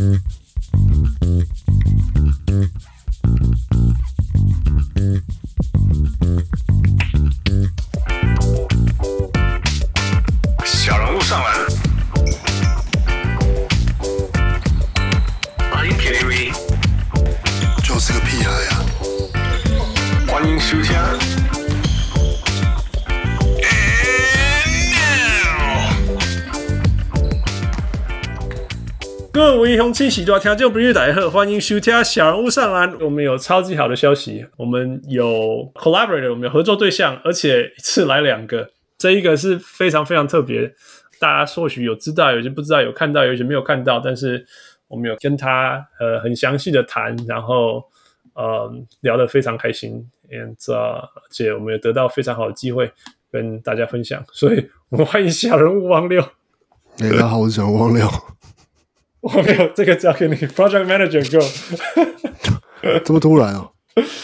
小人物上篮，欢迎 KTV， 就是个屁孩呀！ 欢迎收听。 各位雄起喜多聽眾朋友大家好，歡迎收聽小人物上籃。我們有超級好的消息，我們有 collaborator， 我們有合作對象，而且一次來2個。這一個是非常非常特別，大家或許有知道，有些不知道，有看到，有些沒有看到，但是我們有跟他很詳細的談，然後聊得非常開心，而且我們有得到非常好的機會跟大家分享，所以我們歡迎小人物汪六。 大家好，我是小人物汪六。 我沒有這個交給你 ，Project Manager Go。 這麼突然哦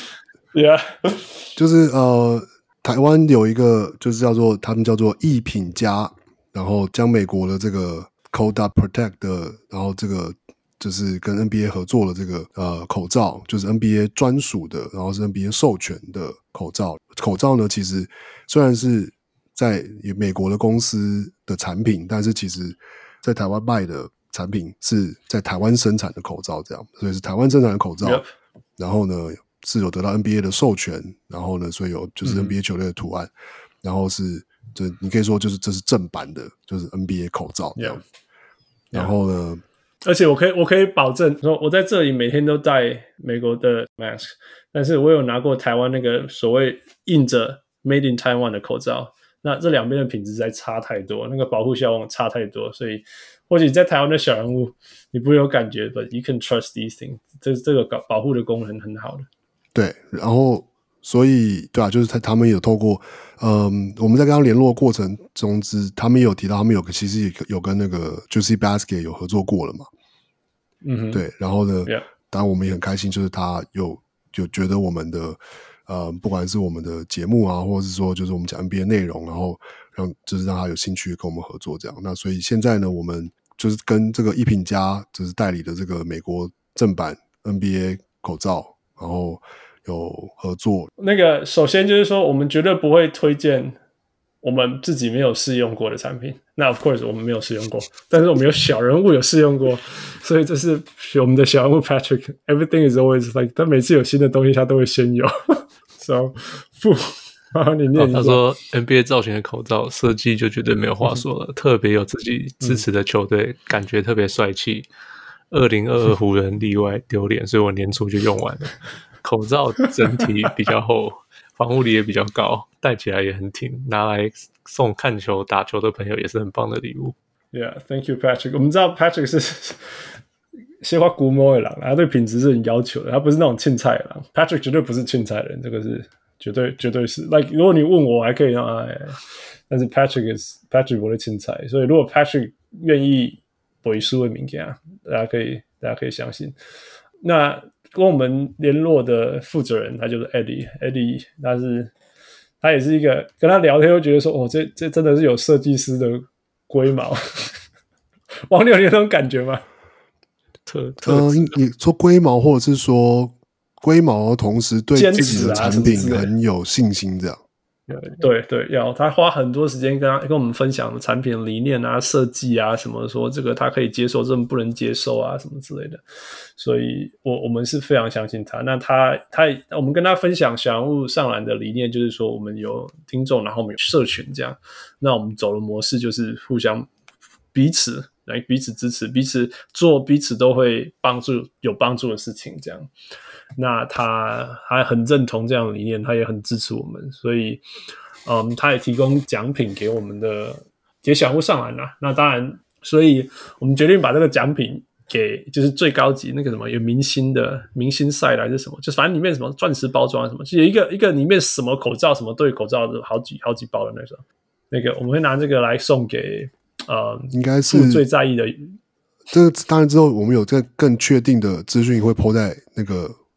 ？Yeah， 就是台灣有一個就是他們叫做藝品家，然後將美國的這個 Cold Protect 的，然後這個就是跟 NBA 合作的這個口罩，就是 NBA 專屬的，然後是 NBA 授權的口罩。口罩呢，其實雖然是在美國的公司的產品，但是其實在台灣賣的產品是在台灣生產的口罩，這樣，所以是台灣生產的口罩。Yep. 然後呢，是有得到 NBA 的授權，然後呢，所以有就是 NBA 球隊的圖案，然後是就你可以說就是這是正版的，就是 NBA 口罩這樣。 Yep. 然後呢， 而且我可以保證說，我在這裡每天都戴美國的 mask， 但是我有拿過台灣那個所謂印着 Made in Taiwan 的口罩，那這兩邊的品質實在差太多，那個保護效果差太多，所以或許在台灣的小人物你不會有感覺 ，but you can trust these things， 這個保護的功能很好的。 對，然後所以對啊，就是他們有透過我們在跟他聯絡的過程中他們也有提到他們其實也有跟那個 Juicy Basket 有合作過了嘛。嗯哼，對，然後呢， yeah. 當然我們也很開心，就是他有覺得我們的不管是我們的節目啊，或者是說就是我們講 NBA 內容，然後讓他有興趣跟我們合作這樣。那所以現在呢，我們就是跟這個藝品家就是代理的這個美國正版 NBA 口罩，然後有合作。 那個首先就是說，我們絕對不會推薦我們自己沒有試用過的產品。那 of course 我們沒有試用過，但是我們有小人物有試用過，所以這是我們的小人物 Patrick。Everything is always like， 他每次有新的東西，他都會先有。So， 然後你念一下。 他說 NBA 造型的口罩設計就絕對沒有話說了，特別有自己支持的球隊，感覺特別帥氣。2022湖人例外丟臉，所以我年初就用完了。口罩整體比較厚，防護力也比較高，戴起來也很挺，拿來送看球打球的朋友也是很棒的禮物。 Yeah, thank you, Patrick. 我們知道 Patrick 是鮮花古摸的人，他對品質是很要求的，他不是那種青菜的人。Patrick 絕對不是青菜的人，這個是絕對是。Like 如果你問我，還可以但是 Patrick 我的青菜，所以如果 Patrick 願意背書的物件，大家可以相信。那跟我們聯絡的負責人，他就是 Eddie， 他也是一個跟他聊天，會覺得說，這真的是有設計師的龜毛。王六，你有那種感覺嗎？ 你說龜毛，或者是說龜毛，同時對自己的產品很有信心，這樣。 對，要他花很多時間跟我們分享的產品理念啊、設計啊什麼，說這個他可以接受，這麼不能接受啊什麼之類的。所以我們是非常相信他。那我們跟他分享小人物上籃的理念，就是說我們有聽眾，然後我們有社群這樣。那我們走的模式就是互相彼此支持，彼此做彼此都會有幫助的事情這樣。那他還很認同這樣的理念，他也很支持我們，所以他也提供獎品給我們給小人物上籃啦。那當然，所以我們決定把這個獎品給就是最高級那個什麼有明星賽還是什麼，就反正裡面什麼鑽石包裝什麼，就有一個裡面什麼口罩什麼對口罩的好幾包的那個我們會拿這個來送給應該是最在意的。 這個當然之後我們有這個更確定的資訊會 po 在那個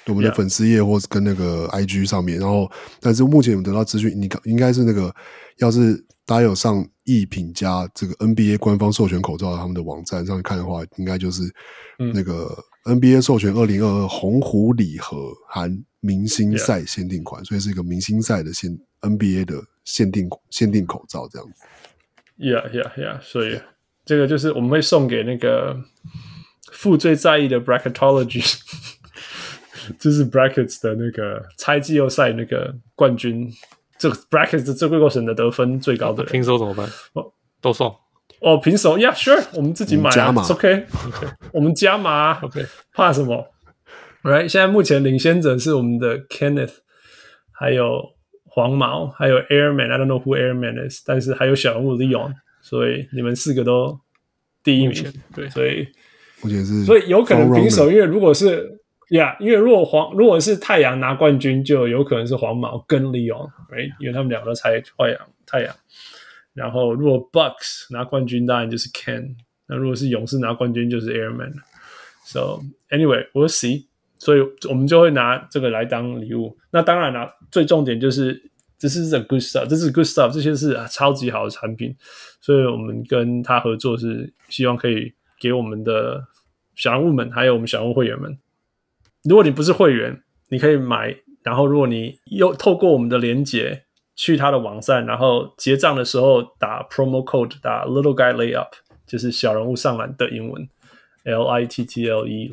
我們的粉絲頁或是跟那個 IG 上面，然後但是目前有得到資訊，你應該是那個，要是大家有上藝品家這個 NBA 官方授權口罩他們的網站上看的話，應該就是那個 NBA 授權2022紅狐禮盒含明星賽限定款，所以是一個明星賽的NBA 的限定口罩這樣子。 Yeah， 所以這個就是我們會送給那個父最在意的 bracketology。就是 brackets 的那個猜季後賽那個冠軍，這個 brackets 的這個過程的得分最高的人， 平手怎麼辦？都送哦，平手 ，Yeah sure， 我們自己買啊 ，It's OK， 我們加碼 ，OK， 怕什麼 ？Right， 現在目前領先者是我們的 Kenneth， 還有黃毛，還有 Airman，I don't know who Airman is， 但是還有小人物 Leon， 所以你們4個都第一名， 对， 所以目前是， 所以有可能平手，因為如果是。因为如果是太陽拿冠軍，就有可能是黃毛跟 Leon，right？ 因為他們兩個都猜太陽。然後如果 Bucks 拿冠軍，當然就是 Ken。那如果是勇士拿冠軍，就是 Airman。So anyway, we'll see。所以我們就會拿這個來當禮物。那當然啦，最重點就是這是 the good stuff， 這是 good stuff， 這些是超級好的產品。所以我們跟他合作是希望可以給我們的小人物們，還有我們小人物會員們。如果你不是會員，你可以買，然後如果你又透過我們的連結去他的網站，然後結賬的時候打 promo code， 打 Little Guy Layup， 就是小人物上籃的英文 LITTLE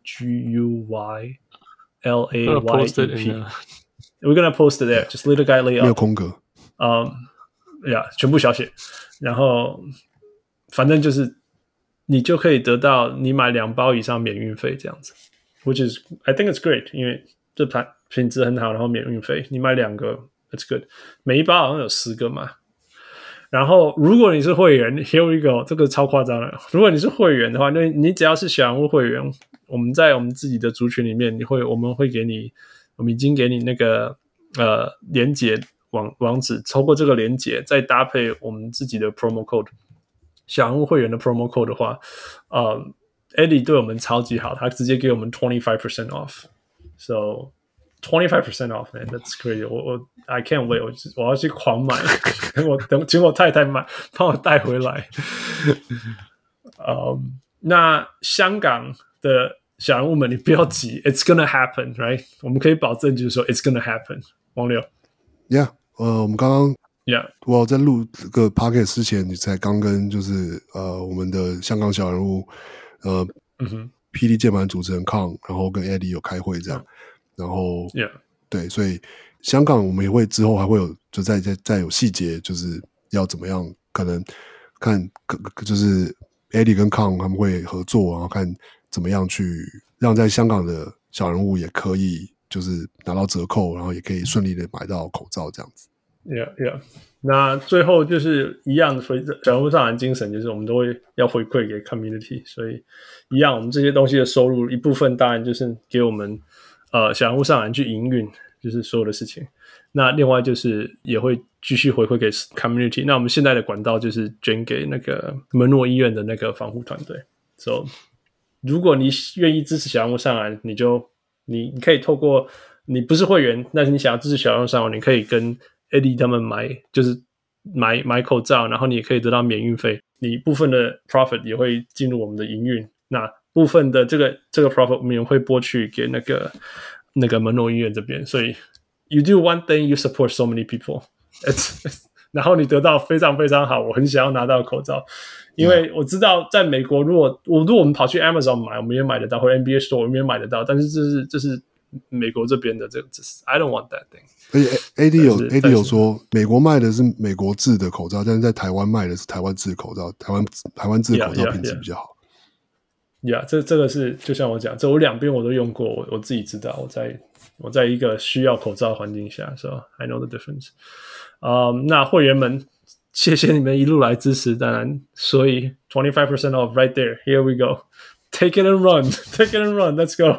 GUY LAYEP。 We're gonna post it there， just Little Guy Layup， 沒有空格。 全部小寫，然後反正就是你就可以得到你買2包以上免運費這樣子。Which is, I think it's great， 因為這品質很好，然後免運費，你買2個 ，it's good。每一包好像有10個嘛。然後如果你是會員 ，here we go， 這個超誇張的。如果你是會員的話，那你只要是小人物會員，我們在我們自己的族群裡面，我們會給你，我們已經給你那個連結網址，透過這個連結，再搭配我們自己的 promo code， 小人物會員的 promo code 的話，Eddie 對我們超級好，他直接給我們 25% off。So 25% off, man, that's crazy. I can't wait. 我要去狂買，請我太太買，幫我帶回來。那香港的小人物們，你不要急 ，It's gonna happen, right? 我們可以保證，就是說 It's gonna happen。王六 ，Yeah， 我們剛剛 ，Yeah， 我在錄這個 podcast 之前，你才剛跟就是我們的香港小人物。霹靂鍵盤主持人康，然後跟 Eddie 有開會這樣，然後對，所以香港我們也會之後還會有就再有細節，就是要怎麼樣，可能看就是 Eddie 跟康他們會合作，然後看怎麼樣去讓在香港的小人物也可以就是拿到折扣，然後也可以順利的買到口罩這樣子。 Yeah。那最後就是一樣，小人物上籃精神就是我們都會要回饋給 community， 所以一樣，我們這些東西的收入一部分當然就是給我們小人物上籃去營運，就是所有的事情。那另外就是也會繼續回饋給 community。那我們現在的管道就是捐給那個門諾醫院的那個防護團隊。So 如果你願意支持小人物上籃，你可以透過你不是會員，但是你想要支持小人物上籃，你可以跟Eddie 他們就是買口罩，然後你也可以得到免運費，你部分的 profit 也會進入我們的營運，那部分的這個 profit 我們也會撥去給那個門諾醫院這邊，所以 you do one thing, you support so many people， 然後你得到非常非常好，我很想要拿到口罩，因為我知道在美國，如果我們跑去 Amazon 買，我們也買得到，或者 NBA Store 我們也買得到，但是這是美國這邊的這個，I don't want that thing。 而且 AD 有說，美國賣的是美國製的口罩，但是在台灣賣的是台灣製的口罩，台灣製的口罩品質比較好。 這個是就像我講，這我兩邊我都用過，我自己知道，我在一個需要口罩的環境下 ，so I know the difference。那會員們，謝謝你們一路來支持，當然，所以 25% off right there. Here we go. Take it and run. Take it and run. Let's go.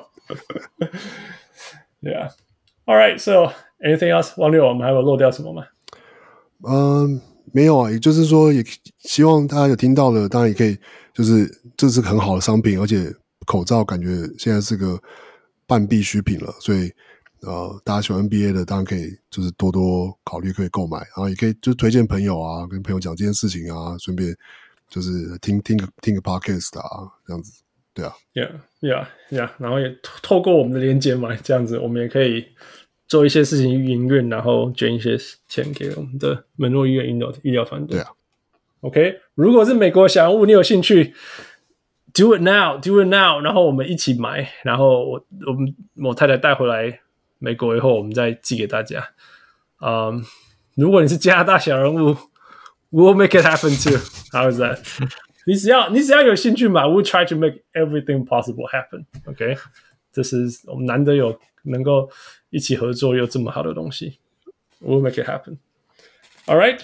Yeah. All right. So anything else? 王六，我們還有漏掉什麼嗎？ 沒有啊，也就是說，也希望大家有聽到的，當然也可以，就是這是很好的商品，而且口罩感覺現在是個半必需品了，所以大家喜歡 NBA 的，當然可以就是多多考慮可以購買，然後也可以就是推薦朋友啊，跟朋友講這件事情啊，順便就是聽個 podcast 啊，這樣子，對啊 ，yeah， 然後也透過我們的連結嘛，這樣子我們也可以做一些事情營運，然後捐一些錢給我們的門諾醫院醫療團隊。 對啊 ，OK， 如果是美國小人物，你有興趣 ，do it now， 然後我們一起買，然後我太太帶回來美國以後，我們再寄給大家。如果你是加拿大小人物 ，we'll make it happen too. How is that? 你只要有興趣買 ，we'll try to make everything possible happen. OK， 這是我們難得有能夠一起合作又這麼好的東西 ，we'll make it happen. All right.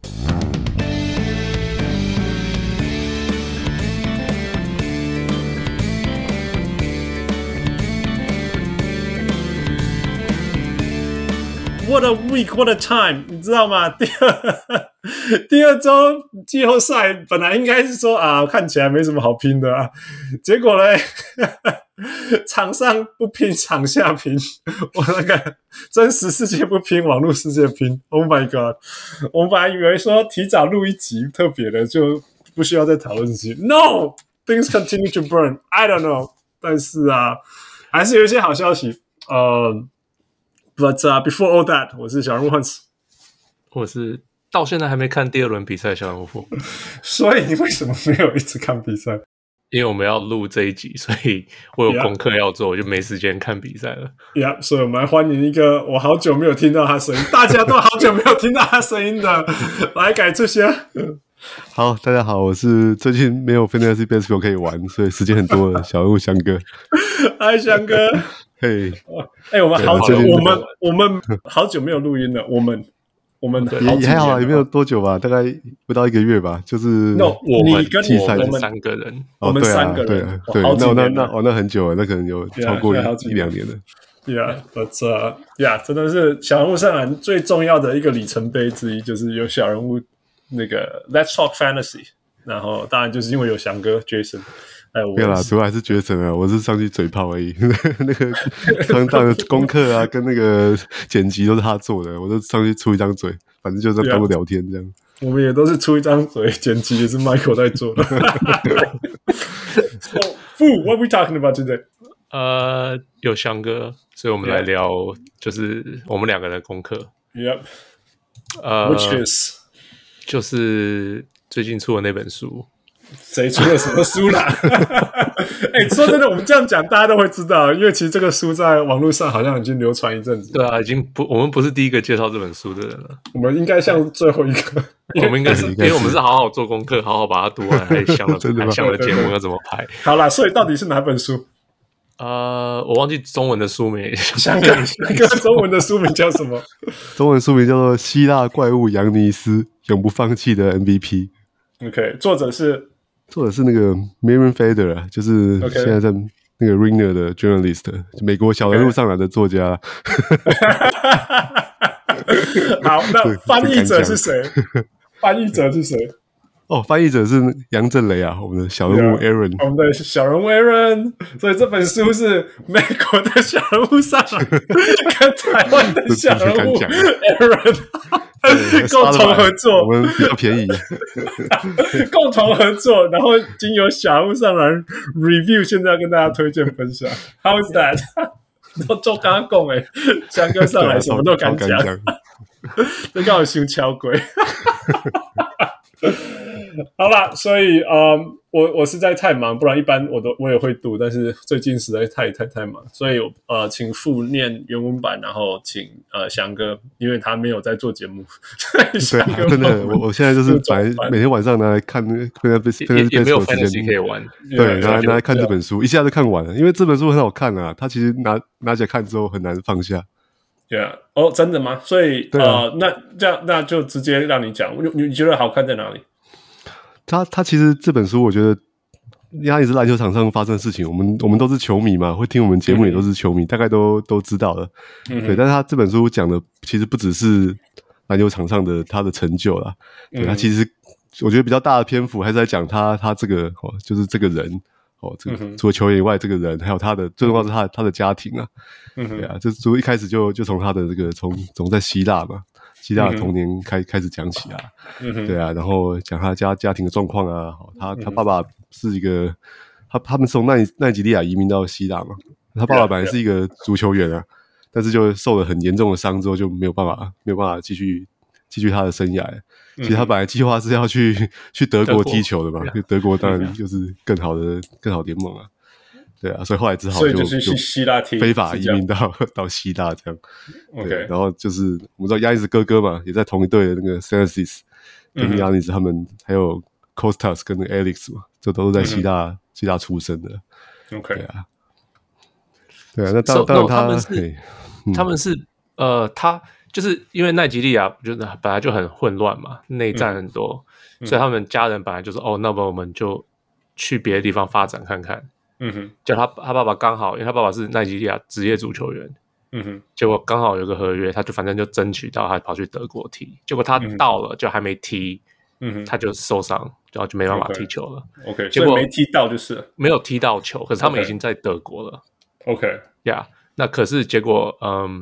What a week, what a time， 你知道嗎？第二周季後賽本來應該是說看起來沒什麼好拼的啊，結果嘞，場上不拼，場下拼，我那個真實世界不拼，網絡世界拼。Oh my god！ 我們本來以為說提早錄一集特別的，就不需要再討論這些。No, things continue to burn. I don't know， 但是還是有一些好消息。But before all that， 我是小人物 Hans， 我是到現在還沒看第二輪比賽的小人物。 所以你為什麼沒有一直看比賽？ 因為我們要錄這一集，所以我有功課要做，我就沒時間看比賽了。 所以我們來歡迎一個我好久沒有聽到他聲音，大家都好久沒有聽到他聲音的，來改這些。 好，大家好，我是最近沒有 Fantasy Baseball 可以玩，所以時間很多的小人物翔哥。 嗨，翔哥。 嘿， 我們好久，我們好久沒有錄音了。我們也還好，也沒有多久吧，大概不到1個月吧。就是你跟我們3個人， 我們3個人， 對，那很久了，那可能有超過1-2年了。 Yeah，but 真的是小人物上籃最重要的一個里程碑之一，就是有小人物那個 Let's Talk Fantasy， 然後當然就是因為有翔哥 Jason。 沒有啦，主要還是絕神啊！我是上去嘴炮而已。那個上的功課啊，跟那個剪輯都是他做的，我就上去出一張嘴，反正就是當聊天這樣。 我們也都是出一張嘴，剪輯也是 Michael 在做的。So, Fu, what are we talking about today? 有翔哥，所以我們來聊，就是我們2個人的功課。 Yep. Which is 就是最近出的那本書。 誰出了什麼書啦？說真的，我們這樣講大家都會知道，因為其實這個書在網絡上好像已經流傳一陣子。 對啊，我們不是第一個介紹這本書的人了。我們應該像最後一個。 我們應該是，因為我們是好好做功課，好好把它讀完，還想了節目要怎麼排。 好啦，所以到底是哪本書？ 我忘記中文的書名。 想看那個中文的書名叫什麼？ 中文書名叫做《希臘怪物揚尼斯永不放棄的 MVP》。OK， 作者是那個 Miriam Feder， 就是現在在那個 Ringer 的 journalist， 美國小人物上籃的作家。 好，那翻譯者是誰？翻譯者是誰？ 翻譯者是楊振雷啊，我們的小人物 Aaron， 我们的小人物 Aaron。所以這本書是美國的小人物上籃跟台灣的小人物 Aaron。共同合作， 我們比較便宜。 共同合作，然後經由小人物上籃 review， 現在要跟大家推薦分享。How is that？ 都剛剛講翔哥上來什麼都敢講，這剛好修敲鬼。好啦，所以我實在太忙，不然一般我也會讀，但是最近實在太忙，所以請Fu念原文版，然後請翔哥，因為他沒有在做節目， 對啊，真的，我現在就是每天晚上拿來看， 也沒有 fantasy 可以玩， 對，拿來看這本書，一下就看完了，因為這本書很好看啊，它其實拿起來看之後很難放下。 Yeah， 真的嗎？所以那就直接讓你講，你覺得好看在哪裡？ 他其實這本書，我覺得它也是籃球場上發生的事情。我們都是球迷嘛，會聽我們節目也都是球迷，大概都知道了。對，但是他這本書講的其實不只是籃球場上的他的成就啦。對，他其實我覺得比較大的篇幅還是在講他這個就是這個人這個除了球員以外，這個人還有他的最重要是他的家庭啊，對啊，這一開始就從他的這個從在希臘嘛，希臘的童年開始講起啊，對啊，然後講他家庭的狀況啊，他爸爸是一個他們是從奈及利亞移民到希臘嘛，他爸爸本來是一個足球員啊，但是就受了很嚴重的傷之後就沒有辦法繼續他的生涯。其實他本來計劃是要去德國踢球的嘛，因為德國當然就是更好聯盟啊，对啊，所以後來只好所以就是去希臘踢， 非法移民到希臘這樣。 對， 然後就是我們知道亞尼斯哥哥嘛，也在同一隊的那個 Sensis 跟亞尼斯他們還有 Kostas 跟那個 Alex 嘛，这都是在希臘出生的。 OK， 对啊，那當然他們是他。就是因為奈及利亞就是本來就很混亂嘛，內戰很多，所以他們家人本來就是那麼我們就去別的地方發展看看。就他爸爸剛好，因為他爸爸是奈及利亞職業足球員，結果剛好有個合約，他就反正就爭取到，他跑去德國踢，結果他到了就還沒踢，他就受傷，然後就沒辦法踢球了。 OK， 結果沒踢到就是沒有踢到球，可是他們已經在德國了。 OK， yeah， 那可是結果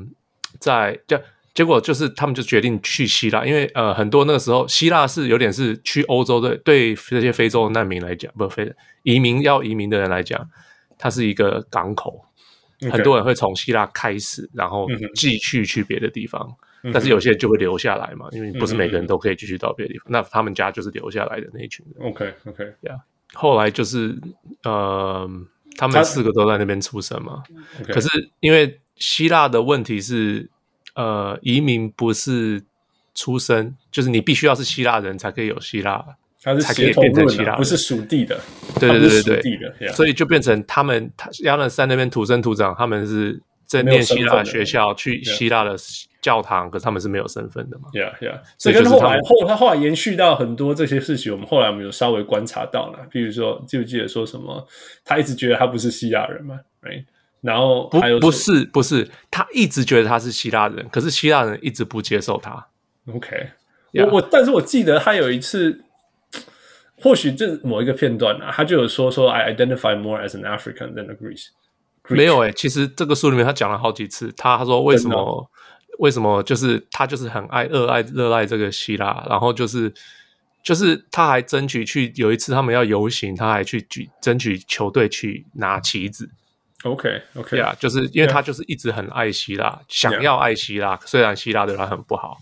結果就是他們就決定去希臘，因為很多那個時候希臘是有點是去歐洲的，對這些非洲的難民來講，不非移民的人來講，它是一個港口，很多人會從希臘開始，然後繼續去別的地方，但是有些人就會留下來嘛，因為不是每個人都可以繼續到別的地方，那他們家就是留下來的那一群人。 OK， yeah， 後來就是他們4個都在那邊出生嘛，可是因為希臘的問題是。移民不是出生，就是你必須要是希臘人才可以有希臘， 它是才可以變成希臘人， 不是屬地的。 對，所以就變成他們亞那山那邊土生土長，他們是在念希臘學校，去希臘的教堂，可是他們是没有身份的嘛。 所以跟后來延續到很多這些事情，我們有稍微觀察到了，譬如說記不記得說什麼，他一直覺得他不是希臘人嘛 ，right？然後還有不是，他一直覺得他是希臘人，可是希臘人一直不接受他。 OK， 但是我記得他有一次，或許這某一個片段啊，他就有說 I identify more as an African than a Greek。 沒有其實這個書裡面他講了好幾次，他說為什麼就是他就是很熱愛這個希臘，然後就是他還爭取去有一次他們要遊行，他還去爭取球隊去拿旗子。 OK， 就是因為他就是一直很愛希臘，想要愛希臘，雖然希臘對他很不好。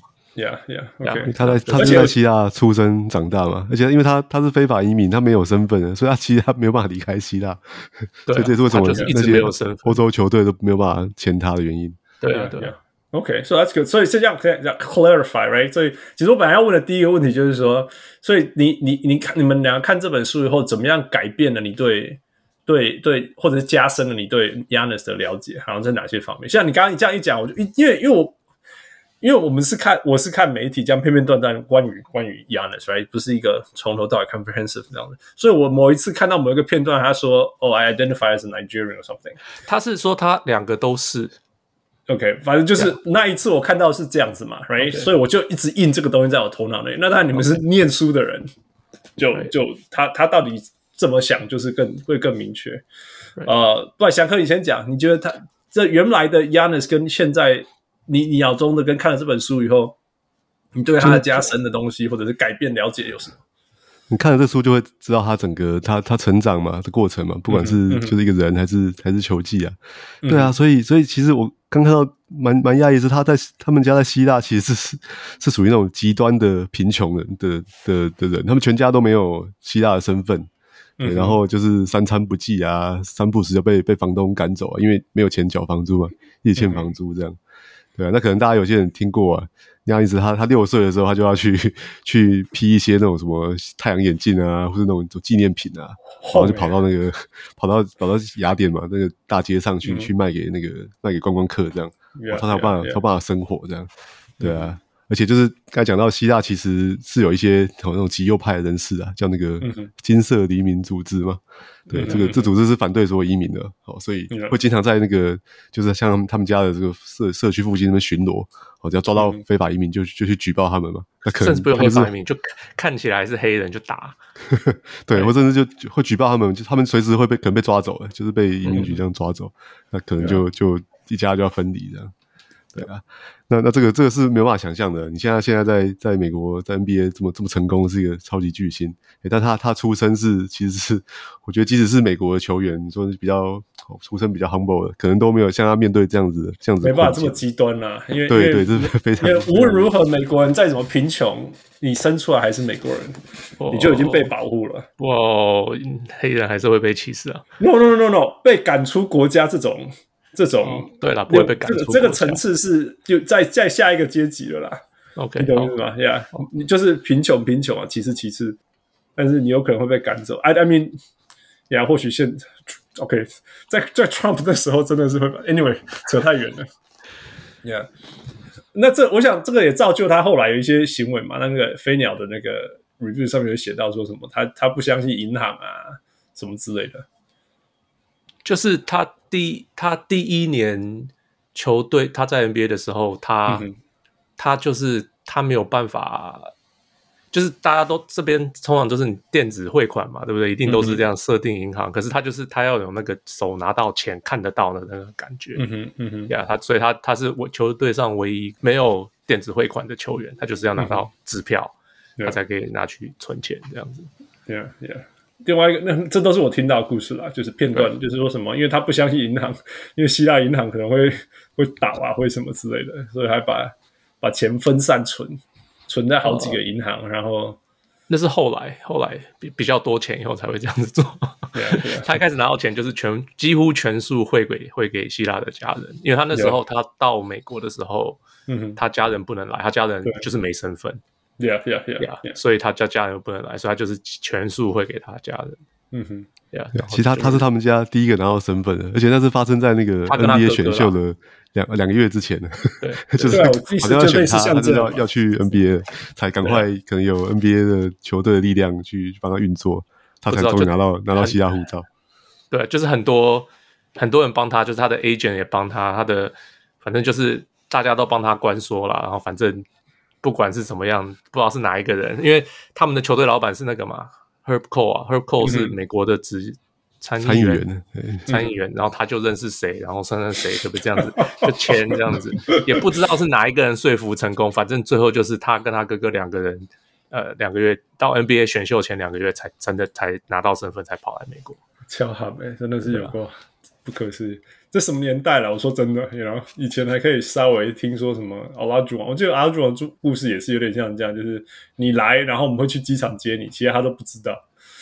OK， 他是在希臘出生長大嘛，而且因為他是非法移民，他沒有身份的，所以他沒有辦法離開希臘，所以這是為什麼那些歐洲球隊都沒有辦法簽他的原因。 對。 OK， so that's good。所以是這樣可以 clarify， right？ 所以其實我本來要問的第一個問題就是說，所以你們兩個看這本書以後，怎麼樣改變了你對，或者是加深了你對 Giannis 的了解，好像在哪些方面？像你剛剛這樣一講，我就因為我是看媒體這樣片片段段關於 Giannis， right？ 不是一個從頭到尾 comprehensive 那樣的，所以我某一次看到某一個片段，他說I identify as a Nigerian or something， 他是說他兩個都是。 OK， 反正就是那一次我看到是這樣子嘛 ，right？ 所以我就一直印這個東西在我頭腦內。那當然你們是念書的人，就他到底這麼想，就是會更明確。不然翔哥以前講，你覺得他這原來的 Giannis 跟現在你腦中的跟看了這本書以後，你對他的加深的東西或者是改變了解有什麼？ 你看了這書就會知道他整個他成長嘛的過程嘛，不管是就是一個人還是球技啊，對啊，所以其實我剛看到蠻訝異是他們家在希臘其實是屬於那種極端的貧窮的人，他們全家都沒有希臘的身份，對，然後就是三餐不繼啊，三不時就被房東趕走啊，因為沒有錢繳房租嘛，一直欠房租這樣，對啊，那可能大家有些人聽過啊。那樣意思，他6歲的時候，他就要去批一些那種什麼太陽眼鏡啊，或是那種紀念品啊，然後就跑到雅典嘛，那個大街上去賣給觀光客這樣，他有辦法生活這樣，對啊， 而且就是剛才講到希臘其實是有一些那種極右派的人士啊，叫那個金色黎明組織嘛。對，這組織是反對所有移民的，所以會經常在那個就是像他們家的這個社區附近那邊巡邏，只要抓到非法移民就去舉報他們嘛。那可能甚至不用非法移民，就看起来是黑人就打。 對，或甚至就會舉報他們，就他們隨時可能被抓走，就是被移民局這樣抓走，那可能就一家就要分離這樣。對啊，那這個是沒有辦法想象的。你現在在美國在 NBA 這麼成功，是一個超級巨星，但他出身其實是我覺得即使是美國的球員，你說是比較出身比較 humble 的，可能都沒有像他面對這樣子沒辦法這麼極端啦。因為对，這是非常。 因为無論如何，美國人再怎麼貧窮，你生出來還是美國人，你就已經被保護了。 哇，黑人還是會被歧視啊 ？No， 被趕出國家這種。 對啦，不會被趕出這個層次是就在下一個階級了啦。 OK， 你懂意思嗎 ？Yeah， 你就是貧窮啊，歧視，但是你有可能會被趕走。I mean， yeah， 或許OK， 在 Trump 的時候真的是會 ，Anyway， 扯太遠了。Yeah， 那我想這個也造就他後來有一些行為嘛。那個飛鳥的那個 review 上面有寫到說什麼，他不相信銀行啊什麼之類的。 就是他第一年球隊他在 NBA 的時候，他就是他沒有辦法，就是大家都這邊通常都是你電子匯款嘛，對不對？一定都是這樣設定銀行，可是他要有那個手拿到錢看得到的那個感覺，所以他是球隊上唯一沒有電子匯款的球員，他就是要拿到支票，他才可以拿去存錢這樣子。 Yeah。另外一個，這都是我聽到的故事啦，就是片段，就是說什麼，因為他不相信銀行，因為希臘銀行可能會倒啊，會什麼之類的，所以還把錢分散存在好幾個銀行，然後那是後來比較多錢以後才會這樣子做。他一開始拿到錢就是幾乎全數匯給希臘的家人，因為他那時候他到美國的時候，他家人不能來，他家人就是沒身份。 Yeah， 所以他家人不能來，所以他就是全數會給他家人。 其實他是他們家第一個拿到身份的，而且那是發生在那個 NBA 選秀的兩個月之前的。對，就是好像要選他就要去 NBA 才趕快可能有 NBA 的球隊的力量去幫他運作，他才終於拿到希臘護照。 對，就是很多人幫他，就是他的 agent 也幫他的反正就是大家都幫他關說了，然後反正。不管是怎麼樣，不知道是哪一個人，因為他們的球隊老闆是那個嘛 ，Herb Cole 是美國的參議員，然後他就認識誰，然後誰可不可以這樣子就簽這樣子，也不知道是哪一個人說服成功，反正最後就是他跟他哥哥兩個人，2個月到 NBA 選秀前2個月才真的才拿到身份，才跑來美國。 巧合真的是有過不可思議。這什麼年代了？我說真的，然後以前還可以稍微聽說什麼奧拉朱王，我記得奧拉朱王的故事也是有點像這樣，就是你來，然後我們會去機場接你，其實他都不知道。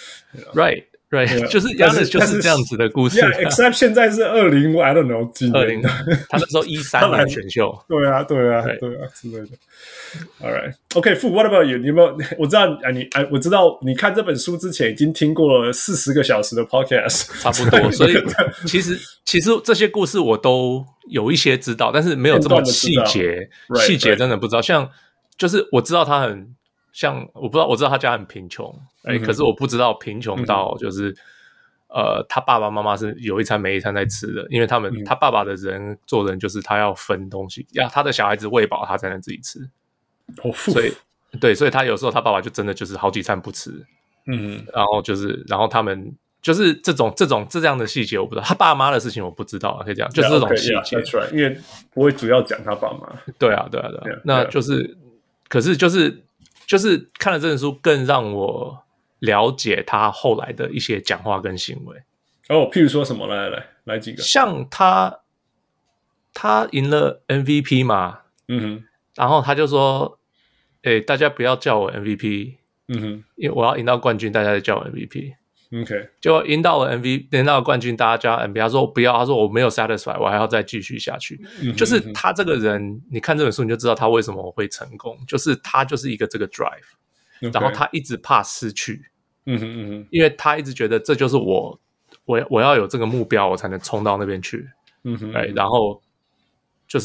Right， 就是 Giannis 就是這樣子的故事。 Except 現在是I don't know 幾年， 他那時候13年選秀。 對啊之類的。All right, OK, Fu, what about you? 你有沒有？我知道你看這本書之前已經聽過了40個小時的 podcast， 差不多。所以其實這些故事我都有一些知道，但是沒有這麼細節真的不知道。像就是我知道他很像，我知道他家很貧窮，可是我不知道貧窮到就是他爸爸媽媽是有一餐沒一餐在吃的，因為他爸爸的做人就是他要分東西，要他的小孩子餵飽他才能自己吃。所以他有時候他爸爸就真的就是好幾餐不吃，然後他們就是這樣的細節我不知道，他爸媽的事情我不知道，可以講就是這種細節， that's right, 因為不會主要講他爸媽。對啊， 那就是可是就是看了這本書，更讓我了解他後來的一些講話跟行為。 譬如說什麼？來幾個，像他贏了 MVP 嘛，然後他就說：“大家不要叫我 MVP， 因為我要贏到冠軍，大家在叫我 MVP。” OK， 就贏到了冠軍，大家叫 MVP。他說不要，他說我沒有 satisfy， 我還要再繼續下去。就是他這個人，你看這本書你就知道他為什麼會成功，就是他就是一個這個 drive， 然後他一直怕失去，因為他一直覺得這就是我要有這個目標，我才能衝到那邊去，然後就是。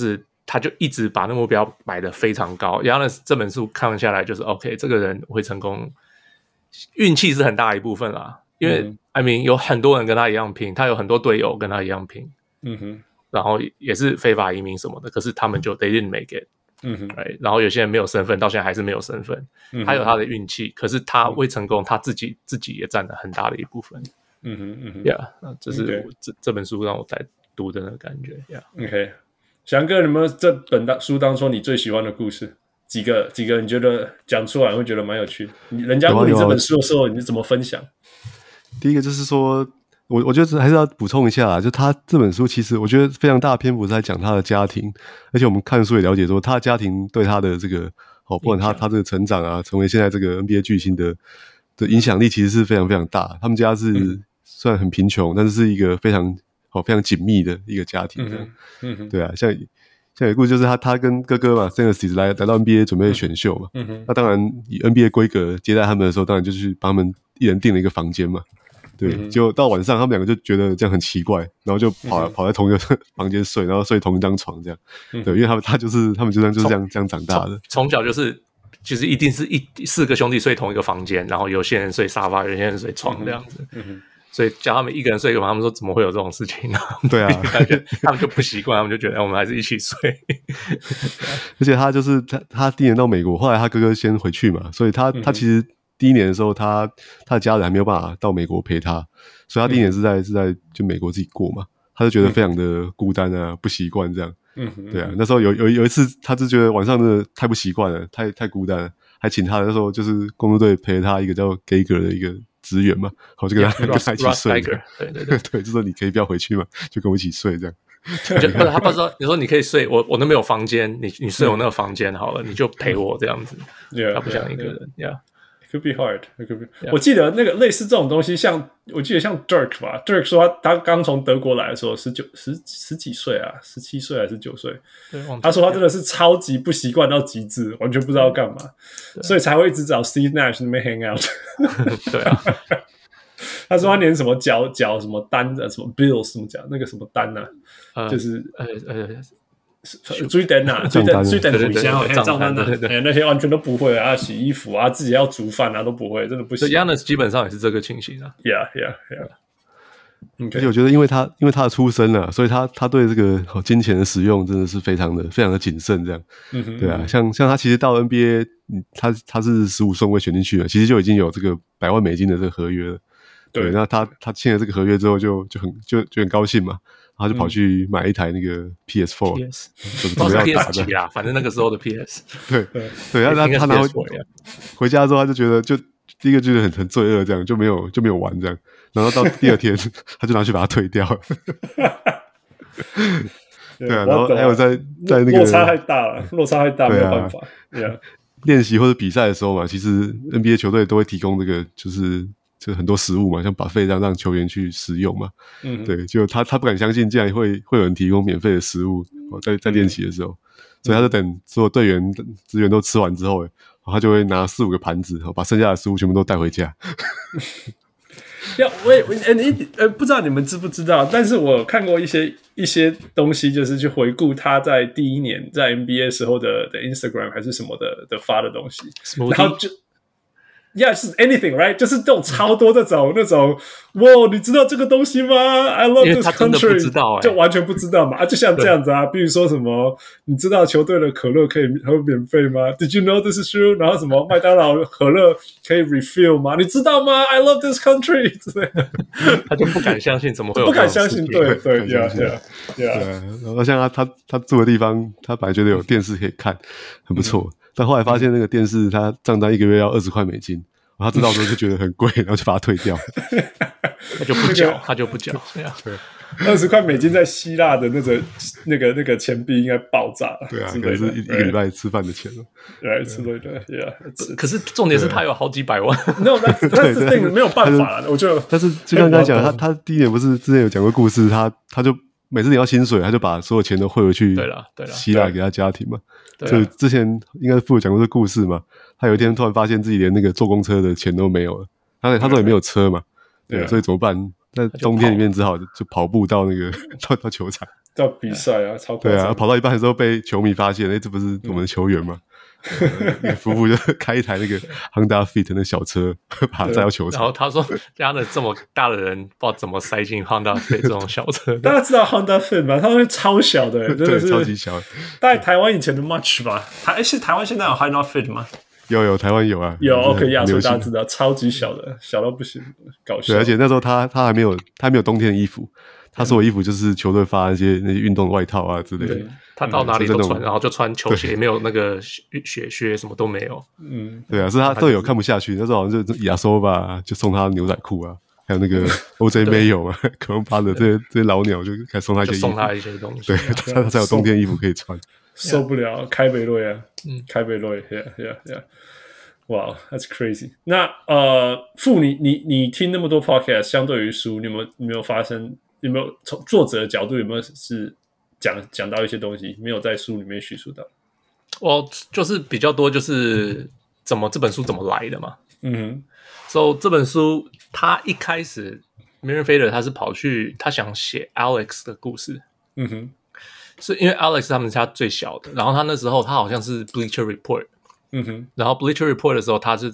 他就一直把那目標擺得非常高。然後呢，這本書看下來就是 OK， 這個人會成功，運氣是很大一部分啦。因為I mean 有很多人跟他一樣拼，他有很多隊友跟他一樣拼，然後也是非法移民什麼的，可是他們就 they didn't make it。right? 然後有些人沒有身份，到現在還是沒有身份。他有他的運氣，可是他會成功，他自己也佔了很大的一部分。Yeah， 這是這本書讓我在讀的那個感覺。 OK， 翔哥，你們這本書當中你最喜歡的故事幾個？你覺得講出來會覺得蠻有趣的？人家問你這本書的時候，你是怎麼分享？ 第一個就是說，我覺得還是要補充一下啦，就他這本書其實我覺得非常大的篇幅是在講他的家庭，而且我們看書也了解說，他的家庭對他的這個不管他這個成長啊，成為現在這個 NBA 巨星的影響力其實是非常非常大。他們家是雖然很貧窮，但是是一個非常緊密的一個家庭這樣。對啊，像有一個故事就是他跟哥哥嘛 Stanley 來到 NBA 準備選秀嘛，那當然以 NBA 規格接待他們的时候，當然就去幫他們一人訂了一個房間嘛。對，結果到晚上他們兩個就覺得這樣很奇怪，然後就跑在同一個房間睡，然後睡同一張床這樣。對，因為他們就是這樣長大的， 從小就是其實一定是4個兄弟睡同一個房間，然後有些人睡沙發，有些人睡床這樣子。所以叫他們一個人睡一個房，他們說怎麼會有這種事情呢？ 對啊， 他們就不習慣，他們就覺得我們還是一起睡。 而且他就是他第一年到美國，後來他哥哥先回去嘛，所以他其實第一年的時候，他的家人還沒有辦法到美國陪他，所以他第一年是在就美國自己過嘛，他就覺得非常的孤單啊，不習慣這樣。對啊，那時候有一次，他就覺得晚上真的太不習慣了，太孤單了，還請他那時候就是公路隊陪他一個叫 Geiger 的一個職員嘛，好就跟他一起睡。對，就說你可以不要回去嘛，就跟我一起睡這樣。 他不說，你說你可以睡我那邊有房間，你睡我那個房間好了，你就陪我這樣子。他不想一個人。 It could be hard. It could be. Yeah. 我記得那個類似這種東西，我記得像 Dirk 吧 ，Dirk 說他剛從德國來的時候，十幾歲啊，17歲還是9歲，他說他真的是超級不習慣到極致，完全不知道幹嘛，所以才會一直找 Steve Nash 那邊 hang out。 對啊， 他說他連什麼繳什麼單的什麼 bills 什麼繳那個什麼單啊，就是追單啊，追單回家賬單啊，那些完全都不會啊，洗衣服啊，自己要煮飯啊都不會，真的不行。 Giannis 基本上也是這個情形啊。 Yeah. 而且我覺得因為他的出身啊，所以他對這個金錢的使用真的是非常的謹慎這樣。對啊，像他其實到 NBA， 他是15順位選進去了，其實就已經有這個100萬美金的這個合約了。對，那他簽了這個合約之後就很高興嘛。他就跑去買一台那個 PS4， 準備要打的啦，反正那個時候的 PS。對， 他拿回家之後，他就覺得第一個覺得很罪惡，這樣就沒有玩這樣，然後到第二天他就拿去把它退掉了。對啊，然後還有在那個落差太大了，沒有辦法。 練習或者比賽的時候嘛，其實 NBA 球隊都會提供這個就很多食物嘛，像 buffet 這樣讓球員去食用嘛。對，就他不敢相信，竟然會有人提供免費的食物在練習的時候，所以他就等所有隊員職員都吃完之後，他就會拿4-5個盤子，把剩下的食物全部都帶回家。 不知道你們知不知道，但是我看過一些東西，就是去回顧他在第一年在 NBA 時候的 Instagram 還是什麼的發的東西，然後就。Yeah, 是 anything, right? 就是這種超多那種，哇，你知道這個東西嗎 ？I love this country，就完全不知道嘛。就像這樣子啊，比如說什麼，你知道球隊的可樂可以喝免費嗎 ？Did you know this is true？ 然後什麼麥當勞可樂可以 refill 嗎？你知道嗎 ？I love this country 之類的， 他就不敢相信，怎麼會有？ 不敢相信，對 ，yeah。 然後像他住的地方，他本來覺得有電視可以看，很不錯。但後來發現那個電視，他賬單1個月要20塊美金，他知道之後就覺得很貴，然後就把它退掉。 他就不繳 ，20塊美金在希臘的那個錢幣應該爆炸了。 對啊，可能是一個禮拜吃飯的錢了。 對，之類的。 可是重點是他有好幾百萬。 No， 那沒有辦法了。我就但是就剛剛講，他第一年不是之前有講過故事，他就每次領到薪水，他就把所有錢都匯回去希臘給他家庭嘛。所以之前應該父有講過這個故事嘛，他有一天突然發現自己連那個坐公車的錢都沒有了，他說也沒有車嘛，對，所以怎麼辦？在冬天裡面只好就跑步到那個到球場， 到比賽啊，超誇張。 對啊，跑到一半的時候被球迷發现，這不是我們的球員嗎？那個夫婦就開一台那個 Honda Fit 那小車，把他載到球場。 然後他說：“家的這麼大的人，不知道怎麼塞進 Honda Fit 這種小車。” 大家知道 Honda Fit 嗎？它是超小的，真的是超級小。 大概台灣以前的 Much 吧？台灣現在有 Honda Fit 嗎？ 有台灣有啊， 有 OK 亞洲大家知道，超級小的，小到不行，搞笑。 對，而且那時候他還沒有冬天的衣服。他所有衣服就是球隊發那些運動外套啊之類的， 他到哪裡都穿，然後就穿球鞋，沒有那個雪靴，什麼都沒有。 對啊，是他隊友看不下去，那時候好像就亞索吧，就送他牛仔褲啊，還有那個 OJ 沒有啊，可能巴的這些老鳥就開始送他一些衣服， 送他一些東西， 對，他才有冬天衣服可以穿。 受不了，開北瑞啊，開北瑞 ，yeah， 哇、wow, ，that's crazy。那傅，你聽那麼多 podcast， 相對於書，你有沒有發生？有沒有從作者的角度有沒有是講到一些東西沒有在書裡面敘述到？ 我就是比較多就是這本書怎麼來的嘛。So 這本書他一開始 Miriam Fader 他是跑去他想寫 Alex 的故事。是因為 Alex 他們家最小的，然後他那時候他好像是 Bleacher Report。然後 Bleacher Report 的時候他說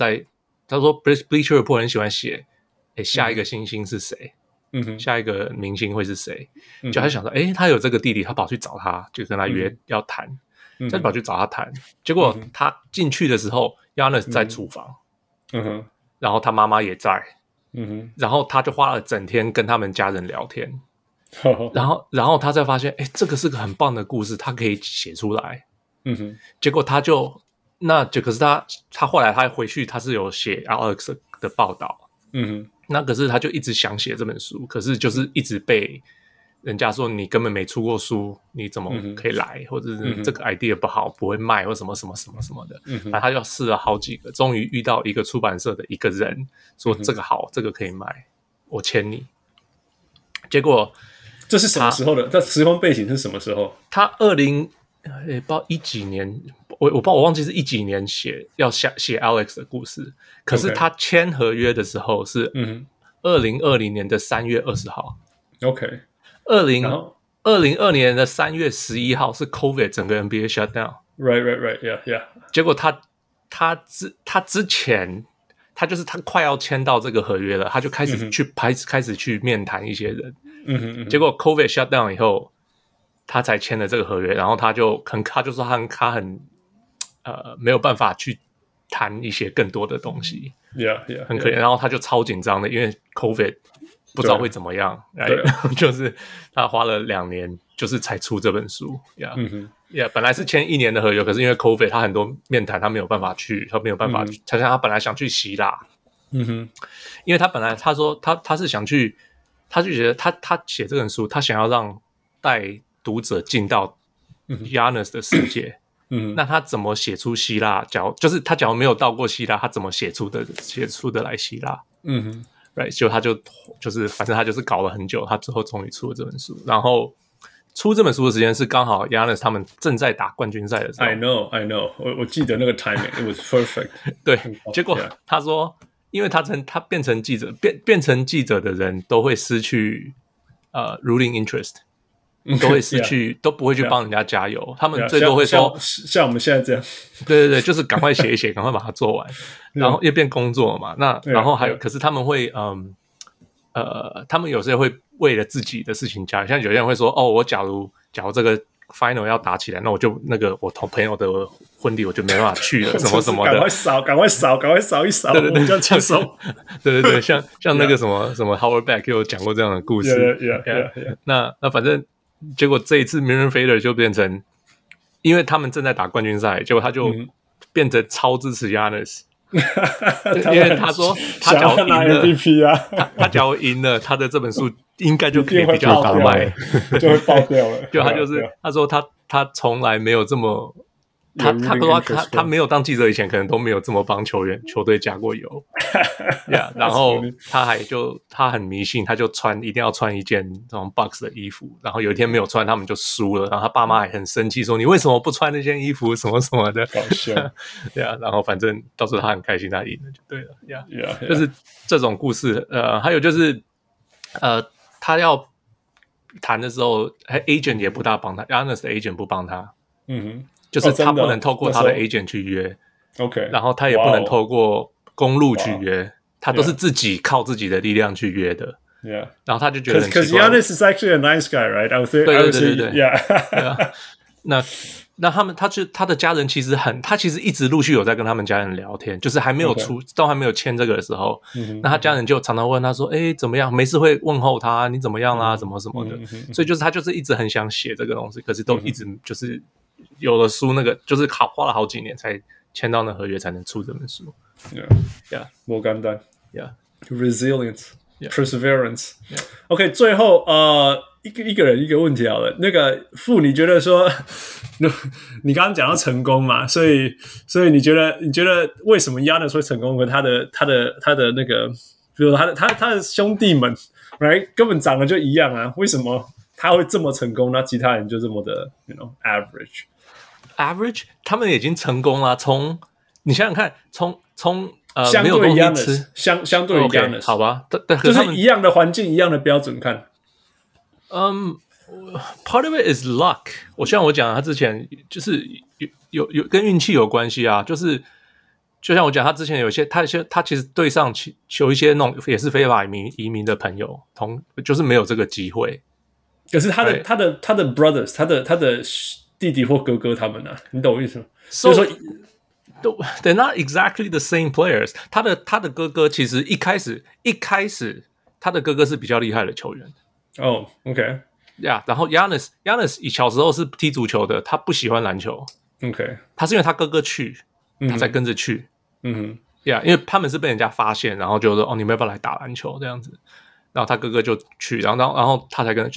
Bleacher Report 很喜歡寫下一個星星是誰。下一個明星會是誰？就他想說，他有這個弟弟，他跑去找他，就跟他約要談，就跑去找他談。結果他進去的時候，Giannis 在廚房，然後他媽媽也在，然後他就花了整天跟他們家人聊天，然後他才發現，這個是個很棒的故事，他可以寫出來。結果可是他後來他回去，他是有寫 Alex 的報道。那可是他就一直想寫這本書，可是就是一直被人家說你根本沒出過書，你怎麼可以來？或者是這個 idea 不好，不會賣，或什麼什麼什麼什麼的。然後他就試了好幾個，終於遇到一個出版社的一個人說這個好，這個可以賣，我簽你。結果這是什麼時候的？這時空背景是什麼時候？ 他不知道一幾年。我忘記是一幾年要寫 Alex 的故事，可是他簽合約的時候是2020年的3月20號。OK， 2020年的3月11號是 COVID 整個 NBA shut down。Right， 結果他之前他就是他快要簽到這個合約了，他就開始去面談一些人。結果 COVID shut down 以後，他才簽了這個合約，然後他就說他很沒有辦法去談一些更多的東西，很可憐。然後他就超緊張的，因為 COVID 不知道會怎麼樣，就是他花了2年，就是才出這本書。本來是簽1年的合約，可是因為 COVID 他很多面談他沒有辦法去，他像他本來想去希臘，因為他本來他說他是想去，他就覺得他寫這本書，他想要讓帶讀者進到 Giannis 的世界。那他怎麼寫出希臘？就是他假如沒有到過希臘，他怎麼寫出的來希臘？Right， 他就是反正他就是搞了很久，他最後終於出了這本書。然後出這本書的時間是剛好 Giannis 他們正在打冠軍賽的時候。 I know， 我記得那個 timing，it was perfect。對， 結果他說，因為他變成記者，變成記者的人都會失去ruling interest。都會失去，都不會去幫人家加油。他們最多會說， 像我們現在這樣， 對，就是趕快寫一寫，趕快把它做完，然後又變工作嘛。那然後還有，可是他們會，他們有時候會為了自己的事情加油。像有些人會說，我假如這個 final 要打起來，那我就我同朋友的婚禮我就沒辦法去了，什麼什麼的。 趕快掃一掃，對，這樣輕鬆。 對，像那個什麼 Howard Beck 有講過這樣的故事。那反正。結果這一次 Miriam Fader 就變成，因為他們正在打冠軍賽，結果他就變成超支持 Giannis，因為他說他假如贏了 MVP 啊，他假如贏了，他的這本書應該就可以比較好賣， 就會爆掉了。 就他說他從來沒有這麼。他說他沒有當記者以前，可能都沒有這麼幫球隊加過油。然後他很迷信，他就一定要穿一件這種 Bucks 的衣服。然後有一天沒有穿，他們就輸了。然後他爸媽還很生氣，說你為什麼不穿那件衣服？什麼什麼的。搞笑。然後反正到時候他很開心，他贏了就對了。就是這種故事。還有就是他要談的時候，agent 也不大幫他 ，Giannis 的 agent 不幫他，就是他不能透過他的 agent 去約 ，OK， 然后他也不能透過公路去約，他都是自己靠自己的力量去約的。 Yeah， 然後他就覺得很奇怪。 Because Giannis is actually a nice guy, right? I would say, 對 yeah 那他的家人其實他其實一直陸續有在跟他們家人聊天，就是還沒有都還沒有簽這個的時候，那他家人就常常問他說，怎麼樣？沒事會問候他，你怎麼樣啦？什麼什麼的，所以就是他就是一直很想寫這個東西，可是都一直就是有了書那個，就是花了好幾年才簽到那合約才能出這本書。 Yeah， 不簡單。 Yeah， resilience。Perseverance。OK， 最後一個人一個問題好了。那個傅，你覺得說，你剛剛講到成功嘛，所以你覺得為什麼 Giannis 會成功？跟他的那個，比如說他的兄弟們 ，right 根本長得就一樣啊，為什麼他會這麼成功？那其他人就這麼的 ，average， 他們已經成功了。你想想看，從相對 Giannis， 相對 Giannis， 好吧， 就是一樣的環境，一樣的標準看。 Part of it is luck。我像我講，他之前就是有跟運氣有關係啊。就是就像我講，他之前有些他其實對上有一些那種也是非法移民的朋友，就是沒有這個機會。 可是他的 brothers， 他的弟弟或哥哥他們啊，你懂我意思嗎？所以说。 They're not exactly the same players。他的哥哥其實一開始他的哥哥是比較厲害的球員。 OK， 然後 Giannis 小時候是踢足球的，他不喜歡籃球。 OK， 他是因為他哥哥去，他才跟着去。因為他們是被人家發現，然後就說你們要不要來打籃球這樣子？然後他哥哥就去，然後他才跟，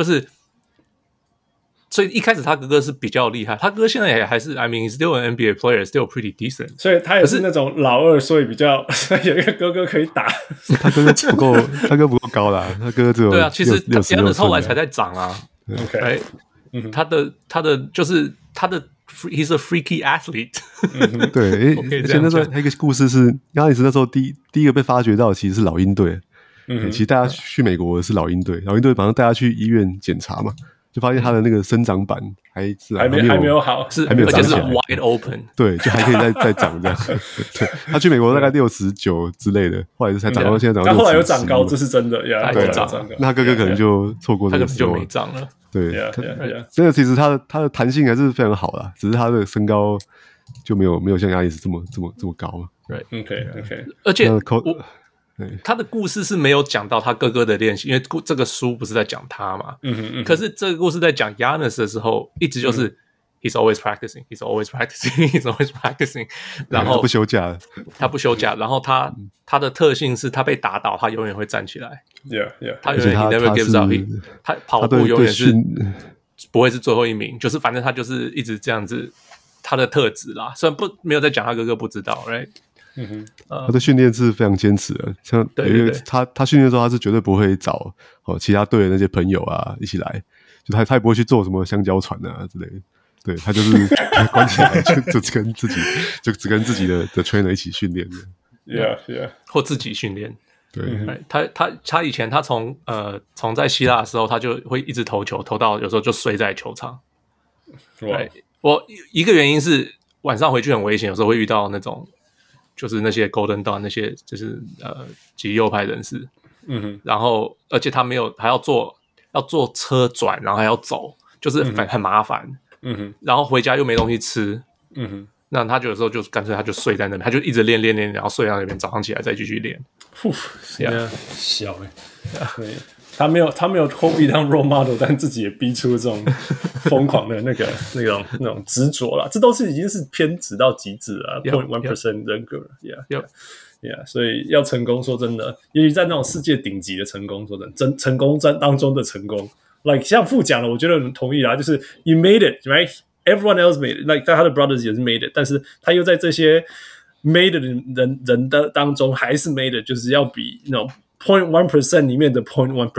所以一開始他哥哥是比較厲害，他哥哥現在也還是 I mean still an NBA player, still pretty decent。所以他也是那種老二，所以比較有一個哥哥可以打。 他哥不夠高啦，他哥哥只有對啊，其實Giannis後來才在長啊。 OK， 他的就是他的 he's a freaky athlete。 對，而且那時候還有一個故事是，Giannis那時候第一個被發掘到其實是老鷹隊。其實大家去美國是老鷹隊，老鷹隊馬上帶他去醫院檢查嘛。就發現他的那個生長板還沒有好， 還沒有長起來， 而且是 wide open， 對，就還可以再長這樣。對，他去美國大概69之類的，後來才長到現在長到60。 他後來有長高，這是真的呀。 對，那他哥哥可能就錯過這個時候， 就沒長了。 對，這個其實他的彈性還是非常好啦，只是他的身高就沒有像Giannis這麼高嘛。 對 ，OK， 而且他的故事是沒有講到他哥哥的練習，因為這個書不是在講他嘛。可是這個故事在講 Giannis 的時候，一直就是 he's always practicing, he's always practicing, he's always practicing。然後他不休假，然後他的特性是他被打倒，他永遠會站起來。 Yeah， 他永遠 he never gives up， 他跑步永遠是不會是最後一名，就是反正他就是一直這樣子，他的特質啦。雖然沒有在講他哥哥不知道 ，right？ 他的訓練是非常堅持的，像因為他訓練的時候，他是絕對不會找其他隊的那些朋友啊一起來，就他也不會去做什麼香蕉船啊之類的，對，他就是關起來就只跟自己的 trainer 一起訓練的 ，yeah， 或自己訓練。 對， 他以前他從在希臘的時候，他就會一直投球，投到有時候就睡在球場。對，我一個原因是晚上回去很危險，有時候會遇到那種。就是那些 Golden Dawn 那些就是極右派人士，然後而且他没有還要坐車轉，然後還要走，就是很麻煩，然後回家又沒東西吃，那他有時候就乾脆他就睡在那邊，他就一直練，然後睡在那邊，早上起來再繼續練。 小對。他沒有 Kobe 當 role model， 但自己也逼出這種瘋狂的那種執着了，這都是已經是偏執到極致了 0.1% 人格了 ，yeah， 所以要成功，說真的，尤其在那種世界頂級的成功，說真的，成功當中的成功 ，like 像傅講的，我覺得很同意啦，就是 you made it right，everyone else made it，like 他的 brothers 也是 made it， 但是他又在這些 made it 的人的當中還是 made it， 就是要比那種。0.1% 裡面的 0.1%，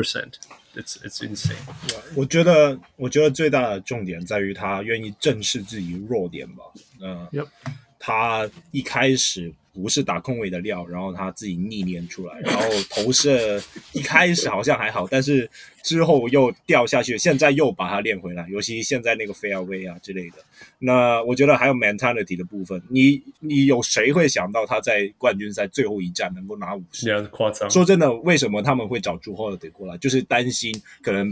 it's insane。 我覺得最大的重點在於他願意正視自己弱點吧。 他一開始不是打控衛的料，然後他自己逆練出來，然後投射一開始好像還好，但是之後又掉下去，現在又把它練回来，尤其現在那個 fairway 啊之類的。那我覺得還有 mentality 的部分，你有誰會想到他在冠軍賽最後一戰能夠拿50？ 誇張。說真的，為什麼他們會找Jrue Holiday過來？就是擔心可能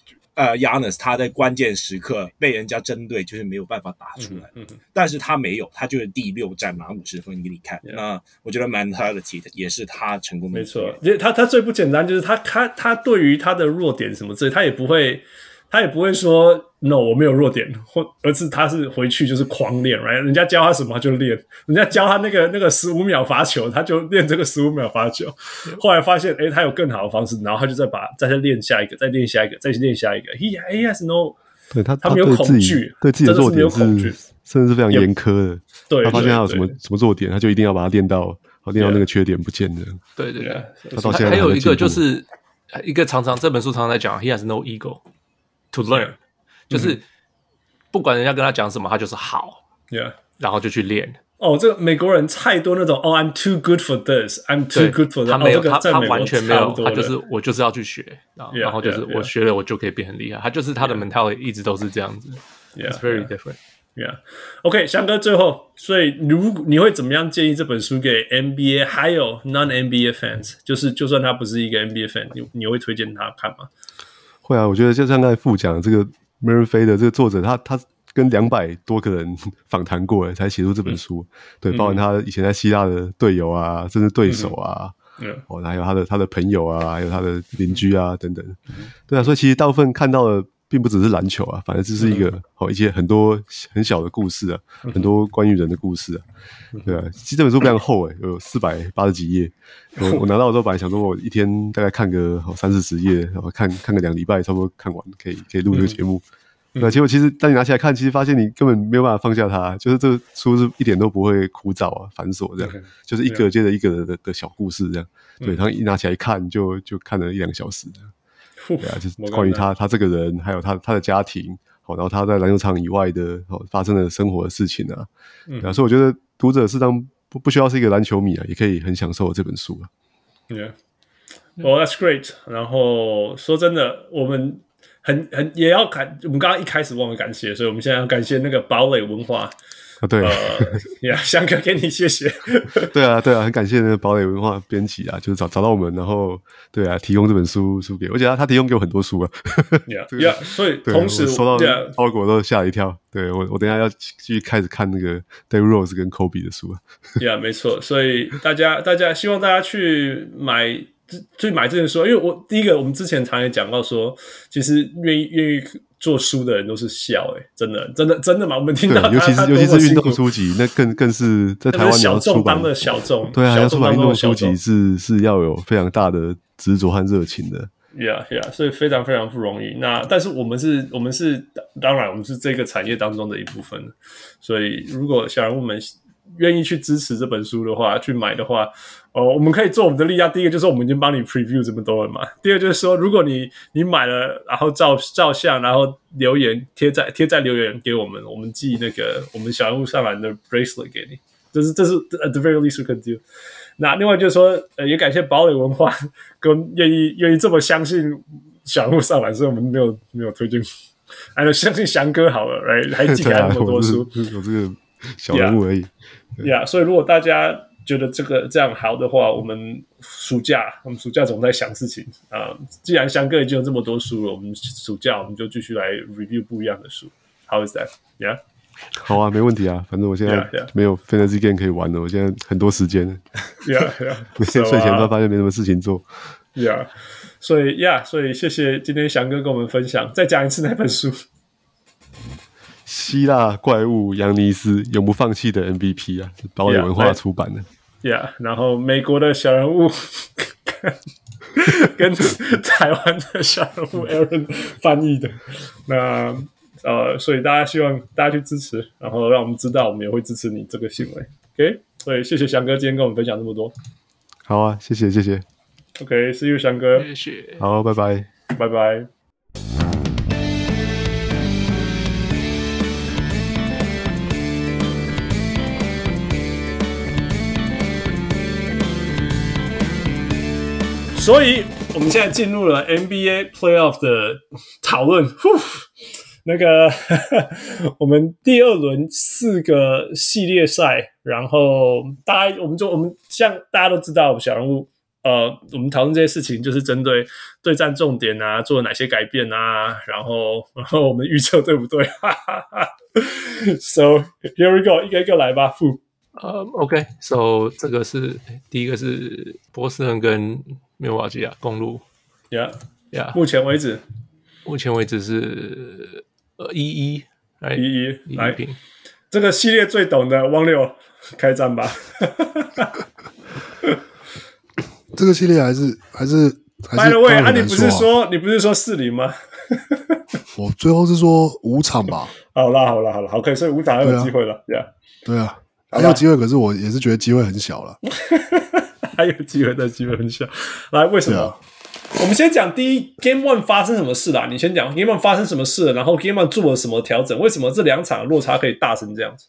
Giannis 他在關鍵時刻被人家針對，就是沒有辦法打出來。但是他沒有，他就是第6戰拿50分給你看。那我覺得 mentality 也是他成功的。 沒錯，他最不簡單就是他對於他的弱點什麼之類，他也不會說 no 我沒有弱點，而是他是回去就是狂練 ，right？ 人家教他什麼他就練，人家教他那個15秒罰球，他就練這個15秒罰球。後來發現他有更好的方式，然後他就再練下一個，再練下一個，再練下一個。He has no， 对他没有恐懼， 对自己的弱點是甚至是非常嚴苛的。 對， 他發現他有什麼弱點，他就一定要把它練到那個缺點不見的。 對對對， 他到現在還有一個就是一個這本書常常在講 ，He has no ego to learn， 就是不管人家跟他講什麼，他就是好，然後就去練。 這個美國人太多那種I'm too good for this, I'm too good for that。 他沒有， 他完全沒有，他就是我就是要去學，然後就是我學了我就可以變很厲害。他就是他的 mentality 一直都是這樣子。It's very different。OK， 翔哥最後，所以你會怎麼樣建議這本書給 NBA 還有 non-NBA fans？ 就是就算他不是一個 NBA fan， 你會推薦他看嗎？ 會啊，我覺得就像剛才副講的這個 Murray Fay 的這個作者，他跟200多個人訪談過了才寫出這本書。對，包含他以前在希臘的隊友啊，甚至對手啊，還有他的朋友啊，還有他的鄰居啊等等。對啊，所以其實大部分看到的並不只是籃球啊，反正這是一個一些很多很小的故事啊，很多關於人的故事啊。對啊，其實這本書非常厚有480幾頁。我拿到的時候本來想說我一天大概看個30-40頁，然後看個2禮拜差不多看完，可以錄這個節目。那結果其實當你拿起來看，其實發現你根本沒有辦法放下它，就是這個書是一點都不會枯燥啊、繁瑣這樣，就是一個接着一個的小故事這樣。對，然後一拿起來一看就看了1-2個小時這樣。對啊，就是關於他這個人，還有他的家庭，然後他在籃球場以外的發生的生活的事情啊。對啊，所以我覺得讀者適當不需要是一個籃球迷啊，也可以很享受這本書啊。 Well, that's great. 然後說真的，我們也要我們剛剛一開始忘了感謝，所以我們現在要感謝那個堡壘文化。 對， 翔哥給你謝謝。 對啊，很感謝那個堡壘文化編輯啊，就是找到我們，然後對啊，提供這本書給我，而且他提供給我很多書啊。 所以同時我收到包裹都嚇了一跳。對，我等一下要繼續開始看那個 Derrick Rose 跟 Kobe 的書啊。沒錯，所以大家希望大家去買這本書，因為第一個我們之前常也講到說，其實願意做書的人都是笑真的嘛？我們聽到尤其是運動書籍，那更是在台灣你要出版的小眾，對啊，要出版運動書籍是要有非常大的執着和熱情的。 所以非常非常不容易。但是我們是當然我們是這個產業當中的一部分，所以如果小人物們願意去支持這本書的話，去買的話，我們可以做我們的力量。第一個就是我們已經幫你 preview 這麼多了嘛。第二個就是說，如果你買了，然後照相，然後留言貼在留言給我們，我們寄那個我們小人物上籃的 bracelet 給你。這是 at the very least we can do。那另外就是說，也感謝堡壘文化跟願意這麼相信小人物上籃，所以我們沒有推薦，還有相信翔哥好了，還寄給他那麼多書， 有這個小人物而已。 所以如果大家覺得這樣好的話，我們暑假總在想事情既然翔哥已經有這麼多書了，我们暑假我們就繼續來 review 不一樣的書。How is that? Yeah. 好啊，沒問題啊，反正我現在沒有 fantasy game 可以玩了，我現在很多時間。每天睡前都發現沒什麼事情做。 所以謝謝今天翔哥跟我們分享。再講一次那本書。 希臘怪物揚尼斯永不放棄的 MVP 啊，堡壘文化出版的。 然後美國的小人物跟台灣的小人物 Aaron 翻譯的。那所以希望大家去支持，然後讓我們知道，我們也會支持你這個行為。OK， 所以謝謝翔哥今天跟我們分享這麼多。 好啊，謝謝。 OK，see you， 翔哥。 謝謝。 好，拜拜。 拜拜。 所以我們現在進入了 NBA Playoff 的討論。那個我們第二輪4個系列賽，然後我們像大家都知道小人物，我們討論這些事情就是針對對戰重點啊，做了哪些改變啊，然後我們預測對不對？So here we go， 一個一個來吧。 OK， so 這個是第一個是波士頓跟密爾瓦基亞公鹿 ，Yeah， 目前為止是1-1，來1-1平。這個系列最懂的汪六開戰吧。 這個系列還是 By the way， 你不是說4-0嗎？ 我最後是說5場吧。 好啦，可以，所以5場還有機會了。 對啊，還有機會，可是我也是覺得機會很小了。 還有機會，但機會很小。來，為什麼？我們先講第一 Game 1 發生什麼事啦？你先講 Game 1 發生什麼事了，然後 Game 1 做了什麼調整？為什麼這2場的落差可以大成這樣子？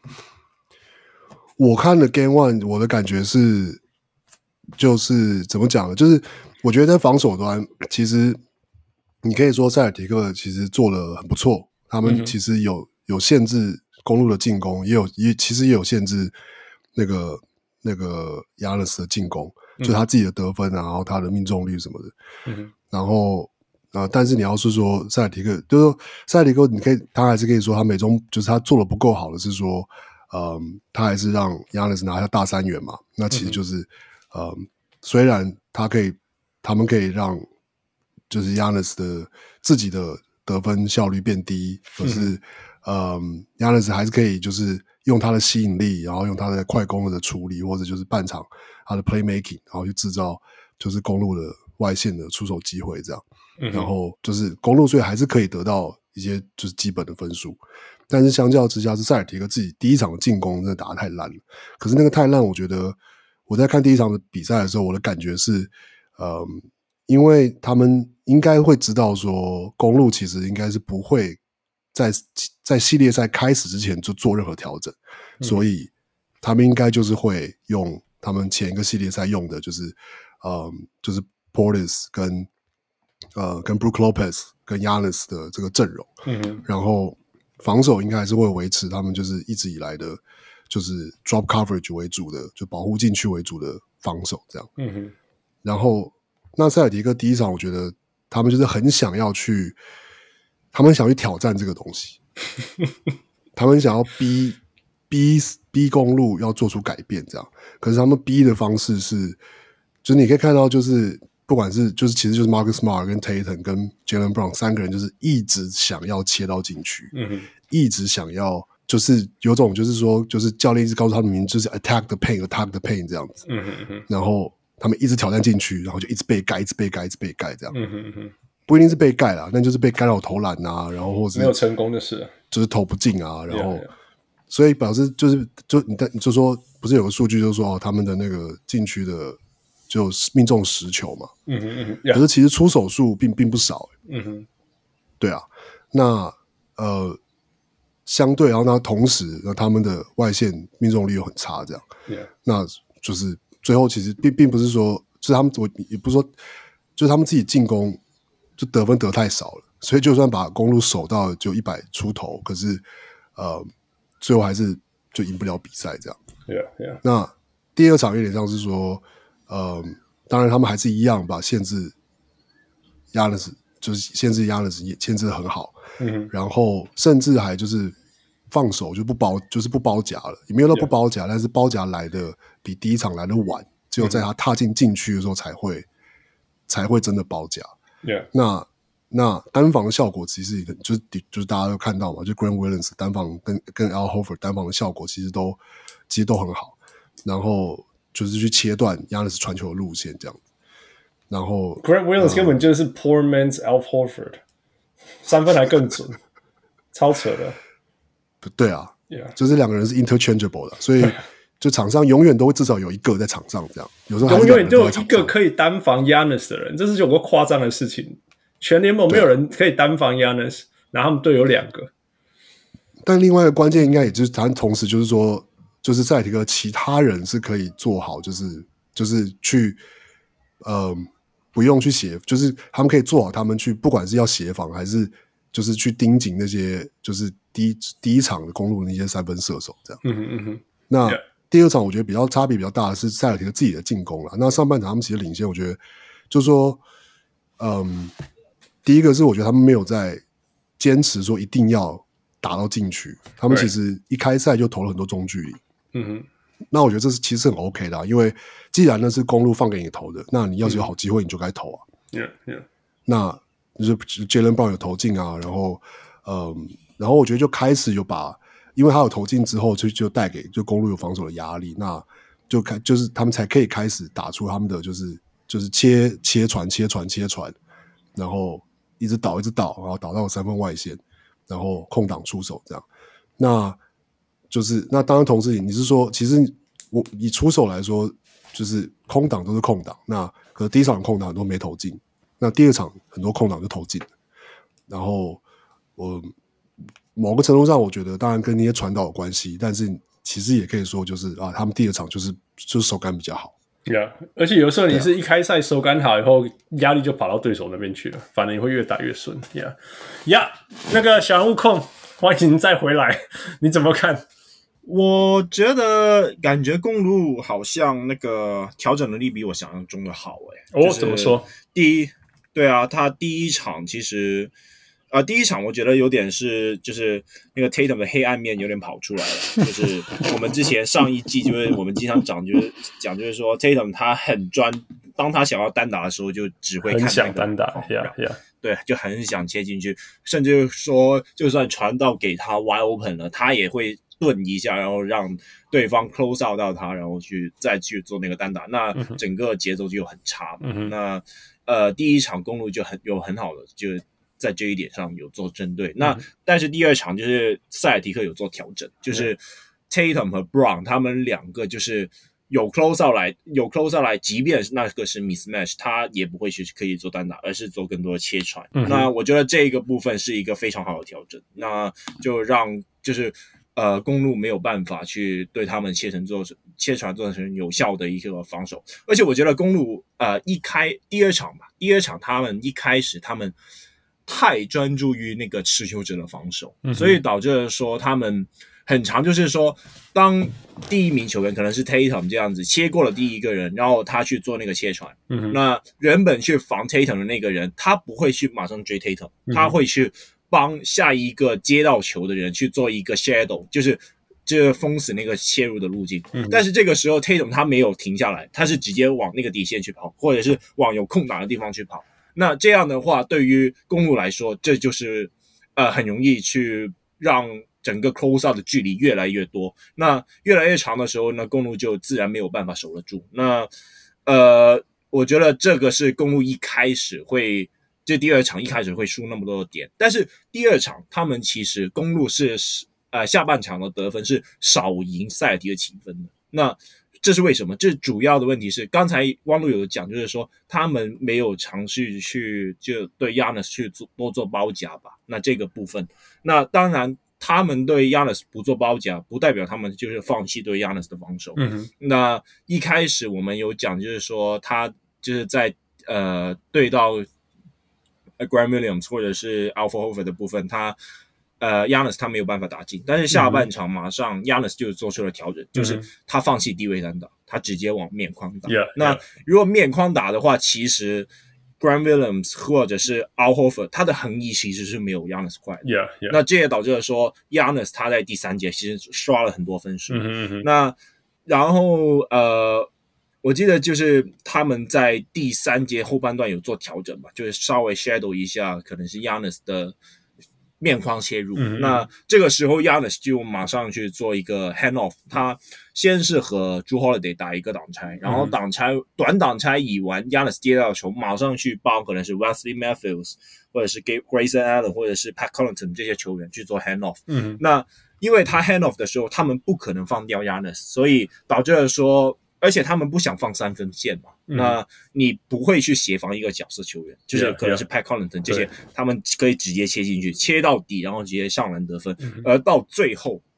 我看了 Game 1，我的感覺是，就是怎麼講呢？就是我覺得在防守端，其實你可以說塞爾提克其實做得很不錯，他們其實有限制公鹿的進攻，其實也有限制那个Giannis的進攻。就他自己的得分啊，然後他的命中率什麼的，然後但是你要是說塞爾提克，就是說塞爾提克，他還是可以說他就是他做的不夠好的是說，他還是讓 Giannis 拿下大3元嘛，那其實就是雖然他們可以讓就是 Giannis 的自己的得分效率變低，可是Giannis 還是可以就是用他的吸引力，然後用他的快攻的處理，或者就是半場他的 playmaking， 然後去制造就是公鹿的外線的出手機會這樣，然後就是公鹿所以還是可以得到一些就是基本的分數，但是相較之下是塞爾提克自己第一場的進攻真的打得太爛了，可是那個太爛，我覺得我在看第一場的比賽的時候，我的感覺是因為他們應該會知道說公鹿其實應該是不會在系列賽開始之前就做任何調整，所以他們應該就是會用他們前一個系列賽用的就是Portis 跟 Brook Lopez 跟 Giannis 的這個陣容，然後防守應該還是會維持他們就是一直以來的就是 drop coverage 為主的，就保護禁區為主的防守這樣，然後那塞爾提克第一場我覺得他們就是很想要去挑戰這個東西他們想要逼公鹿要做出改變這樣，可是他們逼的方式是就是你可以看到就是不管是就是其實就是 Marcus Smart 跟 Tatum 跟 Jaylen Brown 3個人就是一直想要切到禁區，一直想要就是有種就是說就是教練一直告訴他們就是 attack the paint 這樣子，然後他們一直挑戰禁區，然後就一直被蓋這樣，不一定是被蓋啦，但就是被干擾投籃啊，然後或者沒有成功的事， 就是投不進啊，然後所以表示你就說不是有個數據就是說他們的那個禁區的就命中10球嘛，可是其實出手數並不少，對啊，那相對，然後那同時他們的外線命中率又很差，這樣，那就是最後其實並不是說，就是他們我也不是說，就是他們自己進攻就得分得太少了，所以就算把公鹿守到就100出頭，可是最後還是就贏不了比賽這樣。那第二場有點像是說，當然他們還是一樣把限制Giannis，就是限制Giannis也限制得很好，然後甚至還就是放手就不包夾了，也沒有到不包夾，但是包夾來的比第一場來的晚，只有在他踏進禁區的時候才會真的包夾。那單防的效果其實就是大家都看到嘛，就 Grant Williams 單防跟 Al Horford 單防的效果其實都很好，然後就是去切斷 Giannis 傳球的路線這樣子，然後 Grant Williams 根本就是 poor man's Al Horford， 3分還更準，超扯的。 對啊，就是兩個人是 interchangeable 的，所以就場上永遠都會至少有一個在場上這樣，有時候永遠就有一個可以單防 Giannis 的人，這是有個誇張的事情。全聯盟沒有人可以單防 Giannis， 然後他們隊有2個。 但另外一個關鍵應該也就是他同時就是說，就是塞爾提克其他人是可以做好，就是去不用去協，就是他們可以做好他們去，不管是要協防還是就是去盯緊那些就是第一場的公鹿的那些三分射手這樣。那第二場我覺得差別比較大的是塞爾提克自己的進攻啦。那上半場他們其實領先，我覺得就是說，第一個是我覺得他們沒有在堅持說一定要打到禁區，他們其實一開賽就投了很多中距離。那我覺得這是其實很 OK 的啊，因為既然那是公鹿放給你投的，那你要是有好機會你就該投啊。那就是 Jaylen Brown 有投進啊，然後我覺得就開始有因為他有投進之後就帶給就公鹿有防守的壓力，那就是他們才可以開始打出他們的就是切傳，然後一直倒，然後倒到三分外線，然後空檔出手這樣。那當然同时你是說，其實我以出手來說，就是空檔都是空檔，那可是第一場空檔很多沒投進，那第二場很多空檔就投進了。然後某個程度上，我覺得當然跟那些傳導有關係，但是其實也可以說就是他們第二場就是手感比較好。 而且有時候你是一開賽手感好以後，壓力就跑到對手那邊去了，反正你會越打越順。那個小人物控，歡迎再回來，你怎麼看？ 我覺得感覺公鹿好像那個調整能力比我想象中的好怎麼說？ 他第一场其實第一场我覺得有點就是那個 Tatum 的黑暗面有點跑出來了，就是我們之前上一季就是我們經常講就是說 Tatum 他很當他想要單打的時候就只會看很想單打， 对，就很想切進去，甚至說就算傳到給他 wide open 了，他也會頓一下，然後讓對方 close out 到他，然後再去做那個單打，那整個節奏就很差嘛。那第一場公鹿就很好的就在這一點上有做針對。那但是第二場就是塞爾提克有做調整，就是 Tatum 和 Brown 他們兩個就是有 close out 來，即便那個是 mismatch， 他也不會去可以做單打，而是做更多的切傳。那我覺得這個部分是一個非常好的調整，那就讓就是公鹿沒有辦法去對他們切傳做成有效的一個防守。而且我覺得公鹿第二場他們一開始他們太專注於那個持球者的防守，所以導致了說他們很常就是說，當第一名球員可能是 Tatum 這樣子切過了第一個人，然後他去做那個切傳，那原本去防 Tatum 的那個人，他不會去馬上追 Tatum，他會去幫下一個接到球的人去做一個 shadow， 就是封死那個切入的路徑。但是這個時候 Tatum 他沒有停下來，他是直接往那個底線去跑，或者是往有空檔的地方去跑。那這樣的話，對於公鹿來說，這就是很容易去讓整個 close out 的距離越来越多，那越來越長的時候呢，公鹿就自然沒有辦法守得住。那我覺得這個是公鹿一開始會，這第二場一開始會輸那麼多的點，但是第二场他們其實公鹿是下半場的得分是少贏塞爾提克幾分的。那這是為什麼？這主要的問題是剛才汪路有講，就是說他們沒有嘗試去就對 Giannis 去多做包夾吧。那這個部分，那當然他們對 Giannis 不做包夾，不代表他們就是放棄對 Giannis 的防守。那一開始我們有講，就是說他就是在對到Grant Williams 或者是 Al Horford 的部分，他Giannis 他沒有辦法打進，但是下半場馬上 Giannis 就做出了調整，就是他放棄低位單打，他直接往面框打。那如果面框打的話，其實 Grant Williams 或者是 Al Horford 他的橫移其實是沒有 Giannis 快的。那這也導致了說 Giannis 他在第三節其實刷了很多分數。那然後我記得就是他們在第三節後半段有做調整吧，就是稍微 shadow 一下可能是 Giannis 的面框切入。那這個時候 Giannis 就馬上去做一個 hand off， 他先是和 Jrue Holiday 打一個擋拆，然後短擋拆以完 Giannis 接到球馬上去幫可能是 Wesley Matthews 或者是 Grayson Allen 或者是 Pat Connaughton 這些球員去做 hand off。那因為他 hand off 的時候他們不可能放掉 Giannis， 所以導致了說，而且他們不想放三分線嘛，那你不會去協防一個角色球員，就是可能是 Pat Connaughton 這些，他們可以直接切進去，切到底，然後直接上籃得分。而到最後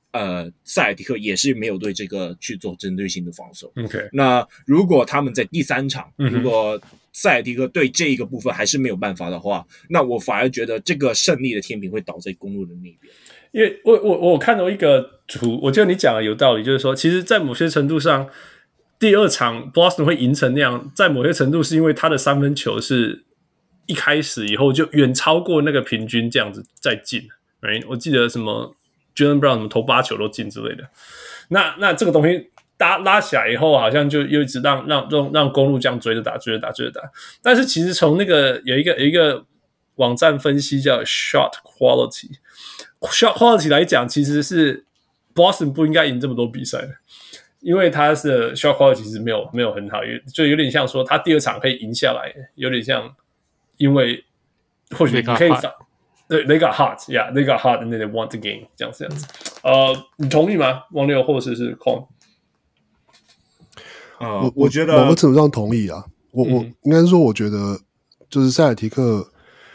塞爾提克也是沒有對這個去做針對性的防守。 OK， 那如果他們在第3場，如果塞爾提克對這一個部分還是沒有辦法的話，那我反而覺得這個勝利的天平會倒在公鹿的那邊。 因為我看到一個圖，我覺得你講的有道理，就是說，其實，在某些程度上，第2場 Boston 會贏成那樣，在某些程度是因為他的3分球是一開始以後就遠超過那個平均這樣子再進。Right? 我記得什麼 Jaylen Brown 什麼投8球都進之類的。那這個東西拉起來以後，好像就又一直讓公鹿這樣追着打。但是其實從那個有一個網站分析叫 Shot Quality。Shot quality 來講，其實是 Boston 不應該贏這麼多比賽的，因為他的 shot quality 其實沒有很好，就有點像說他第2場可以贏下來，有點像，因為或許你可以對 they got hot，yeah they got hot and they won the game 這樣子。你同意嗎？王六或者是 Con？ 我覺得某個程度上同意啊。我應該说，我覺得就是塞爾提克，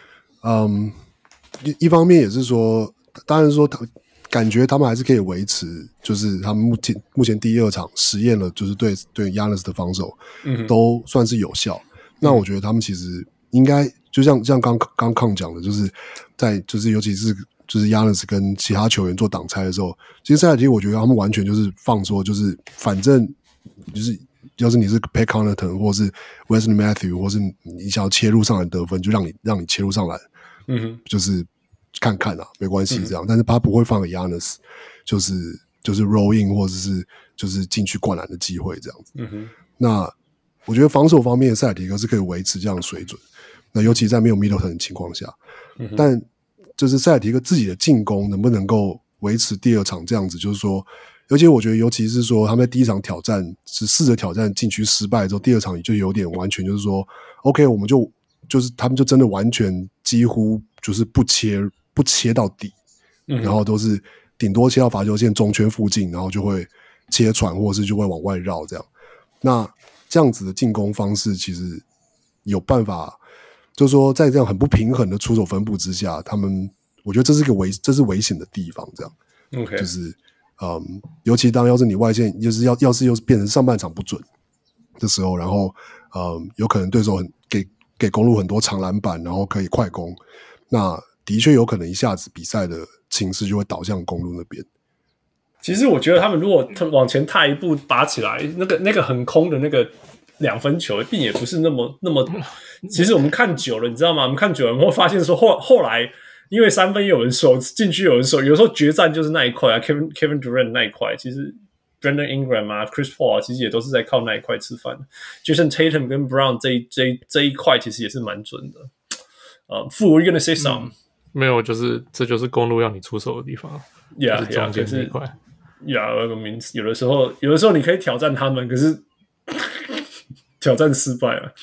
一方面也是說。當然說，感覺他們還是可以維持，就是他們目前第2場實驗了，就是對 Giannis 的防守，都算是有效。那我覺得他們其實應該就像剛Kang講的，就是在就是尤其是就是 Giannis 跟其他球員做擋拆的時候，其實塞爾提克我覺得他們完全就是放說，就是反正就是要是你是 Pat Connaughton 或是 Wesley Matthews 或是你想要切入上來得分，就让你切入上來，就是看看啊，沒關係這樣，但是他不會放給 Giannis 就是 roll in 或者是就是進去灌籃的機會這樣子。那我覺得防守方面的塞爾提克是可以維持這樣的水準，那尤其在沒有 Middleton 的情況下，但就是塞爾提克自己的進攻能不能夠維持第2場這樣子，就是說，而且我覺得尤其是說他們在第1場挑戰是試着挑戰禁區失敗之後，第2場就有點完全就是說 OK 我們就是他們就真的完全幾乎就是不切到底，然後都是頂多切到罰球線中圈附近，然後就會切傳或者是就會往外繞這樣。那這樣子的進攻方式其實有辦法，就是說在這樣很不平衡的出手分布之下，我覺得这是危險的地方，這樣。 OK， 就是尤其要是你外線就是要是又變成上半場不準的時候，然後有可能对手給公鹿很多長籃板，然後可以快攻，那的確有可能一下子比賽的情勢就會導向公鹿那邊。 其實我覺得他們如果往前踏一步拔起來，那個很空的那個2分球，並也不是那麼。其實我們看久了，你知道嗎？我們看久了，我們會發現說後來因為3分有人守，禁區有人守，有時候決戰就是那一塊啊 ，Kevin Durant 那一塊，其實 Brandon Ingram 啊 ，Chris Paul 其實也都是在靠那一塊吃飯的。Jason Tatum 跟 Brown 這一塊其實也是蠻準的。Fu, were you gonna say something？ 沒有，這就是公鹿要你出手的地方。 Yeah, 中間這一塊。 有個名詞，有的時候你可以挑戰他們，可是挑戰失敗了。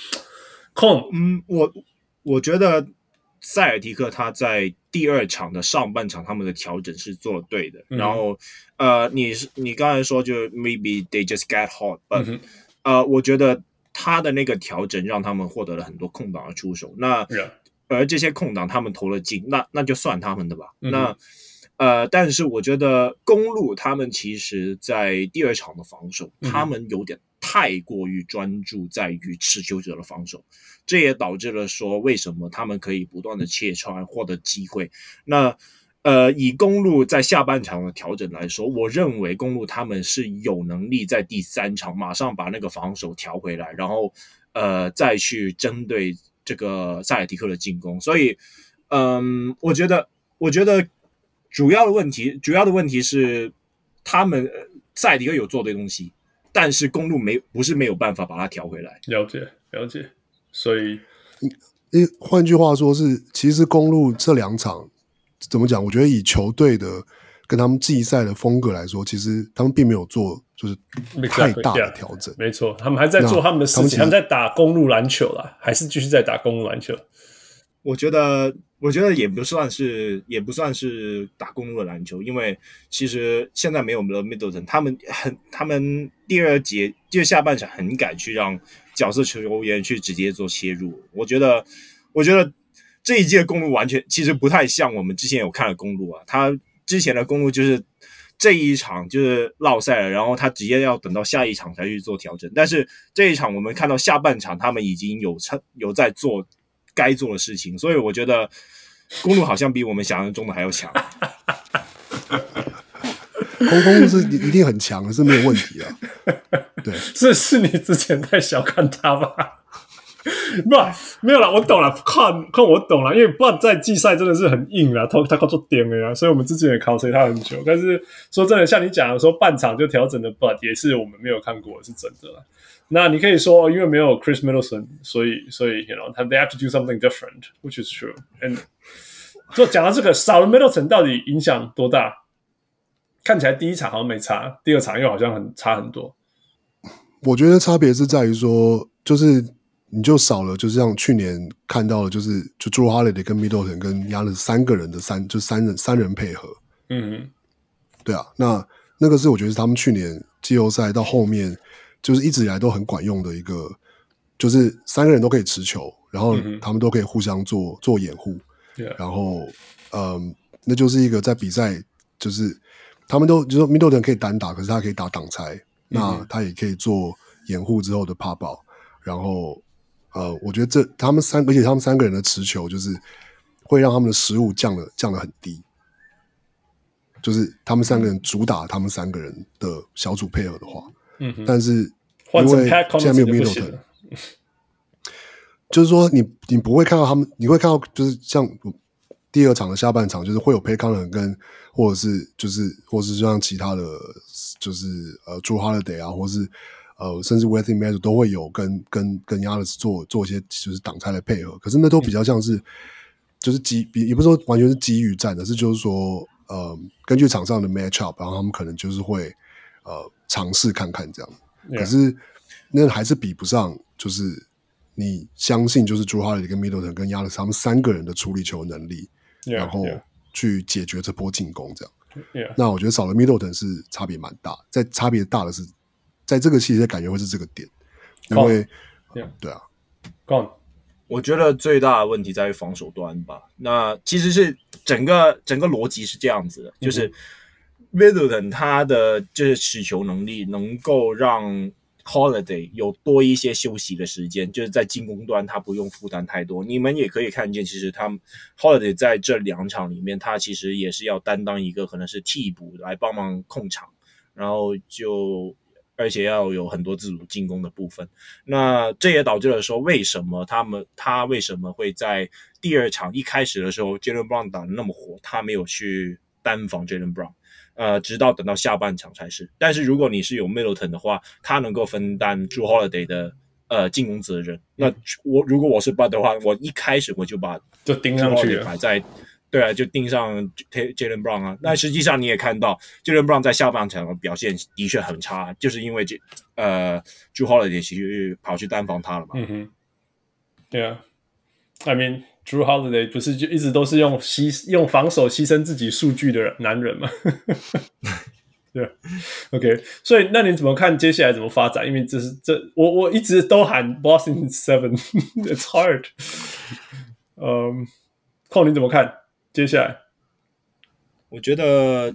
我覺得塞爾提克他在第2場的上半場他們的調整是做得對的。然後你剛才說就 maybe they just get hot，but 我覺得他的那個調整讓他們獲得了很多空檔的出手。那而這些空檔他們投了進，那就算他們的吧。那但是我覺得公鹿他們其實在第2場的防守，他們有點太過於專注在於持球者的防守，這也導致了說為什麼他們可以不斷的切傳獲得機會。那以公鹿在下半場的調整來說，我認為公鹿他們是有能力在第3場馬上把那個防守調回來，然後再去針對這個塞爾提克的進攻。所以我覺得主要的問題是他們塞爾提克有做對東西，但是公鹿不是沒有辦法把它調回來。 了解。所以換句話說是，其實公鹿這2場怎麼講？我覺得以球隊的跟他們季賽的風格來說，其實他們並沒有做就是太大的調整。 沒錯，他們還在做他們的事情，他們在打公鹿籃球啦，還是繼續在打公鹿籃球。 我觉得也不算是打公鹿的籃球，因為其實現在沒有了 Middleton， 他們第2節就下半場很敢去讓角色球員去直接做切入。我覺得這一季的公鹿完全其實不太像我們之前有看的公鹿啊，他之前的公鹿就是這一場就是落賽了，然後他直接要等到下一場才去做調整。但是這一場我們看到下半場他們已經有在做該做的事情，所以我覺得公鹿好像比我們想象中的還要強。 公鹿是一定很強的，是沒有問題的。對， 是你之前太小看他吧？不，沒有啦，我懂了，看我懂了，因為不然在季賽真的是很硬啦，他靠做點了呀，所以我們之前也考察他很久。但是說真的，像你講的說半場就調整的 ，but 也是我們沒有看過，是真的啦。那你可以說，因為沒有 Chris Middleton， 所以 you know they have to do something different, which is true. And 就講到這個，少了 Middleton 到底影響多大？看起來第一場好像沒差，第二場又好像差很多。 我覺得差別是在於說，就是你就少了，就是像去年看到的，就 Jrue Holiday 跟 Middleton 跟Giannis 三個人的三人配合。嗯，对啊，那個是我覺得是他們去年季後賽到後面就是一直以來都很管用的一個，就是三个人都可以持球，然後他們都可以互相做掩護。然後那就是一個在比賽就是他們都就是說 Middleton 可以單打，可是他可以打擋拆，那他也可以做掩護之後的 pop out， 然後我覺得而且他們三個人的持球就是會讓他們的失誤降得很低，就是他們三個人主打他們三個人的小組配合的話，但是因為現在沒有 Middleton， 就是說你不會看到他們，你會看到就是像第二場的下半場，就是會有 Pat Connaughton 跟或者是就像其他的，就是 Jrue Holiday 啊，或是甚至 Wesley Matthews 都會有跟 Giannis 做一些就是擋拆的配合，可是那都比較像是就是也不是說完全是機遇戰的，是就是說根據場上的 matchup， 然後他們可能就是會嘗試看看這樣，可是那還是比不上就是你相信就是 Jrue Holiday 跟 Middleton 跟 Giannis 他們三個人的處理球能力，然後去解決這波進攻這樣。那我覺得少了 Middleton 是差別蠻大，在差別大的是在這個系列感覺會是這個點，因為對啊， 我覺得最大的問題在於防守端吧。那其實是整個邏輯是這樣子的，就是 Middleton 他的就是持球能力能夠讓 Holiday 有多一些休息的時間，就是在進攻端他不用負擔太多。你們也可以看見，其實他 Holiday 在這兩場裡面，他其實也是要擔當一個可能是替補來幫忙控場，然後而且要有很多自主進攻的部分。那這也導致了說，為什麼他為什麼會在第二場一開始的時候 Jaylen Brown 打得那麼火，他沒有去單防 Jaylen Brown。直到等到下半場才是。但是如果你是有 Middleton 的話，他能夠分擔 Jrue Holiday 的進攻責任。那如果我是 Bud 的話，我一開始我就把就盯上去了， 擺在對啊，就盯上 Jaylen Brown 啊。那實際上你也看到 Jaylen Brown 在下半場的表現的確很差，就是因為Jrue Holiday 其實跑去單防他了嘛。 對啊，I mean Jrue Holiday 不是就一直都是用防守犧牲自己數據的男人嗎？對，OK， 所以那你怎麼看接下來怎麼發展？因為我一直都喊 Boston 7，It's hard。寇你怎麼看接下來？ 我覺得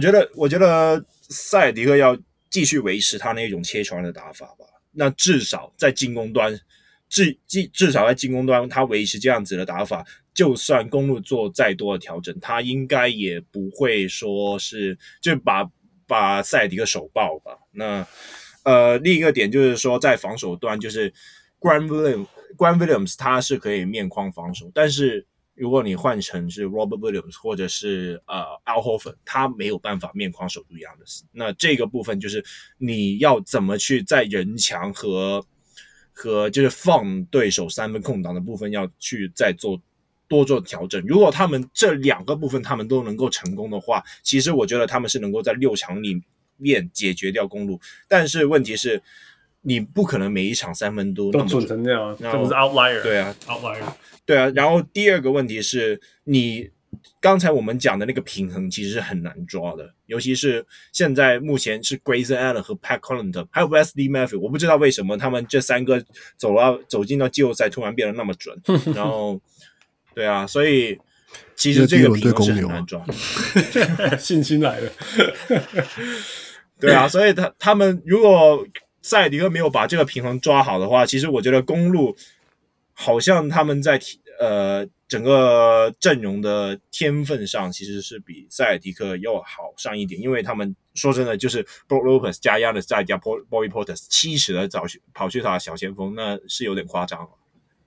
塞爾迪克要繼續維持他那種切傳的打法吧。那至少在進攻端。至少在進攻端，他維持這樣子的打法，就算公鹿做再多的調整，他應該也不會說是就把塞爾迪克手爆吧。那另一個點就是說，在防守端，就是 Grant Williams 他是可以面框防守，但是如果你換成是 Robert Williams 或者是Al Horford， 他沒有辦法面框守住Giannis。那這個部分就是你要怎麼去在人牆和就是放對手三分空檔的部分要去再多做調整。如果他們這兩個部分他們都能夠成功的話，其實我覺得他們是能夠在6場裡面解決掉公鹿。但是問題是，你不可能每一場三分都那麼準成這樣，這不是 outlier。 對啊 ，outlier。 對啊，然後第二個問題是你。剛才我們講的那個平衡其實是很難抓的，尤其是現在目前是 Grayson Allen 和 Pat Connaughton 還有 Wesley Matthews， 我不知道為什麼他們這三個走進到季後賽突然變得那麼準。然後，對啊，所以其實這個平衡是很難抓的。 信心來了。 對啊，所以他們如果塞尔提克沒有把這個平衡抓好的話，其實我覺得公鹿好像他們在整個陣容的天分上其實是比塞爾提克要好上一點，因為他們說真的就是 Brook Lopez 加 Giannis 再加 Bobby Portis 70的跑去打小前锋，那是有點誇張了。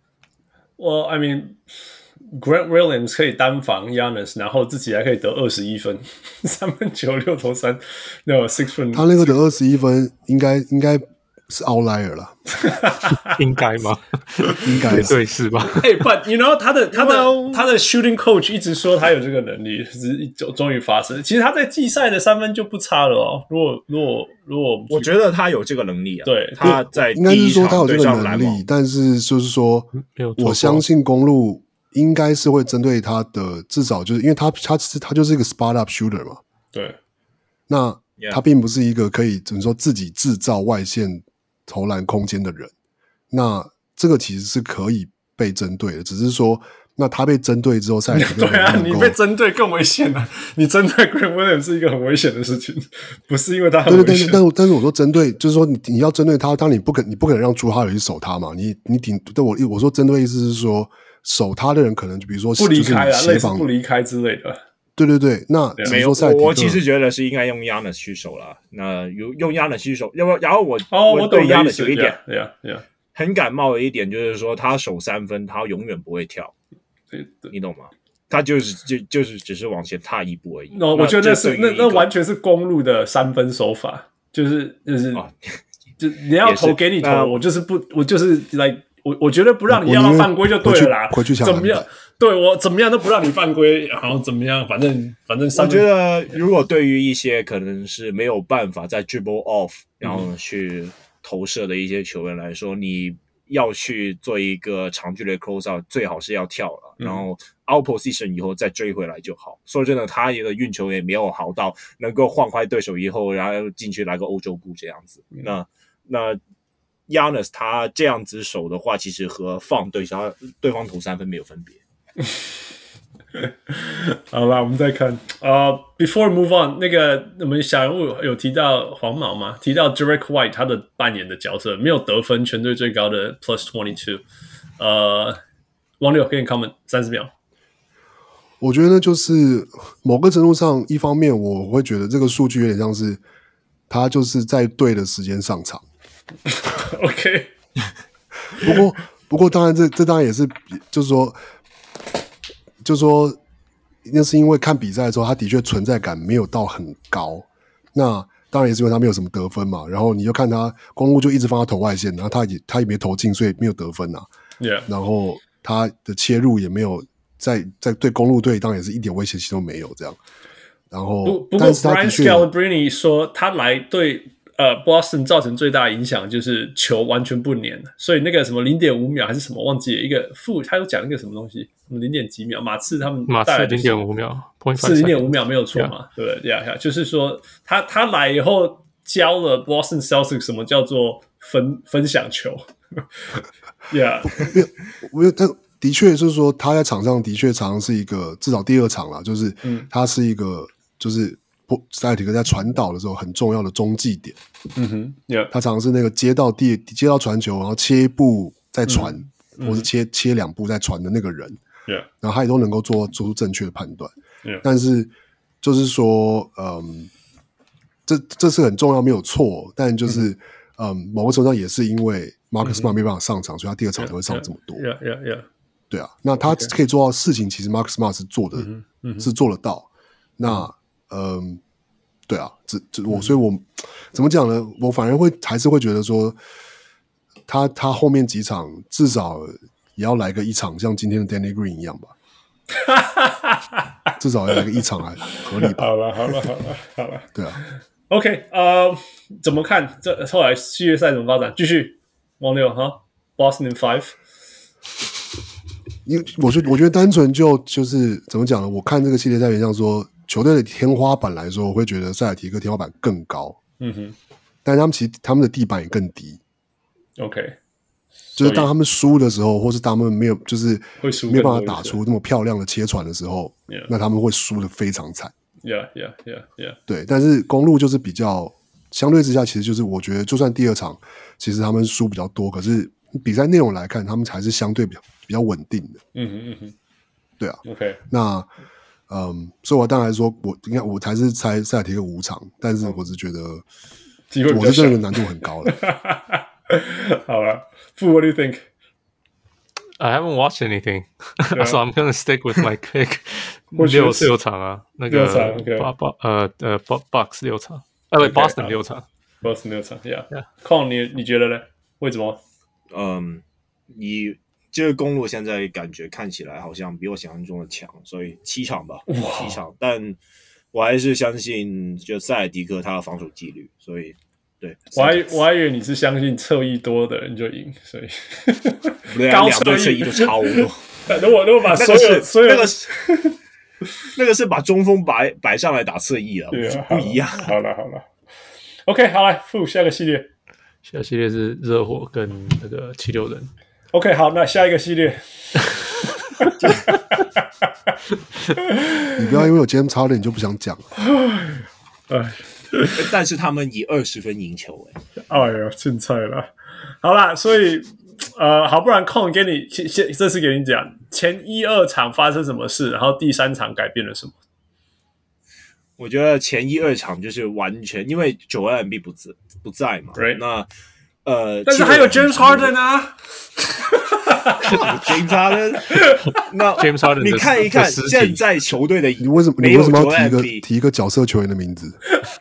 Well, I mean, Grant Williams 可以單防 Giannis， 然後自己還可以得21分，3分球6投3，那有6分。 他那個得21分应該是 outlier 啦， 應該嗎？ 應該对是吧 ？But you know 他的 shooting coach 一直說他有這個能力，終於發生。其實他在季賽的3分就不差了哦。如果我覺得他有這個能力啊， 對， 他在應該是說他有這個能力， 但是就是說，我相信公鹿應該是會針對他的，至少就是因為他就是一個 spot up shooter 嘛， 對， 那他並不是一個可以怎麼說自己制造外線投籃空間的人，那這個其實是可以被針對的，只是說，那他被針對之後，賽对啊，你被針對更危險了。你針對 Grant Williams 是一個很危險的事情，不是因為他很危險。 對，但是我說針對，就是說你要針對他，當你不可能讓朱哈爾去守他嘛，你對我說針對意思是說，守他的人可能就比如說不離開啊， 類似不離開之類的。 對，那沒有，我其實覺得是應該用 Giannis 去守了。那用 Giannis 去守，然後我對 Giannis 有一點很感冒的一點，就是說他守3分，他永遠不會跳，你懂嗎？他就是只是往前踏一步而已。 我覺得那完全是公鹿的3分手法，就是你要投給你投，我就是like 我覺得不讓你要到犯規就對了啦， 回去怎麼樣？對，我怎麼樣都不讓你犯規，然後怎麼樣？反正我覺得如果對於一些可能是沒有辦法在 dribble off 然後去投射的一些球員來說，你要去做一個長距離的 close out， 最好是要跳了，然後 out position 以後再追回來就好。說真的，他的運球也沒有好到能夠晃壞對手以後，然後進去來個歐洲步這樣子。那Giannis 他這樣子守的話，其實和放對方投3分沒有分別。 好啦，我們再看before move on， 那個我們小人物有提到黃毛嘛？提到 Derek White 他的扮演的角色沒有得分，全隊最高的 +22。王六給你 comment 30秒。 我覺得就是某個程度上，一方面我会覺得這個數據有點像是他就是在對的時間上場。 OK， 不過當然這當然也是就是說，那是因為看比賽的時候，他的確存在感沒有到很高。那當然也是因為他沒有什麼得分嘛。然後你就看他公鹿就一直放他投外線，然後他也沒投進，所以沒有得分啊。 Yeah. 然後他的切入也沒有在對公鹿隊當然也是一點威脅性都沒有這樣。然後不過 Brian Scalabrine 說他來對Boston 造成最大的影響就是球完全不粘，所以那個什麼 0.5 秒還是什麼忘記了，一個他有講一個什麼東西，什麼 0. 幾秒，馬刺他們帶來的馬刺 0.5 秒是 0.5 秒沒有錯嘛？ Yeah. 對不對？ Yeah, 就是說他來以後教了 Boston Celtics 什麼叫做分享球。Yeah， 没有，但的確就是說他在場上的確常常是一個，至少第2場啦，就是他是一個就是塞爾提克在傳導的時候很重要的中繼點。 Yeah. 他常常是那個接到傳球，然後切一步再傳，或是切2步再傳的那個人。 Yeah. 然後他也都能夠做出正確的判斷。 Yeah. 但是就是說，這是很重要，沒有錯。但就是某個程度上也是因為 Marcus Smart 沒辦法上場，所以他第2場才會上這麼多。 Yeah. 對啊，那他可以做到的事情，其實 Marcus Smart 是做的，是做得到。那對啊，所以我怎麼講呢？我反而還是會覺得說，他後面幾場至少也要來個1場，像今天的 Danny Green 一樣吧。至少要來個1場還合理吧。 好了， 對啊。 OK， 怎麼看？這後來系列賽怎麼發展？繼續王六哈 ，Boston in 5。 因為我覺得單純就是怎麼講呢？我看這個系列賽，像說球隊的天花板來說，我會覺得塞爾提克天花板更高。但他們的地板也更低。 OK， 就是當他們輸的時候，或是當他們沒有就是沒有辦法打出那麼漂亮的切傳的時候，那他们會輸得非常慘。 Yeah. 對，但是公路就是比較相對之下，其實就是我覺得，就算第二场其實他們輸比較多，可是比賽內容來看，他們才是相對比較穩定的。對啊。 OK。 那所以我当然說，我才是猜塞爾提克5場，但是我是觉得机会比較小， 我是真的难度很高了。 好了，Fu，what do you think? I haven't watched anything, so I'm gonna stick with my pick. 六场啊，那个Bucks 6场，Boston 6场 ，Boston 6场 ，Yeah。Con 你覺得呢？為什麼？ 以這個公路現在感覺看起來好像比我想象中的強，所以7場吧，7場。但我還是相信就塞爾提克他的防守紀律，所以對。我還以為你是相信側翼多的人就贏，所以高側翼就超多。 如果把所有那個是把中鋒擺上來打側翼了，不一樣。 好了 ，OK， 好來，Fu，下個系列。 下個系列是熱火跟那個76人。 OK， 好，那下一個系列。 你不要因為有 James Harden 你就不想講了。 但是他們以20分贏球哎呦，凊彩了。好啦，所以好，不然Con給你這次給你講前1、2場發生什麼事，然後第3場改變了什麼？ 我覺得前1、2場就是完全因為Joel Embiid不在嘛， right. 那但是還有 James Harden 啊。 James Harden， 那 James Harden 你看一看現在球隊的， 你為什麼要提一個角色球員的名字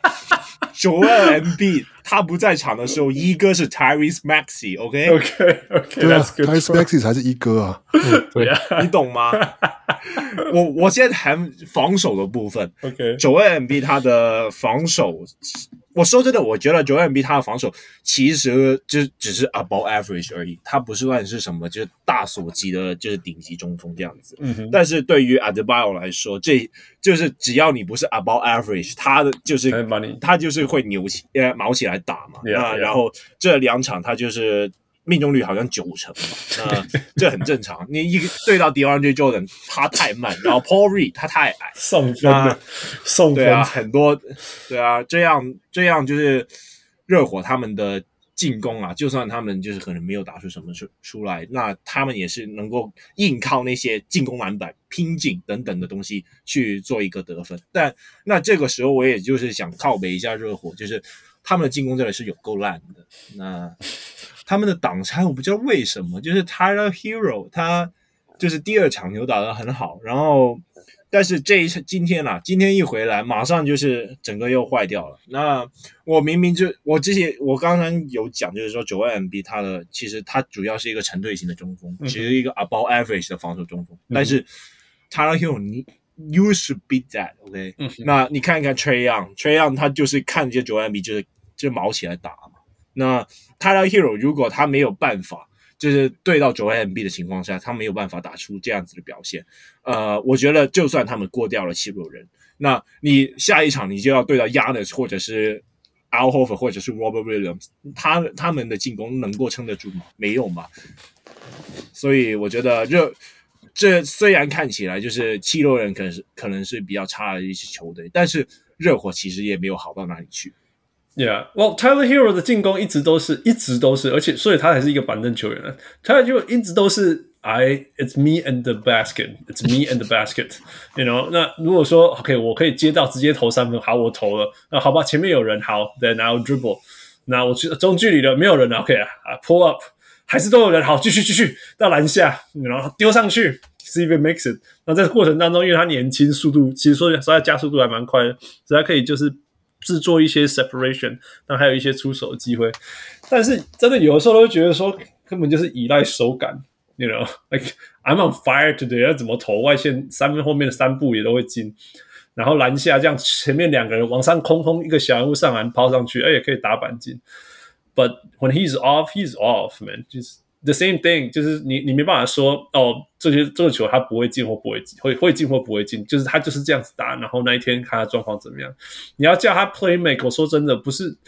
？Joel Embiid 他不在場的時候，一哥是 Tyrese Maxey，OK？ 對啊 ，Tyrese Maxey 才是一哥啊， 對啊， 你懂嗎？我現在談防守的部分 ，Joel Embiid 他的防守。我說真的，我覺得Joel Embiid他的防守其實就只是 above average 而已，他不是算是什麼就是大所級的，就是頂級中鋒這樣子。但是對於 Adebayo 來說，這就是只要你不是 above average， 他就是會毛起來打嘛。那然後這2場他就是命中率好像90%嘛，那這很正常。你一對到 DeAndre Jordan 他太慢，然後 Paul Reed 他太矮，送分對啊，很多對啊，這樣就是熱火他們的進攻啊，就算他們就是可能沒有打出什麼出來，那他們也是能夠硬靠那些進攻籃板、拼勁等等的東西去做一個得分。但那這個時候我也就是想靠北一下熱火，就是他們的進攻真的是有夠爛的。那他們的擋拆我不知道為什麼，就是 Tyler Hero 他就是第2場球打得很好，然後但是今天一回來馬上就是整個又壞掉了。那我明明我剛剛有講，就是說Joel Embiid其實他主要是一個成隊型的中鋒，其實一個 above average 的防守中鋒，但是 Tyler Hero you should beat that OK，那你看一看 Trae Young 他就是看見Joel Embiid就毛起來打嘛。那 Tyler Hero 如果他沒有辦法就是對到Joel Embiid的情況下，他沒有辦法打出這樣子的表現，我覺得就算他們過掉了76人，那你下一場你就要對到 Giannis 或者是 Al Horford 或者是 Robert Williams， 他們的進攻能夠撐得住嗎？沒有嘛。所以我覺得這雖然看起來就是76人可能是比較差的一支球隊，但是熱火其實也沒有好到哪裡去。 Yeah, well, Tyler Hero 的進攻一直都是，而且所以他才是一個板凳球員。Tyler Hero 一直都是 it's me and the basket, it's me and the basket, you know. 那如果說 OK， 我可以接到直接投3分，好，我投了。那好吧，前面有人，好 ，then I'll dribble。那我中距離的沒有人了 ，OK 啊 ，pull up， 還是都有人，好，繼續到籃下，然後丟上去 ，see if it makes it。那在這個過程當中，因為他年輕，速度其實說他加速度還蠻快的，所以他可以就是製作一些 separation， 那還有一些出手的機會，但是真的有的時候都會覺得說根本就是依賴手感 ，you know， like I'm on fire today， 要怎麼投外線3分後面的3步也都會進，然後籃下這樣前面2個人往上空一個小人物上籃拋上去，也可以打板進。But when he's off, man， 就是 the same thing， 就是你沒辦法說哦，這個球他不會進或不會進，會進或不會進，就是他就是這樣子打，然後那一天看他狀況怎麼樣。你要叫他 play make， 我說真的不是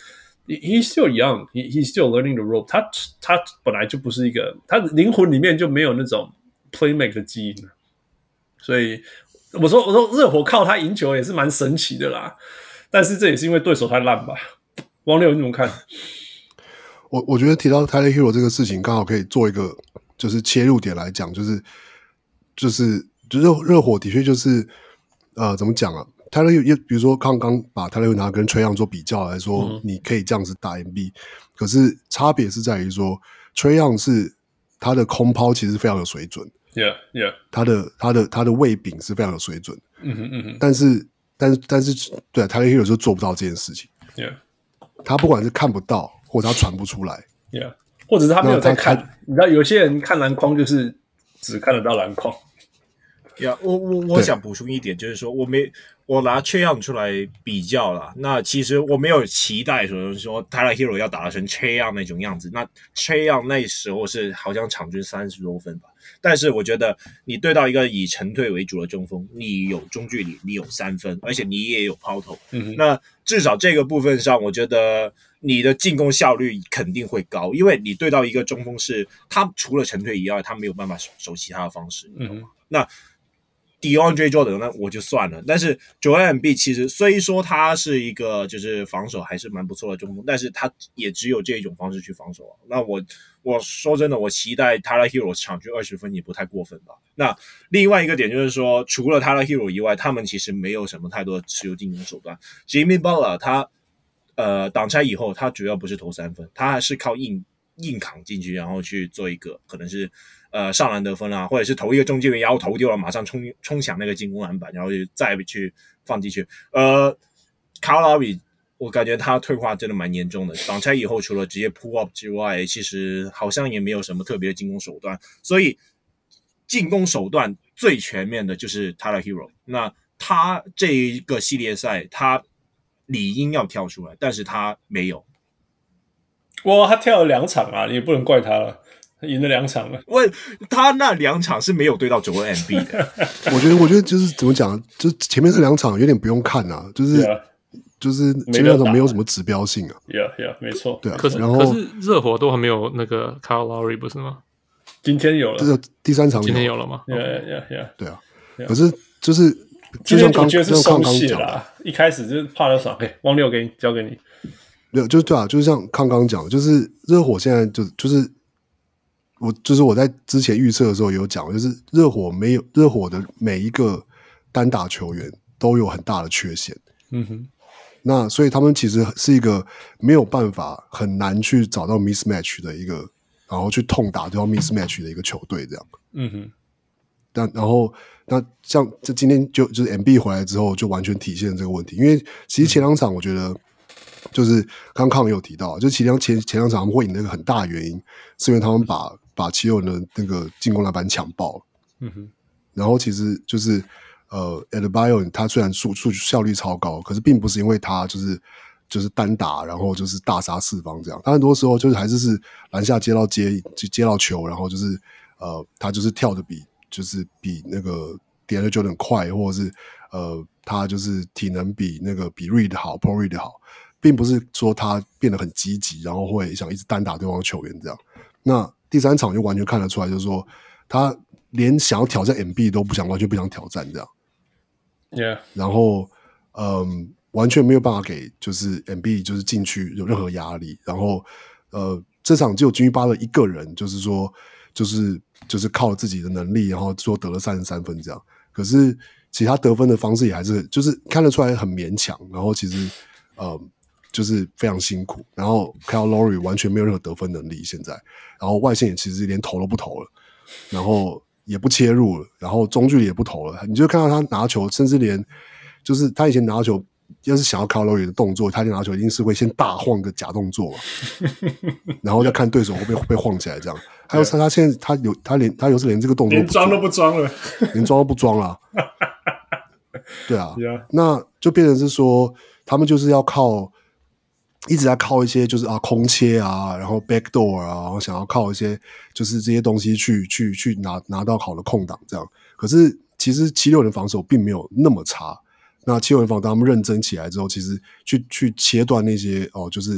He's still young, he's still learning the rope. 他本來就不是一個，他的靈魂裡面就沒有那種 playmake 的基因，所以我說熱火靠他贏球也是蠻神奇的啦。但是這也是因為對手太爛吧？王六你怎麼看？ 我覺得提到 Tyler Hero 這個事情，剛好可以做一個就是切入點來講，就是熱火的確就是怎麼講啊？Tyler Hero 比如說剛把 Tyler Hero 拿跟 Trae Young 做比較來說，你可以這樣子打 MB， 可是差別是在於說 Trae Young 是他的空拋其實非常有水準 ，Yeah， 他的位柄是非常有水準，但是對 Tyler Hero 就做不到這件事情 ，Yeah， 他不管是看不到或者他傳不出來 ，Yeah， 或者是他沒有在看，你知道有些人看籃筐就是只看得到籃筐。 Yeah， 我想補充一點，就是說我拿 Trae Young 出來比較啦。那其實我沒有期待說 Tyler Hero 要打成 Trae Young 那種樣子。那 Trae Young 那時候是好像場均30多分吧。但是我覺得你對到一個以沉退為主的中鋒，你有中距離，你有3分，而且你也有拋投。那至少這個部分上，我覺得你的進攻效率肯定會高，因為你對到一個中鋒是他除了沉退以外，他沒有辦法守其他的方式，你懂嗎？那DeAndre Jordan 那我就算了，但是 Joel Embiid 其實雖說他是一個就是防守還是蠻不錯的中鋒，但是他也只有這種方式去防守啊。那我說真的，我期待 Tyler Hero 場均20分也不太過分吧。那另外一個點就是說，除了 Tyler Hero 以外，他們其實沒有什麼太多的持有進攻手段。Jimmy Butler 他擋拆以後，他主要不是投3分，他還是靠硬扛進去，然後去做一個可能是上籃得分啊，或者是投一個中距離，然後投丟了，馬上衝搶那個進攻籃板，然後就再去放進去。Kyle Lowry 我感覺他退化真的蠻嚴重的，擋拆以後除了直接 pull up 之外，其實好像也沒有什麼特別的進攻手段，所以進攻手段最全面的就是 Tyler Hero。那他這一個系列賽他理應要跳出來，但是他沒有。 哇，他跳了2場啊，你也不能怪他了，他贏了2場了。 喂，他那2場是沒有对到Joel Embiid的。 我覺得就是怎麼講，就是前面這2場有點不用看啊，就是前面那種沒有什麼指標性啊。 Yeah， 沒錯。 對啊， 可是熱火都還沒有那個 Kyle Lowry 不是嗎？ 今天有了， 這第3場今天有了嗎？ Yeah。 對啊，可是就是就像剛剛講啦， 一開始就是怕了爽，汪六交給你。 沒有，就是对啊，就是像剛剛講，就是熱火現在就是我在之前預測的時候有講，就是熱火的每一個單打球員都有很大的缺陷。那所以他們其實是一個沒有辦法很難去找到 mismatch 的一个，然後去痛打對方 mismatch 的一個球隊這樣。然後那像這今天就是 MB 回來之後，就完全體現這個問題，因為其實前2場我覺得。就是剛剛有提到，就前2場他們會贏那個很大的原因，是因為他們把七六人的那個進攻籃板搶爆了。然後其實就是Adebayo 他雖然數據效率超高，可是並不是因為他就是單打，然後就是大殺四方這樣。他很多時候就是還是籃下接到球，然後就是他就是跳的比那個 DeAndre Jordan 快，或者是他就是體能比 Reed 好 ，Paul Reed 好。並不是說他變得很積極，然後會想一直單打對方的球員這樣。那第3場就完全看得出來，就是說他連想要挑戰 MB 都不想，完全不想挑戰這樣。 Yeah. 然後完全沒有辦法給就是 MB 就是進去有任何壓力。然後這場只有Jimmy Butler一個人，就是說就是靠自己的能力，然後說得了33分這樣。可是其他得分的方式也還是就是看得出來很勉強。然後其實就是非常辛苦，然後 Kyle Lowry 完全沒有任何得分能力現在，然後外線也其實連投都不投了，然後也不切入了，然後中距離也不投了，你就看到他拿球，甚至連就是他以前拿球，要是想要 Kyle Lowry 的動作，他拿球一定是會先大晃個假動作，然後再看對手會不會晃起來這樣。還有他現在他有時連這個動作連裝都不裝了， 連裝都不裝了，對啊， Yeah. 那就變成是說他們就是要一直在靠一些就是空切啊，然後 backdoor 啊，然後想要靠一些就是這些東西去拿到好的空檔這樣。可是其實76人防守並沒有那麼差。那76人防守當他們認真起來之後，其實去切斷那些就是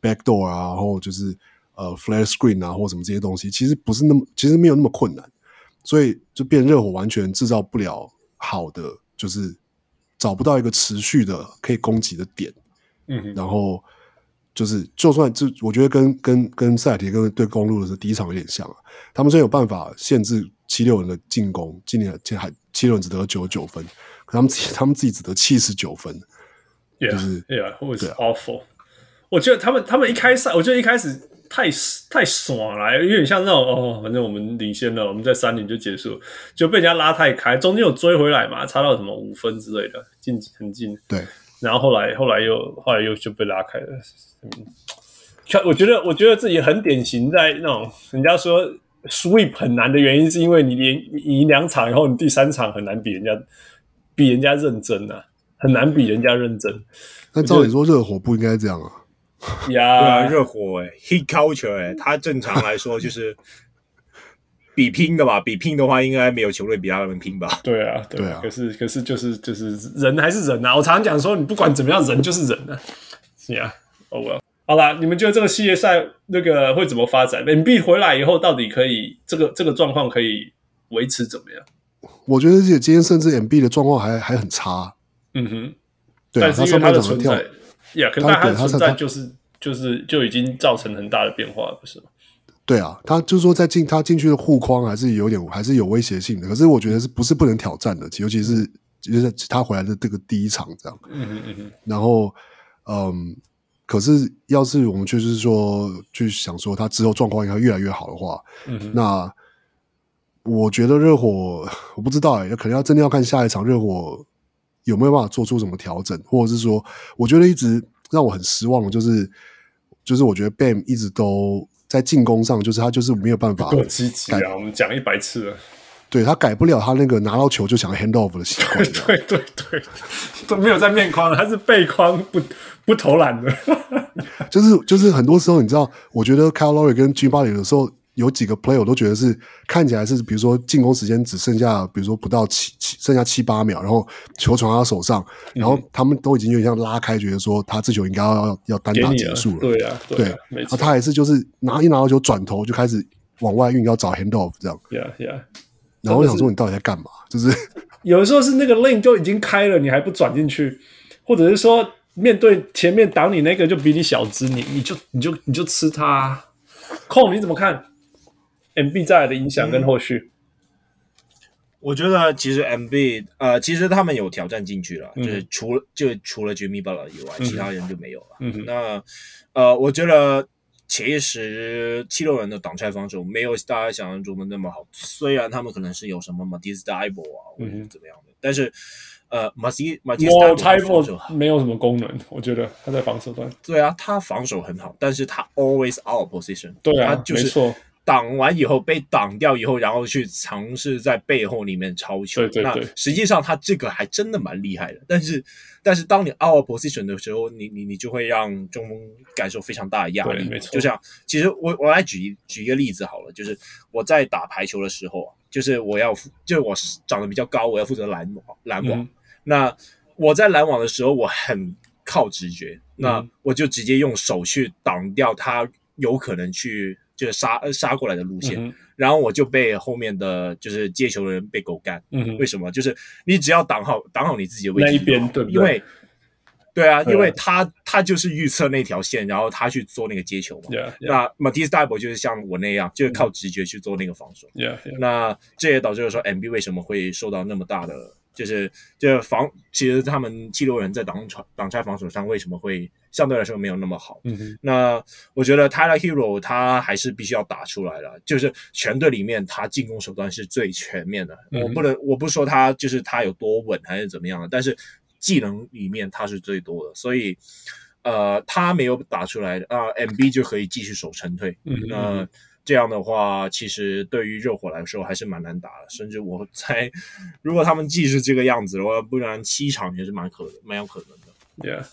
backdoor 啊，然後就是flare screen 啊或什麼這些東西，其實沒有那麼困難，所以就變熱火完全製造不了好的，就是找不到一個持續的可以攻擊的點。然後就算我覺得跟塞爾提克對公鹿的第一場有點像啊，他們雖然有辦法限制76人的進攻，今年76人只得99分，可他們自己只得79分，就是 it was awful。我覺得他們一開始太爽了，有點像那種反正我們領先了，我們在3-0就結束，就被人家拉太開，中間有追回來嘛，差到什麼5分之類的，很近。对。然後後來又就被拉開了。我覺得這也很典型，在那種人家說 sweep 很難的原因，是因為你贏2場以後，你第3場很難比人家認真啊，很難比人家認真。 但照理說熱火不應該這樣啊。 對啊，熱火heat culture 他正常來說就是比拼的吧，比拼的話應該沒有球隊比他們拼吧。 對啊。可是就是人還是人啊，我常常講說你不管怎麼樣，人就是人啊。well。好啦，你們覺得這個系列賽那個會怎麼發展 ？Embiid 回來以後到底可以这個狀況可以維持怎麼樣？ 我覺得今天甚至 Embiid 的狀況還很差。對啊， 但是因為他的存在，可是他的存在就已經造成很大的變化了，不是嗎？ 對啊，他就是說他進去的護框還是有威脅性的，可是我覺得不是不能挑戰的，尤其是就是他回來的這個第一場這樣。然後可是要是我們就是說去想說他之後狀況应該越來越好的話，那我覺得熱火我不知道可能真的要看下一場热火有沒有辦法做出什麼調整，或者是說我覺得一直讓我很失望的就是我覺得 Bam 一直都在進攻上，就是他就是沒有辦法夠積極啊，我們講100次了。 對，他改不了他那個拿到球就想 hand off 的習慣。 对，都沒有在面框，他是背框不投籃的。 就是很多時候你知道，我覺得 Kyle Lowry 跟 Jimmy Butler 有時候有幾個 play 我都覺得是看起來是比如說進攻時間只剩下比如說不到剩下7-8秒，然後球傳到他手上，然後他們都已經有點像拉開，覺得說他這球應該要單打結束了。 對啊，沒錯。 然後他還是就是一拿到球轉頭就開始往外運，要找 hand off 這樣。 Yeah。 然後我想說你到底在幹嘛？就是有的時候是那個 lane 就已經開了，你還不轉進去，或者是說面對前面擋你那個就比你小只，你就吃他。Cole 你怎麼看 Embiid 再來的影響跟後續？ 我覺得其實 Embiid 其實他們有挑戰進去了，就是除了 Jimmy Butler 以外，其他人就沒有了。那我覺得。其實76人的擋拆防守沒有大家想象中的那麼好，雖然他們可能是有什麼 Matisse Thybulle 啊或者怎麼樣的，但是Matisse Thybulle 沒有什麼功能，我覺得他在防守端。 對啊，他防守很好，但是他 always out of position。對啊， 他就是沒錯。 擋完以後被擋掉以後，然後去嘗試在背後裡面抄球。對。那實際上他這個還真的蠻厲害的，但是當你 out of position 的時候，你就會讓中鋒感受非常大的壓力。沒錯。就像其實我來舉一個例子好了，就是我在打排球的時候，就是我長得比較高，我要負責攔網。那我在攔網的時候，我很靠直覺，那我就直接用手去擋掉他有可能去。就是殺過來的路線，然後我就被後面的就是接球的人被狗幹。為什麼？就是你只要擋好你自己的位置那一邊，對不對？因為他就是預測那條線，然後他去做那個接球嘛。那 Matisse Thybulle 就是像我那樣，就是靠直覺去做那個防守。那這也導致了說 Embiid 為什麼會受到那麼大的。就是其實他們76人在擋拆防守上為什麼會相對來說沒有那麼好？那我覺得 Tyler Hero 他還是必須要打出來了，就是全隊裡面他進攻手段是最全面的。我不說他就是他有多穩還是怎麼樣的，但是技能裡面他是最多的，所以他沒有打出來，MB 就可以繼續守成退。這樣的話，其實對於熱火來說還是蠻難打的，甚至我猜，如果他們繼續這個樣子的話，不然7場也是蠻有可能的。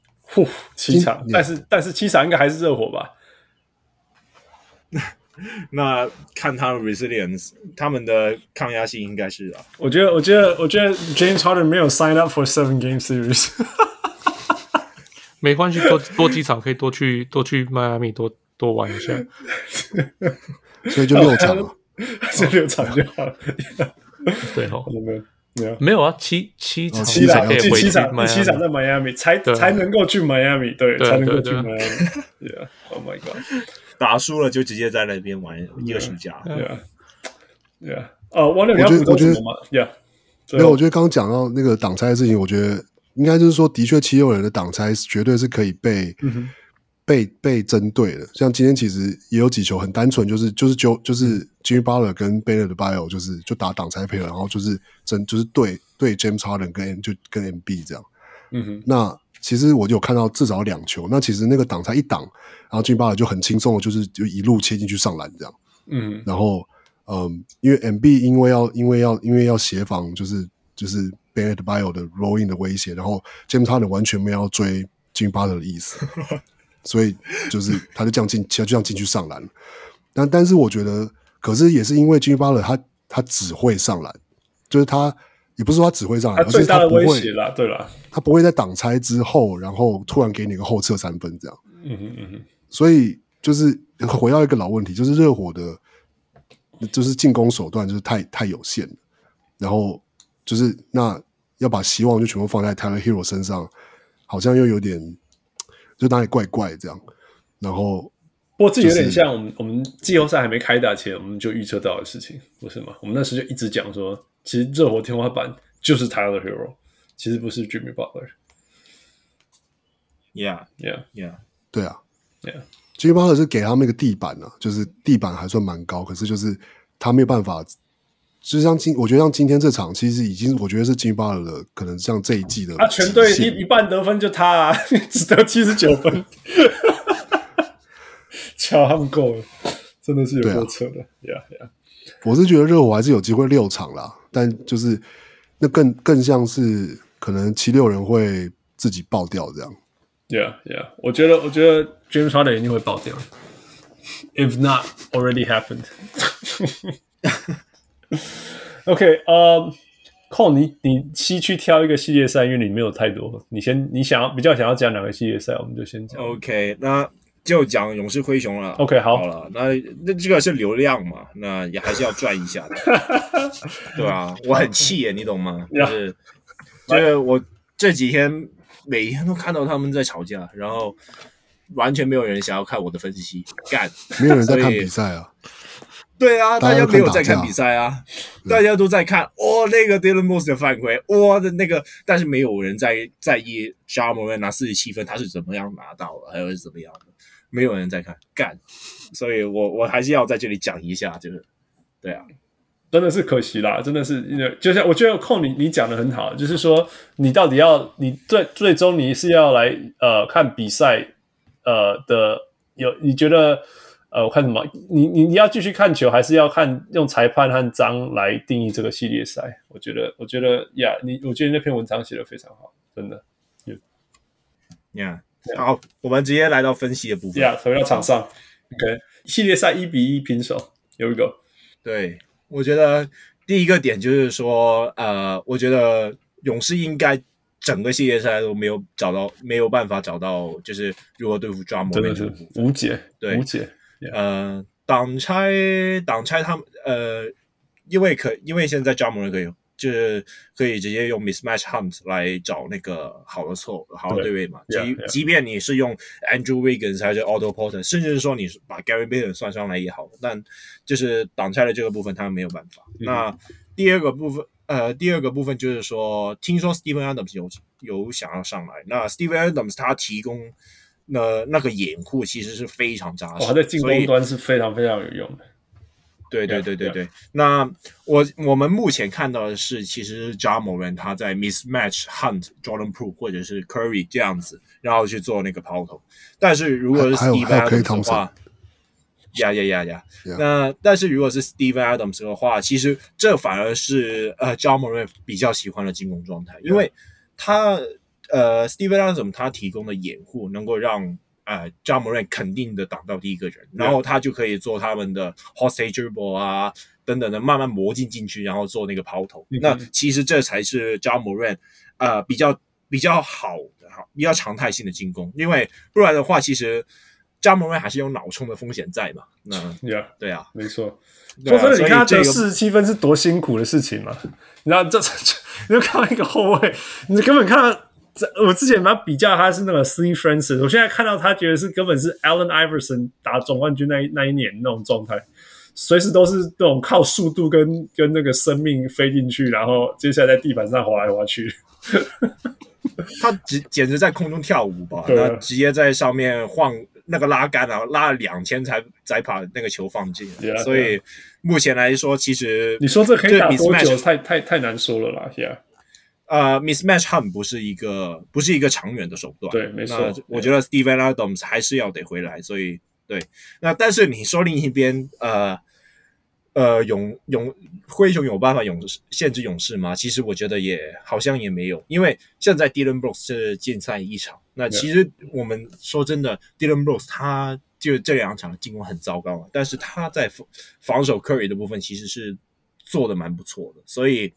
7場，但是7場應該還是熱火吧？ 那看他的 resilience， 他們的抗壓性應該是啊。 我覺得 James Harden 沒有 sign up for 7 game series。 沒關係，多幾場可以多去邁阿密多玩一下， 所以就6場了， 这6场就好了。 对吼， 没有啊，七场 7场可以回去 7场在邁阿密才能夠去邁阿密，對，才能夠去邁阿密。Yeah, oh my god， 打輸了就直接在那邊玩一個暑假。 Yeah， 王六你要補充什麼嗎 ？Yeah， 沒有，我覺得剛剛講到那個擋拆的事情，我覺得應該就是說，的確76人的擋拆絕對是可以被針對的。像今天其實也有幾球很單純，就是 Jimmy Butler 跟 Bam Adebayo 就打擋拆配合，然後就是對 James Harden 跟 MB 這樣。那其實我有看到至少2球，那其實那個擋拆一擋，然後 Jimmy Butler 就很輕鬆的，就一路切進去上籃這樣。然後因為 MB 因為要協防，就是 Bam Adebayo 的 rolling 的威脅，然後 James Harden 完全沒有要追 Jimmy Butler 的意思。所以就是他就這樣進去上籃，但是我覺得，可是也是因為 Jimmy Butler 他只會上籃，就是他也不是說他只會上籃， 他最大的威脅啦，對啦， 他不會在擋拆之後，然後突然給你個後撤3分這樣。所以就是回到一個老問題，就是熱火的，就是進攻手段就是太有限了，然後就是那要把希望就全部放在 Tyler Hero 身上，好像又有點。就哪裡怪怪這樣，然後不過這有點像我們季後賽還沒開打前，我們就預測到的事情，不是嗎？我們那時就一直講說，其實熱火天花板就是 Tyler Hero， 其實不是 Jimmy Butler。Yeah， 對啊 ，Jimmy Butler 是給他們一個地板啊，就是地板還算蠻高，可是就是他沒有辦法。就像我覺得像今天這場，其實已經我覺得是 Jimmy Butler 的，可能像這一季的。全隊一半得分就他啊，只得79分，瞧他們夠了，真的是有夠扯的。Yeah. 我是覺得熱火還是有機會6場啦，但就是那更像是可能76人會自己爆掉這樣。 Yeah， 我覺得 James Harden 一定會爆掉 ，if not already happened 。OK， Cole 你西区挑一個系列賽，因為你沒有太多，你比較想要講哪個系列賽，我們就先講。 OK， 那就講勇士灰熊了。OK， 好了，那這個是流量嘛，那也還是要賺一下的，對吧？我很氣耶，你懂嗎？就是我這幾天每天都看到他們在吵架，然後完全沒有人想要看我的分析，幹， 沒有人在看比賽啊。 對啊，大家沒有在看比賽啊，大家都在看那個 Dylan Brooks 的犯規，的那個，但是沒有人在意 Ja Morant 拿47分他是怎麼樣拿到的，還有是怎麼樣的，沒有人在看，幹，所以我還是要在這裡講一下，就是對啊， 真的是可惜啦，真的是，就像我覺得Cole你講的很好，就是說你到底你最終你是要來看比賽你覺得？我看什麼？你要繼續看球，還是要用裁判和章來定義這個系列賽？我覺得呀，我覺得那篇文章寫得非常好，真的。 好，我們直接來到分析的部分。 回到場上 ，OK， 系列賽1-1平手 ，Here we go。 對，我覺得第一個點就是說，我覺得勇士應該整個系列賽都沒有辦法找到，就是如何對付 Ja Morant， 真的是無解， 對， 無解。 擋拆他們因為現在 Ja Morant 可以直接用 mismatch hunt 來找那個好的對位嘛，即便你是用 Andrew Wiggins 還是 Otto Porter， 甚至是說你把 Gary Payton 算上來也好，但就是擋拆的這個部分他們沒有辦法。那第二個部分就是說，聽說 Steven Adams 有想要上來，那 Steven Adams 他提供那個掩護其實是非常扎實， 他在進攻端是非常非常有用的。 對。那我們目前看到的是，其實 Ja Morant 他在 mismatch hunt Jordan Poole 或者是 Curry 這樣子，然後去做那個拋投。但是如果是 Steven Adams 的話，那但是如果是 Steven Adams 的話，其實這反而是Ja Morant 比較喜歡的進攻狀態，因為他Steven Adams 他提供的掩護能夠讓Ja Morant 肯定的擋到第一個人，然後他就可以做他們的 hostage dribble 啊等等的，慢慢磨進去，然後做那個拋投。那其實這才是Ja Morant比較比較好比較常態性的進攻，因為不然的話，其實Ja Morant還是有腦衝的風險在嘛。那 Yeah, 對啊， 沒錯。 對啊， 說真的，你看他得 47 分是多辛苦的事情嘛？你知道你就看到一個後衛，你根本看到我之前把他比較，他是那個 Steve Francis， 我現在看到他覺得是根本是 Allen Iverson 打總冠軍那一年那種狀態，隨時都是那種靠速度跟那個生命飛進去，然後接下來在地板上滑來滑去。 他簡直在空中跳舞吧？那直接在上面晃那個拉桿啊，拉了2000才把那個球放進。 Yeah, 所以目前來說，其實你說這可以打多久？太難說了啦。 Mismatch Hunt 不是一個長遠的手段。 對，沒錯。 那我覺得 Steven Adams 還是要得回來。所以對，那但是你說另一邊灰熊有辦法限制勇士嗎？其實我覺得好像也沒有，因為現在 Dillon Brooks 是禁赛1場。那其實我們說真的 ，Dillon Brooks 他就这2場的進攻很糟糕，但是他在防守 Curry 的部分其實是做的蠻不錯的。所以，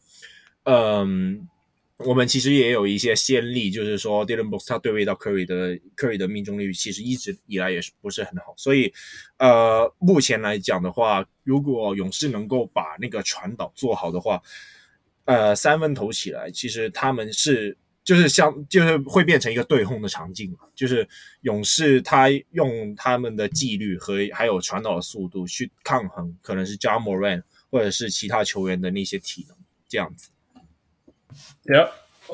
我們其實也有一些先例，就是說 Dillon Brooks 他對位到 Curry 的命中率其實一直以來也不是很好，所以目前來講的話，如果勇士能夠把那個傳導做好的話，3分投起來，其實他們就是會變成一個對轟的場景嘛，就是勇士他用他們的紀律和還有傳導的速度去抗衡可能是 Ja Morant 或者是其他球員的那些體能，這樣子。 Yeah,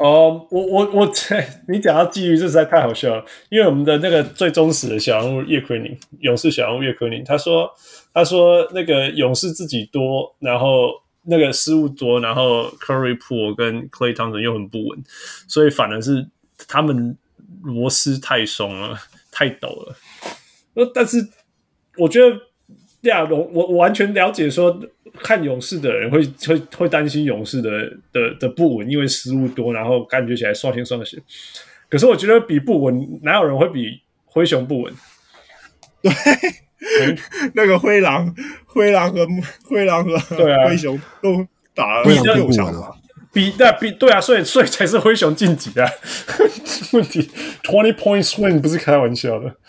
你講到紀律，這實在太好笑了。因為我們的那個最忠實的小人物葉奎寧，勇士小人物葉奎寧，他說那個勇士自己多，然後那個失誤多，然後 Curry Poole 跟 Klay Thompson 又很不穩，所以反而是他們螺絲太鬆了，太抖了。但是我覺得。我完全了解說看勇士的人會擔心勇士的不穩，因為失誤多，然後感覺起來刷新雙血。可是我覺得比不穩，哪有人會比灰熊不穩？ 對，那個灰狼和灰熊都打了6場了。 對啊，所以才是灰熊晉級啊。問題 20 point swing 不是開玩笑的。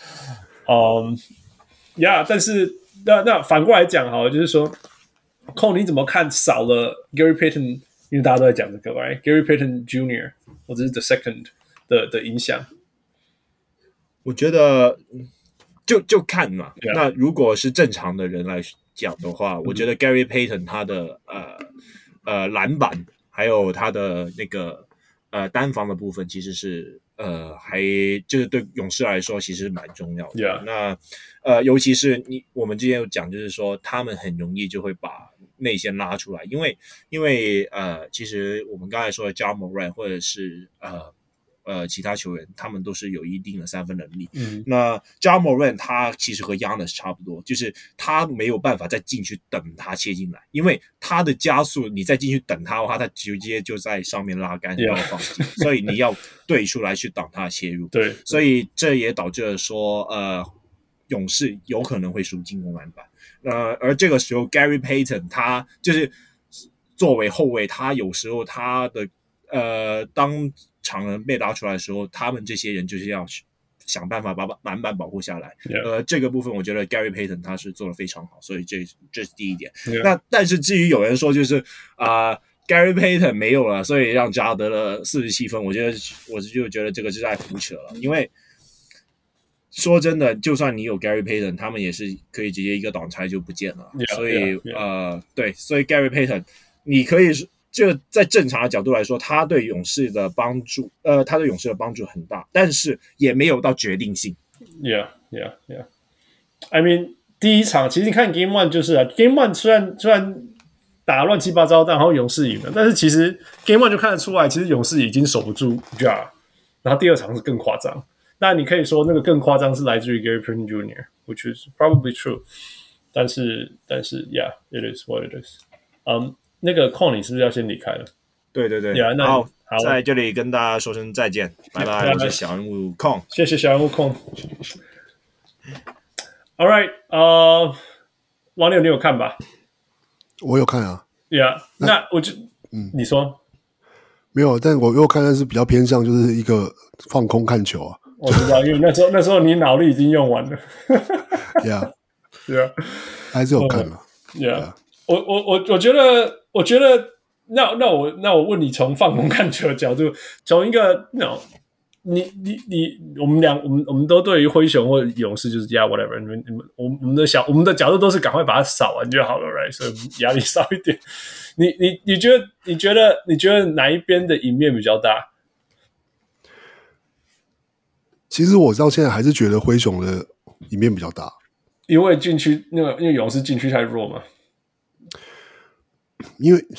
但是。那反過來講好了，就是說，寇你怎麼看少了 Gary Payton？ 因為大家都在講這個 ，right？ Gary Payton Jr. 或者是 The Second 的影響，我覺得就看嘛。Yeah. 那如果是正常的人來講的話，我覺得 Gary Payton 他的籃板還有他的那個單防的部分，其實是還就是對勇士來說其實蠻重要的。 Yeah. 那尤其是我們之前有講，就是說他們很容易就會把內線拉出來，因為其實我們剛才說的 Ja Morant 或者是其他球員，他們都是有一定的3分能力。那 Ja Morant 他其實和 Giannis 差不多，就是他沒有辦法再進去等他切進來，因為他的加速，你再進去等他的話，他直接就在上面拉桿然後放進，所以你要對出來去擋他的切入。 對， 所以這也導致了說勇士有可能會輸進攻籃板。而這個時候 Gary Payton 他就是作為後衛，他有時候他的當常人被拉出來的時候，他們這些人就是要想辦法把籃板保護下來。這個部分我覺得 Gary Payton 他是做得非常好，所以這是第一點。那但是至於有人說就是Gary Payton 沒有了，所以讓Ja得了47分，我就覺得這個是在胡扯了。因為說真的，就算你有 Gary Payton， 他們也是可以直接一個擋拆就不見了。所以對，所以 Gary Payton 你可以就在正常的角度來說，他對勇士的幫助很大，但是也沒有到決定性。 Yeah. I mean， 第一場其實你看 Game 1就是Game 1雖然打亂七八糟，然後勇士贏了，但是其實 Game 1就看得出來，其實勇士已經守不住 Ja， 然後第二場是更誇張。那你可以說那個更誇張是來自於 Gary Payton Jr. which is probably true， 但是 Yeah, it is what it is。那個Con你是不是要先離開了？ 對，好，在這裡跟大家說聲再見，拜拜。我是小人物Con， 謝謝小人物Con。All right， 王柳你有看吧？ 我有看啊。 Yeah， 那我就你說。 沒有，但我又看的是比較偏向就是一個放空看球啊。 我知道，因為那時候你腦力已經用完了。 Yeah， 对啊， 還是有看了。 Yeah， 我覺得，那我問你，從放空看球的角度，從一個我們都對於灰熊或者勇士就是 yeah whatever， 我們的角度都是趕快把它掃完就好了 ，right？ 所以壓力少一點。你覺得哪一邊的贏面比較大？ 其實我到現在還是覺得灰熊的贏面比較大， 因為禁區因為勇士禁區太弱嘛。 因為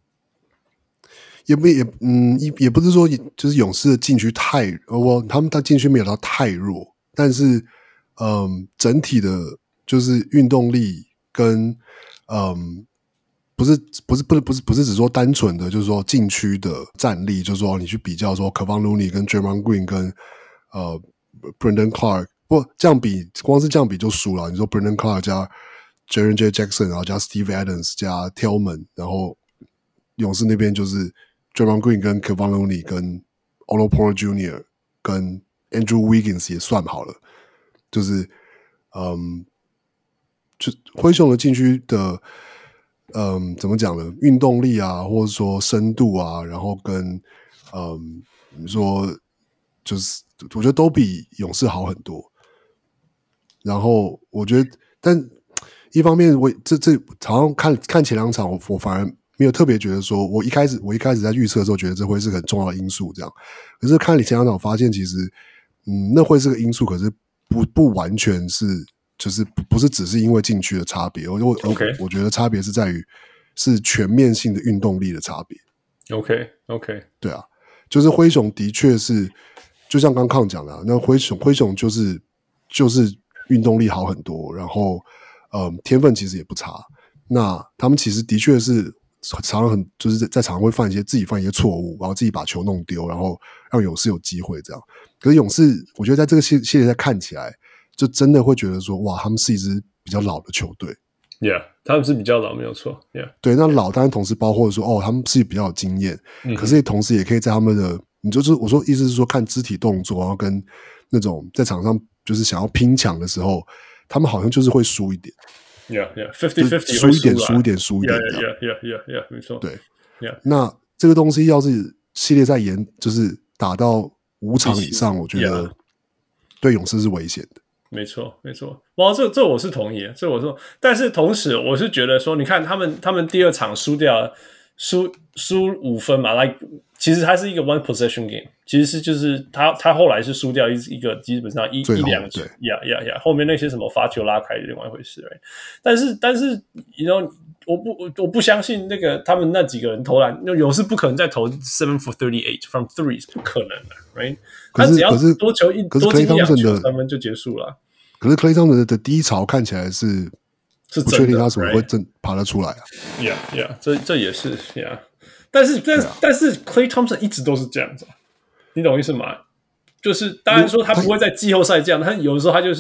也不是說就是勇士的禁區他们禁区沒有到太弱，但是整體的就是運動力跟不是只說單純的就是說禁區的戰力，就是說你去比較說 Kevon Looney 跟 Draymond Green 跟Brandon Clark， 不這樣比光是這樣比就輸了。你說 Brandon Clark 加 Jaren Jackson， 然後加 Steve Adams 加 Tillman， 然後勇士那邊就是 Draymond Green 跟 Kevon Looney 跟 Otto Porter Jr. 跟 Andrew Wiggins 也算好了，就是就灰熊的禁區的怎麼講呢？運動力啊，或者說深度啊，然後跟你說就是我覺得都比勇士好很多。然後我覺得，但一方面這好像看前2場，我反而沒有特別覺得說，我一開始在預測的時候覺得這會是很重要的因素，這樣。可是看前2場，我發現其實那會是個因素，可是不完全是，就是不是只是因為禁區的差別。我覺得差別是在於是全面性的運動力的差別。 OK， 对啊，就是灰熊的確是，就像剛康講的，那灰熊就是運動力好很多，然後天分其實也不差。那他們其實的確是常常就是在場上會自己犯一些錯誤，然後自己把球弄丟，然後讓勇士有機會這樣。可是勇士，我覺得在這個系列賽看起來，就真的會覺得說，哇，他們是一支比較老的球隊。 Yeah， 他們是比較老，沒有錯。Yeah， 對，那老當然同時包括說，他們是比較有經驗，可是同時也可以在他們的，我說意思是說，看肢體動作，然後跟那種在場上就是想要拼搶的時候，他們好像就是會輸一點。 Yeah， 50-50 輸一點， Yeah， 沒錯。 對 ，Yeah， 那這個東西要是系列賽就是打到5場以上，我覺得對勇士是危險的。 沒錯，哇，這我是同意的，這我說，但是同時我是覺得說，你看他們第2場輸掉了，輸5分嘛，like 其實它是一個 one possession game， 其實是就是他後來是輸掉一個基本上一兩球，後面那些什麼罰球拉開是另外一回事，但是 you know， 我不相信那個他們那幾個人投籃，勇士不可能再投7 for 38 from threes， 不可能的 ，right？ 他只要多進1-2球，3分就結束了。 可是 Klay Thompson 的低潮看起來是不確定他什麼會爬得出來啊。 Yeah， 這也是 Yeah， 但是 Klay Thompson 一直都是這樣子，你懂意思嗎？就是當然說他不會在季後賽這樣，他有的時候他就是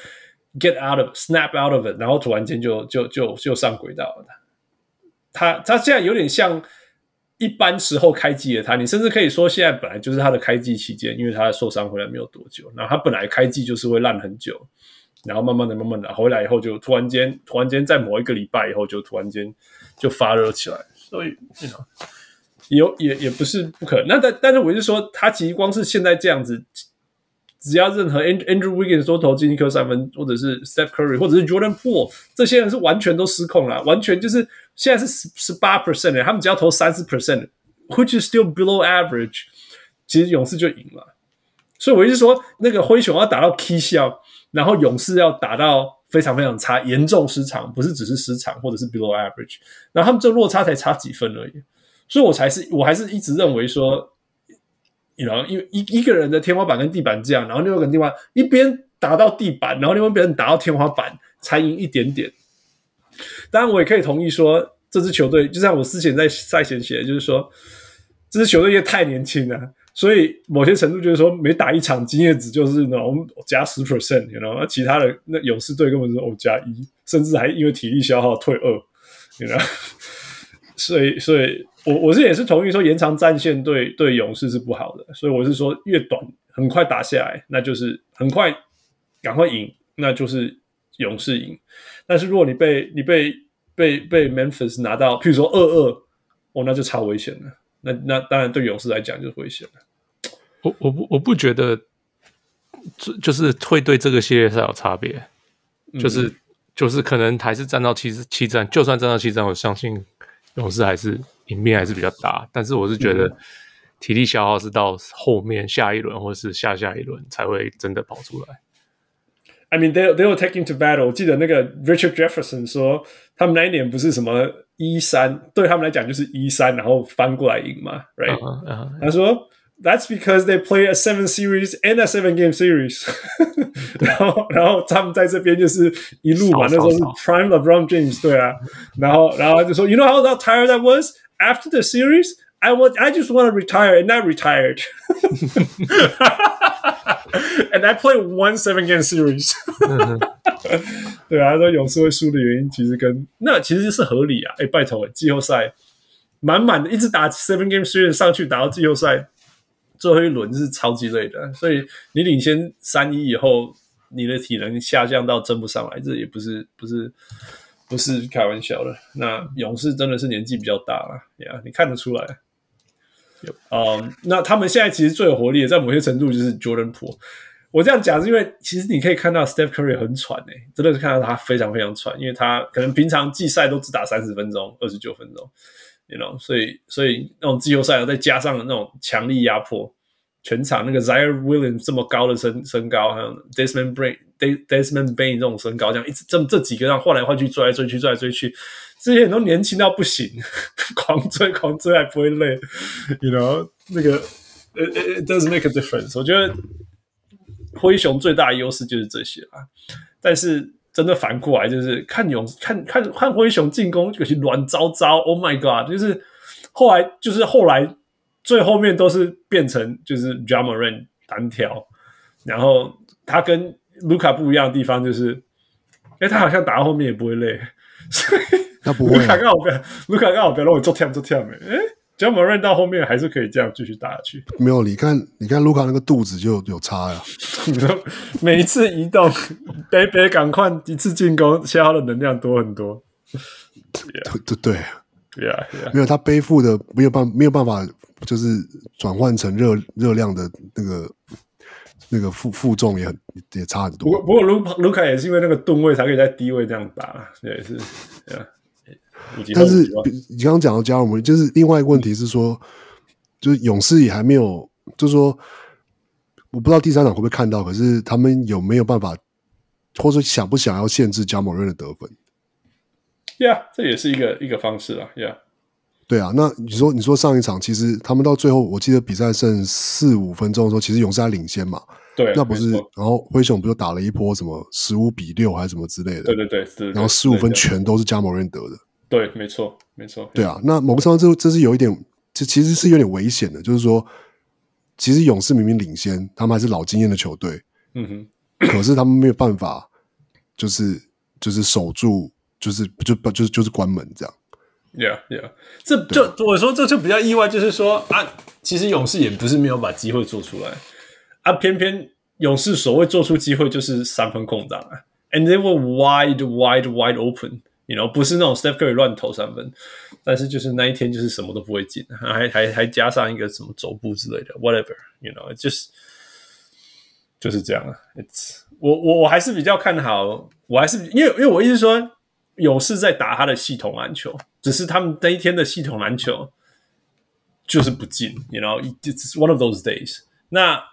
snap out of it， 然後突然間就上軌道了。他現在有點像一般時候開季的他，你甚至可以說現在本來就是他的開季期間，因為他受傷回來沒有多久，然後他本來開季就是會爛很久，然後慢慢的回來以後就突然間在某一個禮拜以後就突然間就發熱起來，所以也不是不可能。那但是我是說，他其實光是現在這樣子，只要任何 Andrew Wiggins 都投進一顆3分，或者是 Steph Curry 或者是 Jordan Poole， 這些人是完全都失控了，完全就是現在是 18% 的，他們只要投 30% which is still below average， 其實勇士就贏了。所以我是說，那個灰熊要打到 key shot， 然後勇士要打到非常非常差，嚴重失常，不是只是失常或者是 below average， 然後他們這落差才差幾分而已。所以我還是一直認為說，因為一個人的天花板跟地板這樣，然後另外一個人地板一邊打到地板，然後另外一邊打到天花板，才贏一點點。當然，我也可以同意說，這支球隊就像我之前在賽前寫的，就是說這支球隊也太年輕了，所以某些程度就是說，每打一場經驗值就是那種加 10%， 那其他的那勇士隊根本是加1，甚至還因為體力消耗退2，所以我也是同意說延長戰線對勇士是不好的，所以我是說越短很快打下來，那就是很快趕快贏，那就是勇士贏。但是如果你被 Memphis 拿到，譬如說2-2，那就超危險了。那當然對勇士來講就是危險了。 我不覺得，就是會對這個系列賽有差別，就是可能還是戰到七戰，就算戰到7戰，我相信勇士還是贏面還是比較大。但是我是覺得體力消耗是到後面下一輪或是下一輪才會真的跑出來。 I mean, they were taking to battle. 我記得那個 Richard Jefferson 說，他們那一年不是什麼1-3，對他們來講就是1-3，然後翻過來贏嘛 ，right？他說 That's because they play a 7 series and a 7-game series 然後他們在這邊就是一路嘛，那時候是 Prime LeBron James， 對啊，然後他就說 You know how tired I was after the series? I just want to retire and I retired and I played 1 7-game series 對啊，他說勇士會輸的原因其實是合理啊，拜託，季後賽滿滿的一直打 7-game series 上去打到季後賽最後一輪是超級累的，所以你領先3-1以後，你的體能下降到爭不上來，這也不是開玩笑的。那勇士真的是年紀比較大了，你看得出來。那他們現在其實最有活力的，在某些程度就是 Jordan Poole。我這樣講是因為其實你可以看到 Steph Curry 很喘真的是看到他非常非常喘，因為他可能平常季賽都只打30分鐘、29分鐘。You know, 所以那種季後賽再加上那種強力壓迫，全場那個 Zion Williams 這麼高的身高，還有 Desmond Bane 這種身高，這樣一直這幾個讓換來換去追來追去，這些人都年輕到不行，狂追還不會累。You know, 那個 it does make a difference。我覺得灰熊最大的優勢就是這些啦，但是。真的反過來就是看灰熊進攻有些亂糟糟 ，Oh my God！ 就是後來最後面都是變成就是 Ja Morant 單挑，然後他跟盧卡不一樣的地方就是，他好像打到後面也不會累，所以他不會、啊。 盧卡剛好不要讓我做跳Ja Morant 到後面還是可以這樣繼續打下去。 沒有，你看盧卡那個肚子就有差呀。 你說每一次移動，北趕快一次進攻，消耗的能量多很多。 對，沒有他背負的沒有辦法，就是轉換成熱量的那個負重也差很多。 不過盧卡也是因為那個噸位才可以在低位這樣打，也是。 但是你剛剛講到加爾摩，就是另外一個問題是說，就是勇士也還沒有，就是說我不知道第3場會不會看到，可是他們有沒有辦法，或者說想不想要限制加莫瑞的得分 ？Yeah， 這也是一個方式啦。Yeah， 對啊，那你說上一場其實他們到最後，我記得比賽剩4-5分鐘的時候，其實勇士還領先嘛。 對， 那不是，然後灰熊不就打了一波什麼15-6還是什麼之類的？ 對， 然後15分全都是加莫瑞得的。 對，沒錯。 对啊，那某個程度這是有一點，這其實是有點危險的，就是說，其實勇士明明領先，他們還是老經驗的球隊，可是他們沒有辦法，就是守住，就是關門這樣。 Yeah， 這就我說這就比較意外，就是說啊，其實勇士也不是沒有把機會做出來啊，偏偏勇士所謂做出機會就是3分空檔啊 ，and they were wide open。You know, 不是那種 Steph Curry 亂投3分，但是就是那一天就是什麼都不會進，還加上一個什麼走步之類的 ，whatever。You know, 就是這樣啊。我還是比較看好，我還是因為我意思是說，勇士在打他的系統籃球，只是他們那一天的系統籃球就是不進。You know, it's one of those days。那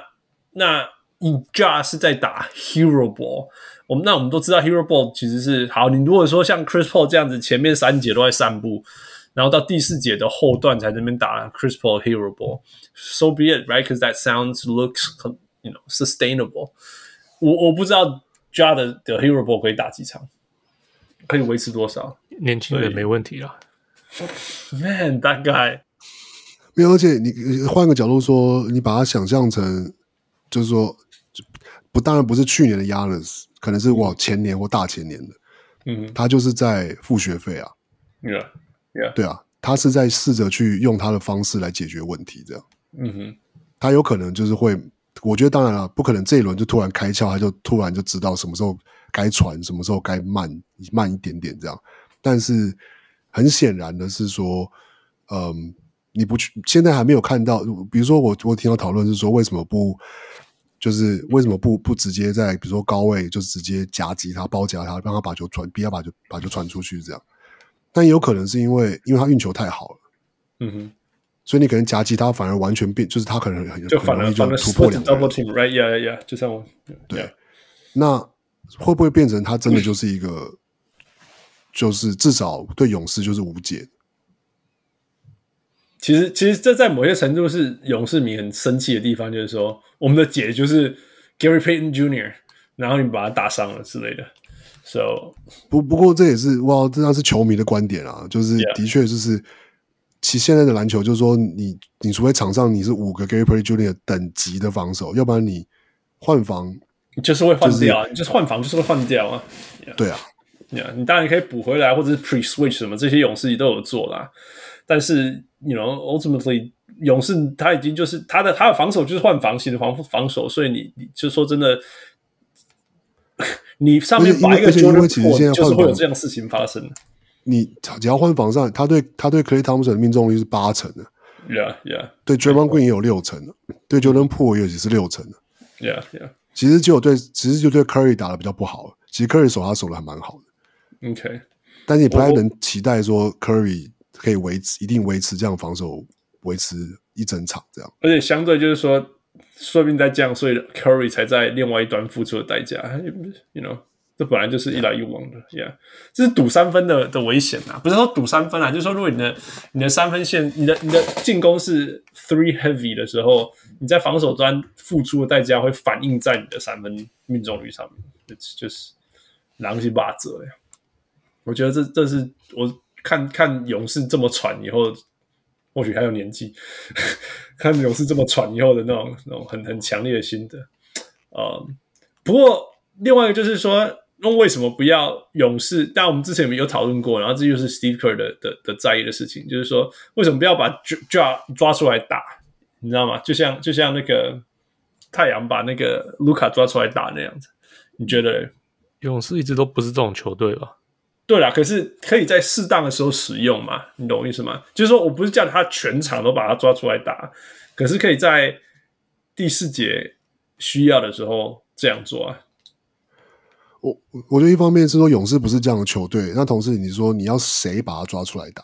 Ja 是在打 Hero Ball。我們都知道 Hero Ball 其實是好，你如果說像 Chris Paul 這樣子，前面3節都在散步，然後到第4節的後段才在那邊打 Chris Paul Hero Ball，so be it, right? Because that looks, you know, sustainable. 我不知道 Ja 的 Hero Ball 可以打幾場，可以維持多少？ 年輕人沒問題啦。 Man, that guy 沒有，而且你換個角度說，你把它想象成，就是說，當然不是去年的 Giannis。可能是前年或大前年的，他就是在付學費啊， Yeah. 對啊， 他是在試着去用他的方式來解決問題，這樣。 嗯哼， 他有可能就是会，我覺得當然了，不可能這一輪就突然開竅，他就突然就知道什麼時候該傳，什麼時候該慢一點點這樣。但是很顯然的是說，你不去，現在還沒有看到，比如說我聽到討論是說，為什麼不直接在比如說高位就直接夾擊他、包夾他，讓他把球傳，逼他把球傳出去這樣。但有可能是因為他運球太好了，嗯哼，所以你可能夾擊他反而完全变，就是他可能很容易就突破兩個人 double team right yeah yeah 就像我对，那會不會變成他真的就是一個，就是至少對勇士就是無解？ 其實這在某些程度是勇士迷很生氣的地方，就是說我們的解就是 Gary Payton Jr.， 然後你把他打傷了之類的。So 不過這也是哇，这是球迷的觀點啊，就是的確就是其現在的籃球就是說你除非場上你是5個 Gary Payton Jr. 等級的防守，要不然你換防你就是會換掉，你就是換防就是會換掉啊。 對啊， 你當然可以補回來，或者是 pre-switch 什麼，這些勇士都有做啦。但是 ultimately 勇士他已經就是他的防守就是換防型的防守，所以你就說真的。你上面把一個 Jordan Poole 就是會有這樣的事情發生。 你只要換防上，他對 Klay Thompson 的命中率是8%的 ，Yeah， 對 Draymond Green 也有6%的，對 Jordan Poole 也是6%的 ，Yeah， 其實就对 Curry 打得比較不好，其實 Curry 他守得還蠻好的 ，OK， 但是你不太能期待說 Curry 可以一定維持這樣防守，維持一整場這樣， 而且相對就是說。說不定在這樣，所以 Curry 才在另外一端付出的代價。這本來就是一來一往的 ，Yeah， 這是賭3分的危險啊！不是說賭3分啊，就是說如果你的3分線，你的進攻是 3 heavy 的時候，你在防守端付出的代價會反映在你的3分命中率上面，就是狼是把責呀。我覺得這是我看勇士這麼喘以後。或許還有年紀，看勇士這麼喘以後的那種很強烈的心得。不過另外一個就是說，為什麼不要勇士？但我們之前有討論過，然後這就是 Steve Kerr 的在意的事情，就是說為什麼不要把 抓出來打？你知道嗎？就像那個太陽把那個盧卡抓出來打那樣子，你覺得？ 勇士一直都不是這種球隊吧？ 對啦，可是可以在適當的時候使用嘛？你懂我意思嗎？就是說我不是叫他全場都把他抓出來打，可是可以在第4節需要的時候這樣做啊。 我覺得一方面是說勇士不是這樣的球隊，那同時你說你要誰把他抓出來打？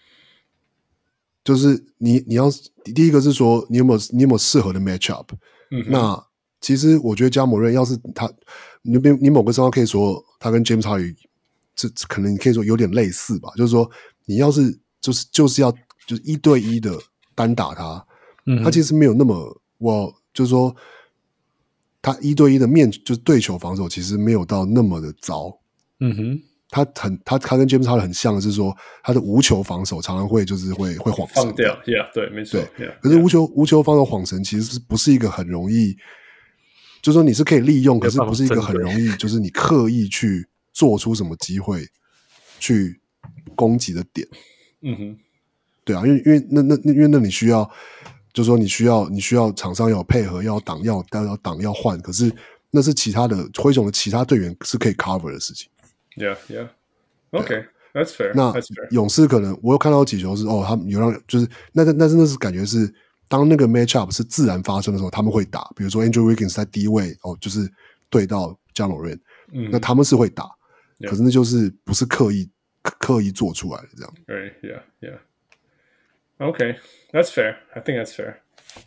就是你要第一個是說你有沒有適合的 matchup？那其實我覺得Ja Morant要是他，你某個時候可以說他跟 James Harden。這可能你可以說有點類似吧，就是說你要是就是要就是1對1的單打他，他其實沒有那麼就是說他1對1的就是對球防守其實沒有到那麼的糟，他跟 James Harden 很像的是說他的無球防守常常會就是會晃神放掉 ，Yeah， 對，沒錯， 對，可是無球防守晃神其實不是一個很容易，就是說你是可以利用，可是不是一個很容易，就是你刻意去。做出什麼機會去攻擊的點？對啊，因為那你需要，就是說你需要場上要有配合，要擋要換，可是那是其他的灰熊的其他隊員是可以 cover 的事情。 Yeah, that's fair. 那勇士可能我有看到幾球是他們有讓就是那是感覺是當那個 matchup 是自然發生的時候，他们會打，比如說 Andrew Wiggins 在低位就是對到 Ja Morant，那他們是會打。可是那就是不是刻意做出來的這樣。 Right, yeah. Okay, that's fair. I think that's fair.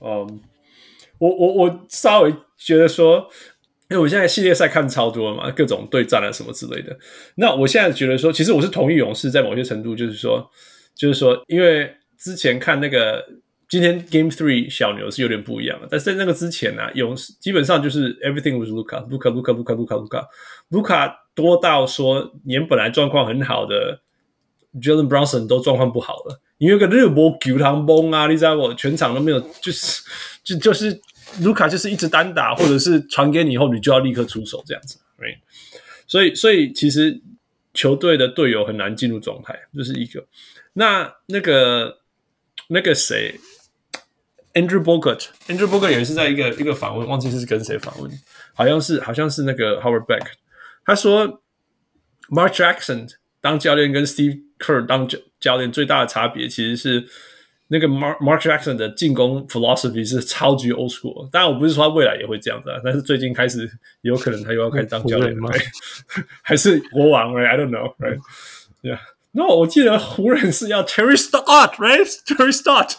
我稍微覺得說，因為我現在系列賽看超多了嘛，各種對戰啊什麼之類的。那我現在覺得說，其實我是同意勇士在某些程度，就是說，因為之前看那個今天 Game 3小牛是有點不一樣的，但是在那個之前啊，勇士基本上就是 everything was Luka。多到說，連本來狀況很好的 Jalen Brunson 都狀況不好了。因為個熱波球堂崩啊，你知道我全場都沒有，就是盧卡就是一直單打，或者是傳給你以後，你就要立刻出手這樣子。Right? 所以其實球隊的隊友很難進入狀態，這是一個。 那個誰 ，Andrew Bogut 也是在一個訪問，忘記是跟誰訪問，好像是那個 Howard Beck， 他說 Mark Jackson 當教練跟 Steve Kerr 當教練最大的差別其實是那個 Mark Jackson 的進攻 philosophy 是超級 old school， 當然我不是說他未來也會這樣子啊，但是最近開始也有可能他又要開始當教練了，還是國王 right? I don't know right yeah no 我記得湖人是要 Terry Stott right Terry Stott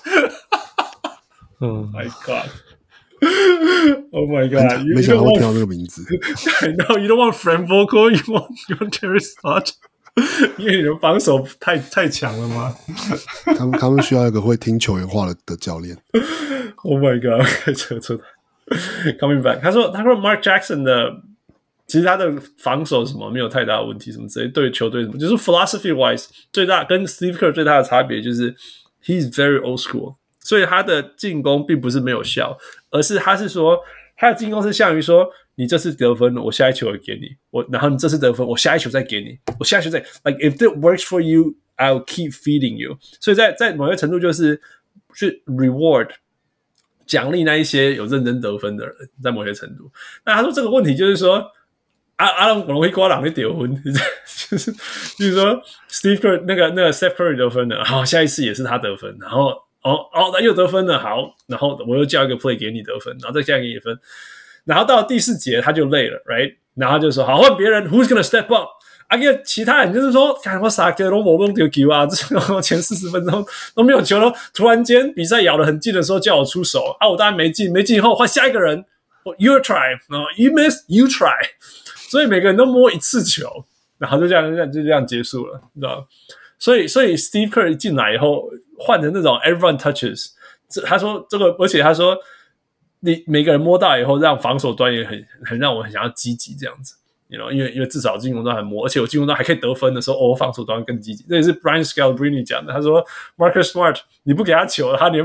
my god oh my god 没想到会听到这個名字 No you don't want Frank Vogel you want Terry Stott因為你的防守太強了嗎？ 他們需要一個會聽球員話的教練。 Oh my god！ 扯 Coming back， 他說 Mark Jackson 的其實他的防守什麼沒有太大的問題，什麼之類對球隊什麼，就是 philosophy wise 最大跟 Steve Kerr 最大的差別就是 he's very old school， 所以他的進攻並不是沒有效，而是他是說他的進攻是像於說。你這次得分，我下一球也給你。然後你這次得分，我下一球再給你。我下一球再 like if it works for you, I'll keep feeding you。所以在某些程度就是去 reward 獎勵那一些有認真得分的人，在某些程度。那他說這個問題就是說，阿龍容易刮狼的得分，就是說 Steve Kerr 那個 Steph Curry 得分了，好，下一次也是他得分，然後他又得分了，好，然後我又叫一個 play 給你得分，然後再加給你分。然後到第4節他就累了 ，right？ 然後就說好換別人 ，Who's gonna step up？ 啊，因為其他人就是說，看我傻哥都沒弄到球啊，前40分鐘都沒有球了，突然間比賽咬得很近的時候叫我出手，啊，我當然沒進以後換下一個人 ，Your try， you miss you try， 所以每個人都摸一次球，然後就這樣結束了，你知道嗎？所以 Steve Kerr 一進來以後換成那種 everyone touches， 他說這個，而且他說。你每個人摸到以後，讓防守端也很讓我很想要積極這樣子 ，you know， 因為至少進攻端還摸，而且我進攻端還可以得分的時候，防守端更積極。這也是 Brian Scalabrine 講的，他說 Marcus Smart 你不給他球，他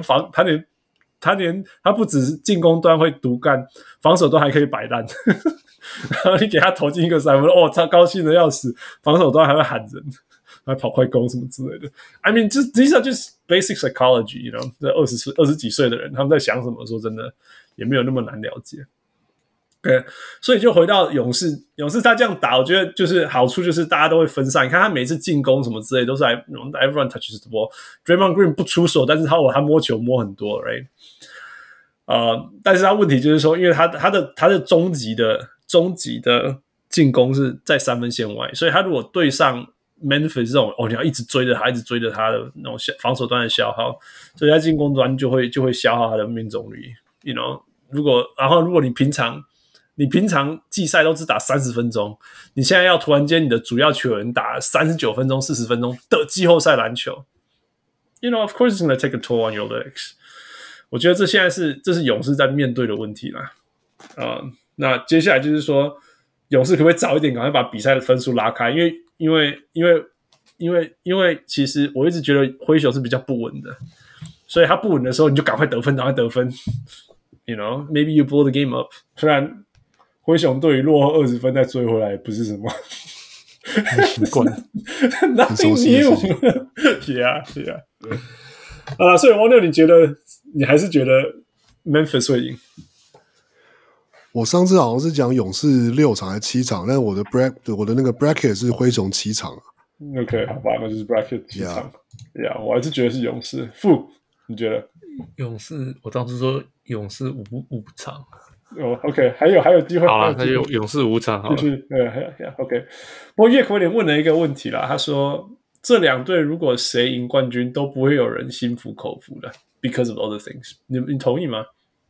不只是進攻端會獨幹，防守端還可以擺爛。然後你給他投進一個三分，他高興的要死，防守端還會喊人。還跑快攻什麼之類的 I mean these are just basic psychology you know 這20幾歲的人他們在想什麼說真的也沒有那麼難了解 okay， 所以就回到勇士他這樣打我覺得就是好處就是大家都會分散，你看他每次進攻什麼之類都是來 everyone touches the ball Draymond Green 不出手但是他摸球摸很多 right 但是他問題就是說因為他的終極的進攻是在3分線外，所以他如果對上Memphis 這種你要一直追着他的那种防守端的消耗，所以在進攻端就会消耗他的命中率 ，you know， 如果你平常季賽都只打30分鐘，你現在要突然間你的主要球員打39分鐘、40分鐘的季後賽籃球 ，you know，of course it's gonna take a toll on your legs。我覺得這是勇士在面對的問題啦。那接下來就是說，勇士可不可以早一點趕快把比賽的分數拉開？因為其實我一直覺得灰熊是比較不穩的，所以他不穩的時候你就趕快得分 ，you know maybe you blow the game up。雖然灰熊隊於落後20分再追回來也不是什麼習慣 ，nothing new。yeah。所以王六，你還是覺得 Memphis 會贏？ 我上次好像是講勇士6場還是7場，但我的那個 bracket 是灰熊7場。 OK， 好吧，那就是 bracket 7場。Yeah， 我還是覺得是勇士。傅，你覺得？ 勇士，我當時說勇士5場。 OK， 還有機會。 好了，那就勇士5場好了。 OK。不過葉奎連問了一個問題啦，他說這兩隊如果誰贏冠軍，都不會有人心服口服的 ，because of other things。你同意嗎？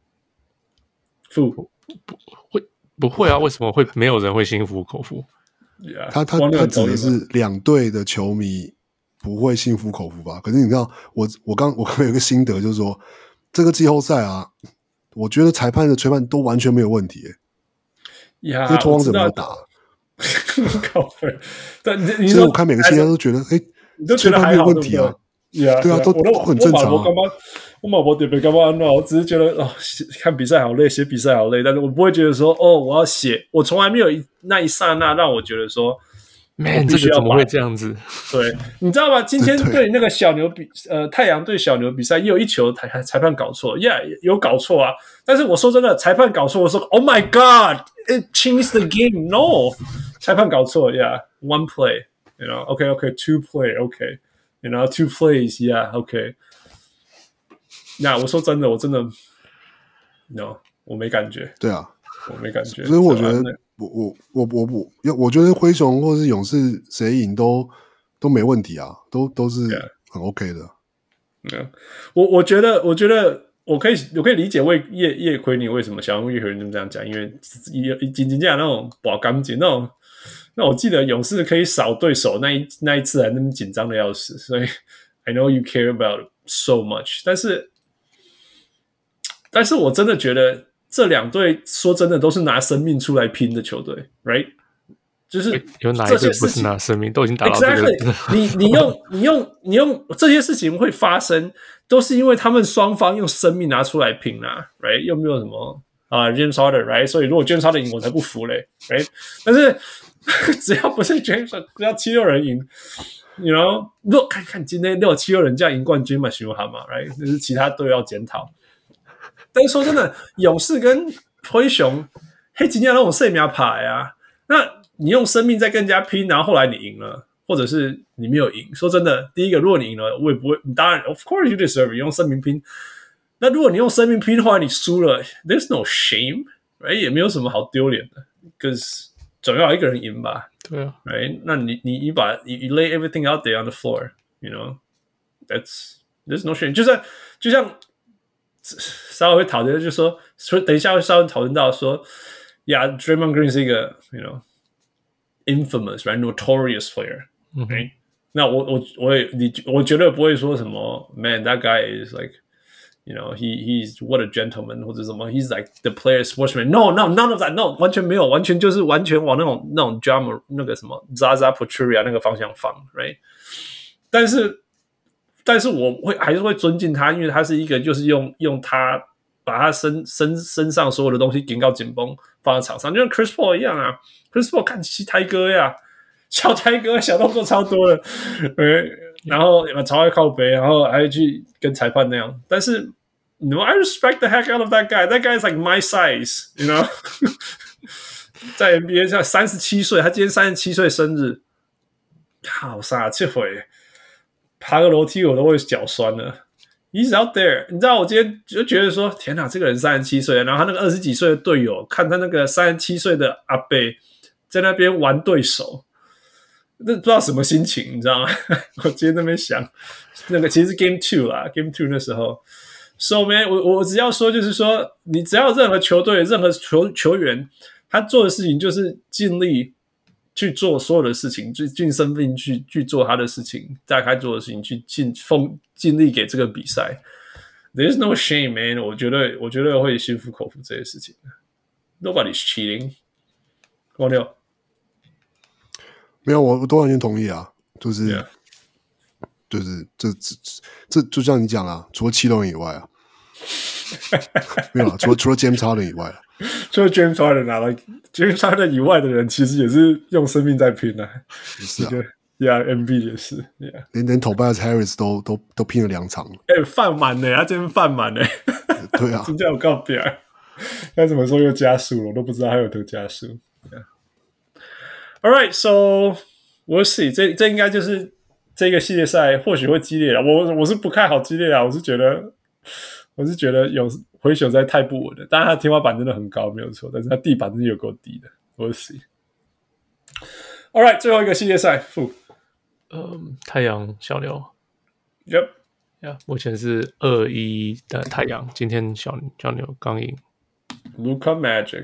傅。 不會啊？為什麼會沒有人會心服口服？ Yeah, 他指的是兩隊的球迷不會心服口服吧？可是你知道，我剛有一個心得，就是說這個季後賽啊，我覺得裁判的吹判都完全沒有問題耶。這拓荒者沒有打，所以我看每個系列都覺得，吹判沒有問題啊。對啊，都很正常啊。 我沒特別幹嘛，我只是覺得看比賽好累，寫比賽好累，但是我不會覺得說我要寫，我從來沒有那一剎那讓我覺得說 Man， 這個怎麼會這樣子？ 對，你知道嗎？今天對那個小牛太陽对小牛比賽，也有一球裁判搞錯 ，Yeah， 有搞錯啊。但是我說真的，裁判搞錯，我說 Oh my God，it changed the game。No， 裁判搞錯 ，Yeah，one play，you know，OK，two play，OK，you know，two plays，Yeah，OK。那我說真的，我真的 ，No， 我沒感觉。 对啊， 我沒感覺。 所以我覺得。我覺得灰熊或是勇士誰贏都沒問題啊，都是很 OK 的。 我覺得我可以理解葉奎尼為什麼想用葉奎尼這麼這樣講，因為僅僅講那種把乾淨那我記得勇士可以掃對手那一次還那麼緊張的要死，所以 I know you care about it so much， 但是我真的覺得。這兩隊說真的都是拿生命出來拼的球隊 ，right？ 就是有哪一隊不是拿生命？都已經打到這個。 Exactly， 你用這些事情會發生，都是因為他們雙方用生命拿出來拼啊 ，right？ 又沒有什麼James Harden，right？ 所以如果 James Harden 贏，我才不服嘞 ，right？ 但是只要不是 James Harden， 只要7-6人贏 ，you know， 看今天6-7-6人這樣贏冠軍嘛，行不好嘛 ，right？ 就是其他隊要檢討。但是說真的，勇士跟灰熊，黑金要那種生命牌啊，那你用生命在跟人家拼，然後後來你贏了，或者是你沒有贏。說真的，第一個，如果你贏了，我也不會，當然 ，of course you deserve， 你用生命拼。那如果你用生命拼，後來你輸了 ，there's no shame，right？ 也沒有什麼好丟臉的 ，because 總要有一個人贏吧。 對啊 ，right？ 那你 lay everything out there on the floor，you know，there's no shame， 就像。稍微會討論，就說等一下會稍微討論到說 ，Yeah，Draymond Green 是一個 ，you know，infamous right notorious player，right？、那我絕對不會說什麼 ，Man that guy is like，you know，he's what a gentleman 或者什麼 ，he's like the player sportsman。No none of that，no 完全沒有，完全就是完全往那種 drama 那個什麼 Zaza Pachulia 那個方向放 ，right？ 但是我還是會尊敬他，因為他是一個就是用他把他身上所有的東西緊到緊繃放在場上，就像 Chris Paul 一樣啊 ，Chris Paul 看台哥呀，小台哥小動作超多的，然後超愛靠北，然後還會去跟裁判那樣。但是 ，No, I respect the heck out of that guy. That guy is like my size, you know 。在 NBA 上37歲，他今天37歲生日，好37歲。爬個樓梯我都會腳酸了。He's out there， 你知道我今天就覺得說，天哪，這個人37歲，然後他那個20幾歲的隊友，看他那個37歲的阿伯在那邊玩對手，那不知道什麼心情，你知道嗎？我今天在那邊想，那個其實是 Game 2啦 ，Game 2那時候。So man， 我只要說就是說，你只要任何球隊、任何球員，他做的事情就是盡力。去做所有的事情，去盡生命去做他的事情，大概做的事情，去盡力給這個比賽。There's no shame, man。我覺得會心服口服這些事情。Nobody's cheating。光六， 沒有，我都完全同意啊，就是 Yeah. 就是這就像你講啊，除了7人以外啊，沒有啊，除了 James Harden 以外啊。 除了 James Harden 啊 ，James Harden 以外的人其實也是用生命在拼啊。 是啊 ，Yeah，MB 也是 ，Yeah， 連 Tobias Harris 都拼了2場。 飯滿呢，他今天飯滿呢。 對啊， 今天有告別，他怎麼說又加速了？我都不知道他有多加速。Yeah. All right, so we'll see。這應該就是這個系列賽或許會激烈了。我是不看好激烈啊，我是覺得有。灰熊實在太不穩了，當然他的天花板真的很高，沒有錯，但是他地板真的有夠低的。We'll see. All right， 最後一個系列賽， 太陽小牛 ，Yep， 目前是2-1的太陽，今天小牛剛贏。 Luka Magic，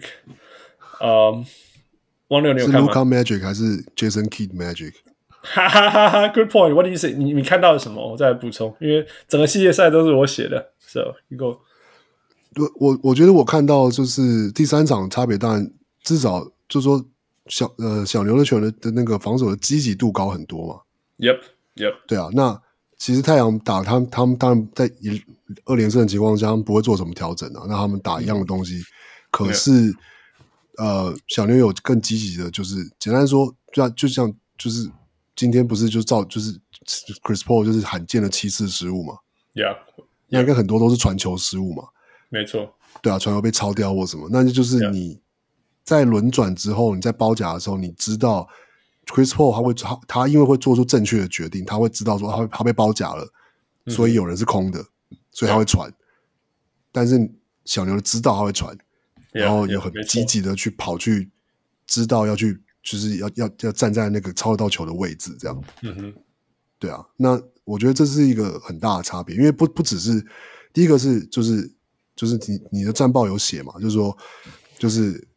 王六你有看嗎？ 是 Luka Magic 還是 Jason Kidd Magic？ 哈哈哈哈 ，Good point。What do you say？ 你看到了什麼？我再來補充，因為整個系列賽都是我寫的 ，So you go。 我覺得我看到就是第3場差別，當然至少就是說小牛的球員的那個防守的積極度高很多嘛。 Yep。 對啊，那其實太陽打他們當然在2連勝的情況下，他們不會做什麼調整啊。那他們打一樣的東西，可是小牛有更積極的，就是簡單說，就像就是今天不是就是 Chris Paul 就是罕見的7次失誤嘛 ，Yeah， 那应該很多都是傳球失誤嘛， 沒錯， 對啊，傳球被抄掉或什麼，那就是你在輪轉之後，你在包夾的時候，你知道 Chris Paul 他因為會做出正確的決定，他會知道說他被包夾了，所以有人是空的，所以他會傳，但是小牛知道他會傳，然後也很積極的去跑去知道要去就是要站在那個抄得到球的位置這樣，對啊，那我覺得這是一個很大的差別，因為不只是第一個是就是你的戰報有寫嘛，就是說就是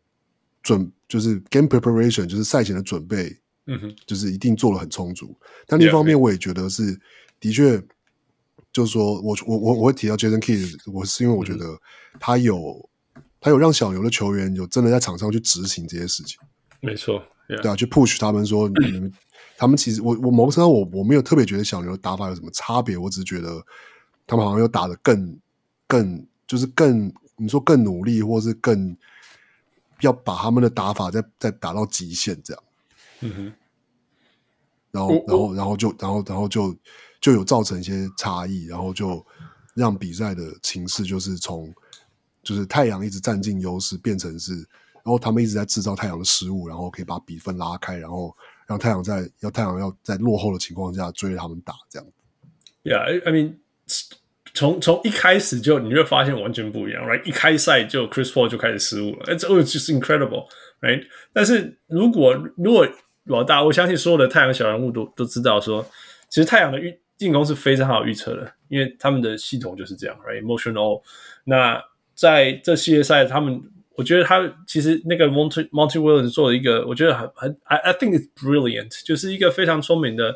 game preparation 就是賽前的準備，就是一定做得很充足。但另一方面，我也覺得是的確，就是說我會提到 Jason Kidd， 我是因為我覺得他有讓小牛的球員有真的在場上去執行這些事情， 沒錯， 對啊，去 push 他們說他們其實我某個程度我沒有特別覺得小牛的打法有什麼差別，我只是覺得他們好像有打得更就是更你說更努力，或是更要把他們的打法再打到極限這樣，然後就有造成一些差異，然後就讓比賽的情勢就是從就是太陽一直占盡優勢變成是，然後他們一直在制造太陽的失誤，然後可以把比分拉開，然後讓太陽要在落後的情況下追着他們打這樣。 Yeah, I mean， 從一開始就你會發現完全不一樣 ，right？ 一開賽就 Chris Paul 就開始失誤了 ，it's just incredible， right？ 但是如果我相信所有的太陽小人物都知道說，其實太陽的進攻是非常好預測的，因為他們的系統就是這樣 ，right？Motion-all。那在這系列賽，我覺得他其實那個 Monty Williams 做了一個，我覺得I think it's brilliant， 就是一個非常聰明的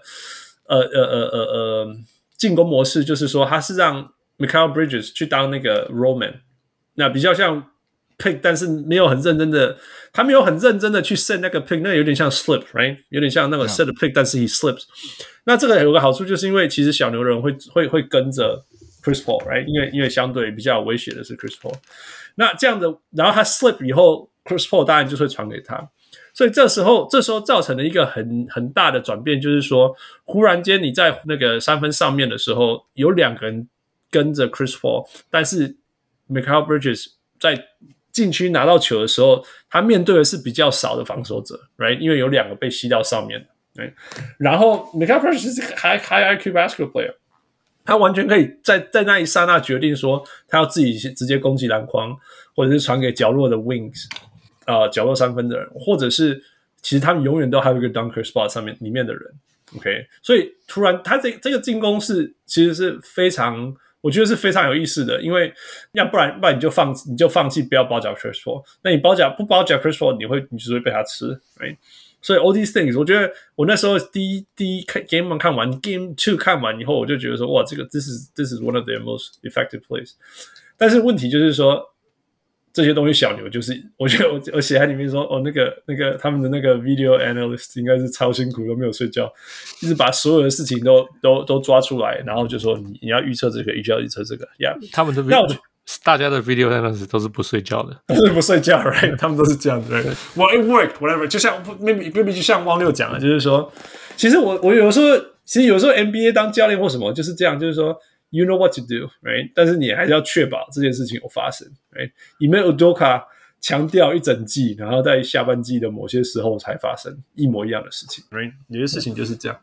進攻模式，就是說他是讓 Mikal Bridges 去當那個 roll man， 那比較像 pick， 但是没有很認真的去 set 那個 pick， 那有點像 slip， right？ 有點像那個 set the pick， 但是 he slips。那這個有個好處，就是因為其實小牛人會跟着 Chris Paul， right？ 因為相對比較有威脅的是 Chris Paul。那這樣的，然後他 slip 以後 ，Chris Paul 當然就會傳給他。所以這時候造成了一個很大的轉變，就是說，忽然間你在那個三分上面的時候，有兩個人跟着 Chris Paul， 但是 Mikal Bridges 在禁區拿到球的時候，他面對的是比較少的防守者 ，right？ 因為有兩個被吸到上面 right？ 然後 Mikal Bridges 是個 high IQ basketball player， 他完全可以在那一剎那決定說，他要自己直接攻擊籃筐，或者是傳給角落的 wings。角落三分的人，或者是其實他們永遠都還有一個 dunker spot 裡面的人 ，OK， 所以突然他這個進攻其實是非常，我覺得是非常有意思的，因為要不然你就放棄不要包夾 Chris Paul， 那你不包夾 Chris Paul， 你就是會被他吃 ，right？ 所以 all these things， 我覺得我那時候第一 Game 1看完 ，Game 2看完以後，我就覺得說，哇，這個 this is one of their most effective plays， 但是問題就是說。這些東西小牛就是，我覺得我寫在裡面說，那個他們的那個 video analyst 應該是超辛苦，都沒有睡覺，一直把所有的事情都抓出來，然後就說你要預測這個，你要預測這個 ，yeah。 他們的大家的 video analyst 都是不睡覺的， 都是不睡覺 ，right？ 他們都是這樣子 ，right？Well, it worked, whatever。就像 maybe 就像汪六講的，就是說，其實我有時候 NBA 當教練或什麼就是這樣，就是說。You know what to do, right? 但是你還是要確保這件事情有發生 right? Ime Udoka 強調一整季，然後在下半季的某些時候才發生一模一樣的事情 right? 有些事情就是這樣。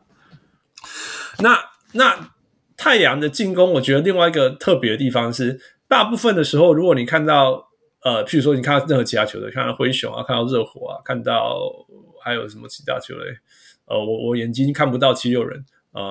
那太陽的進攻，我覺得另外一個特別的地方是，大部分的時候，如果你看到譬如說你看到任何其他球隊，看到灰熊啊，看到熱火啊，看到還有什麼其他球隊，我眼睛看不到76人。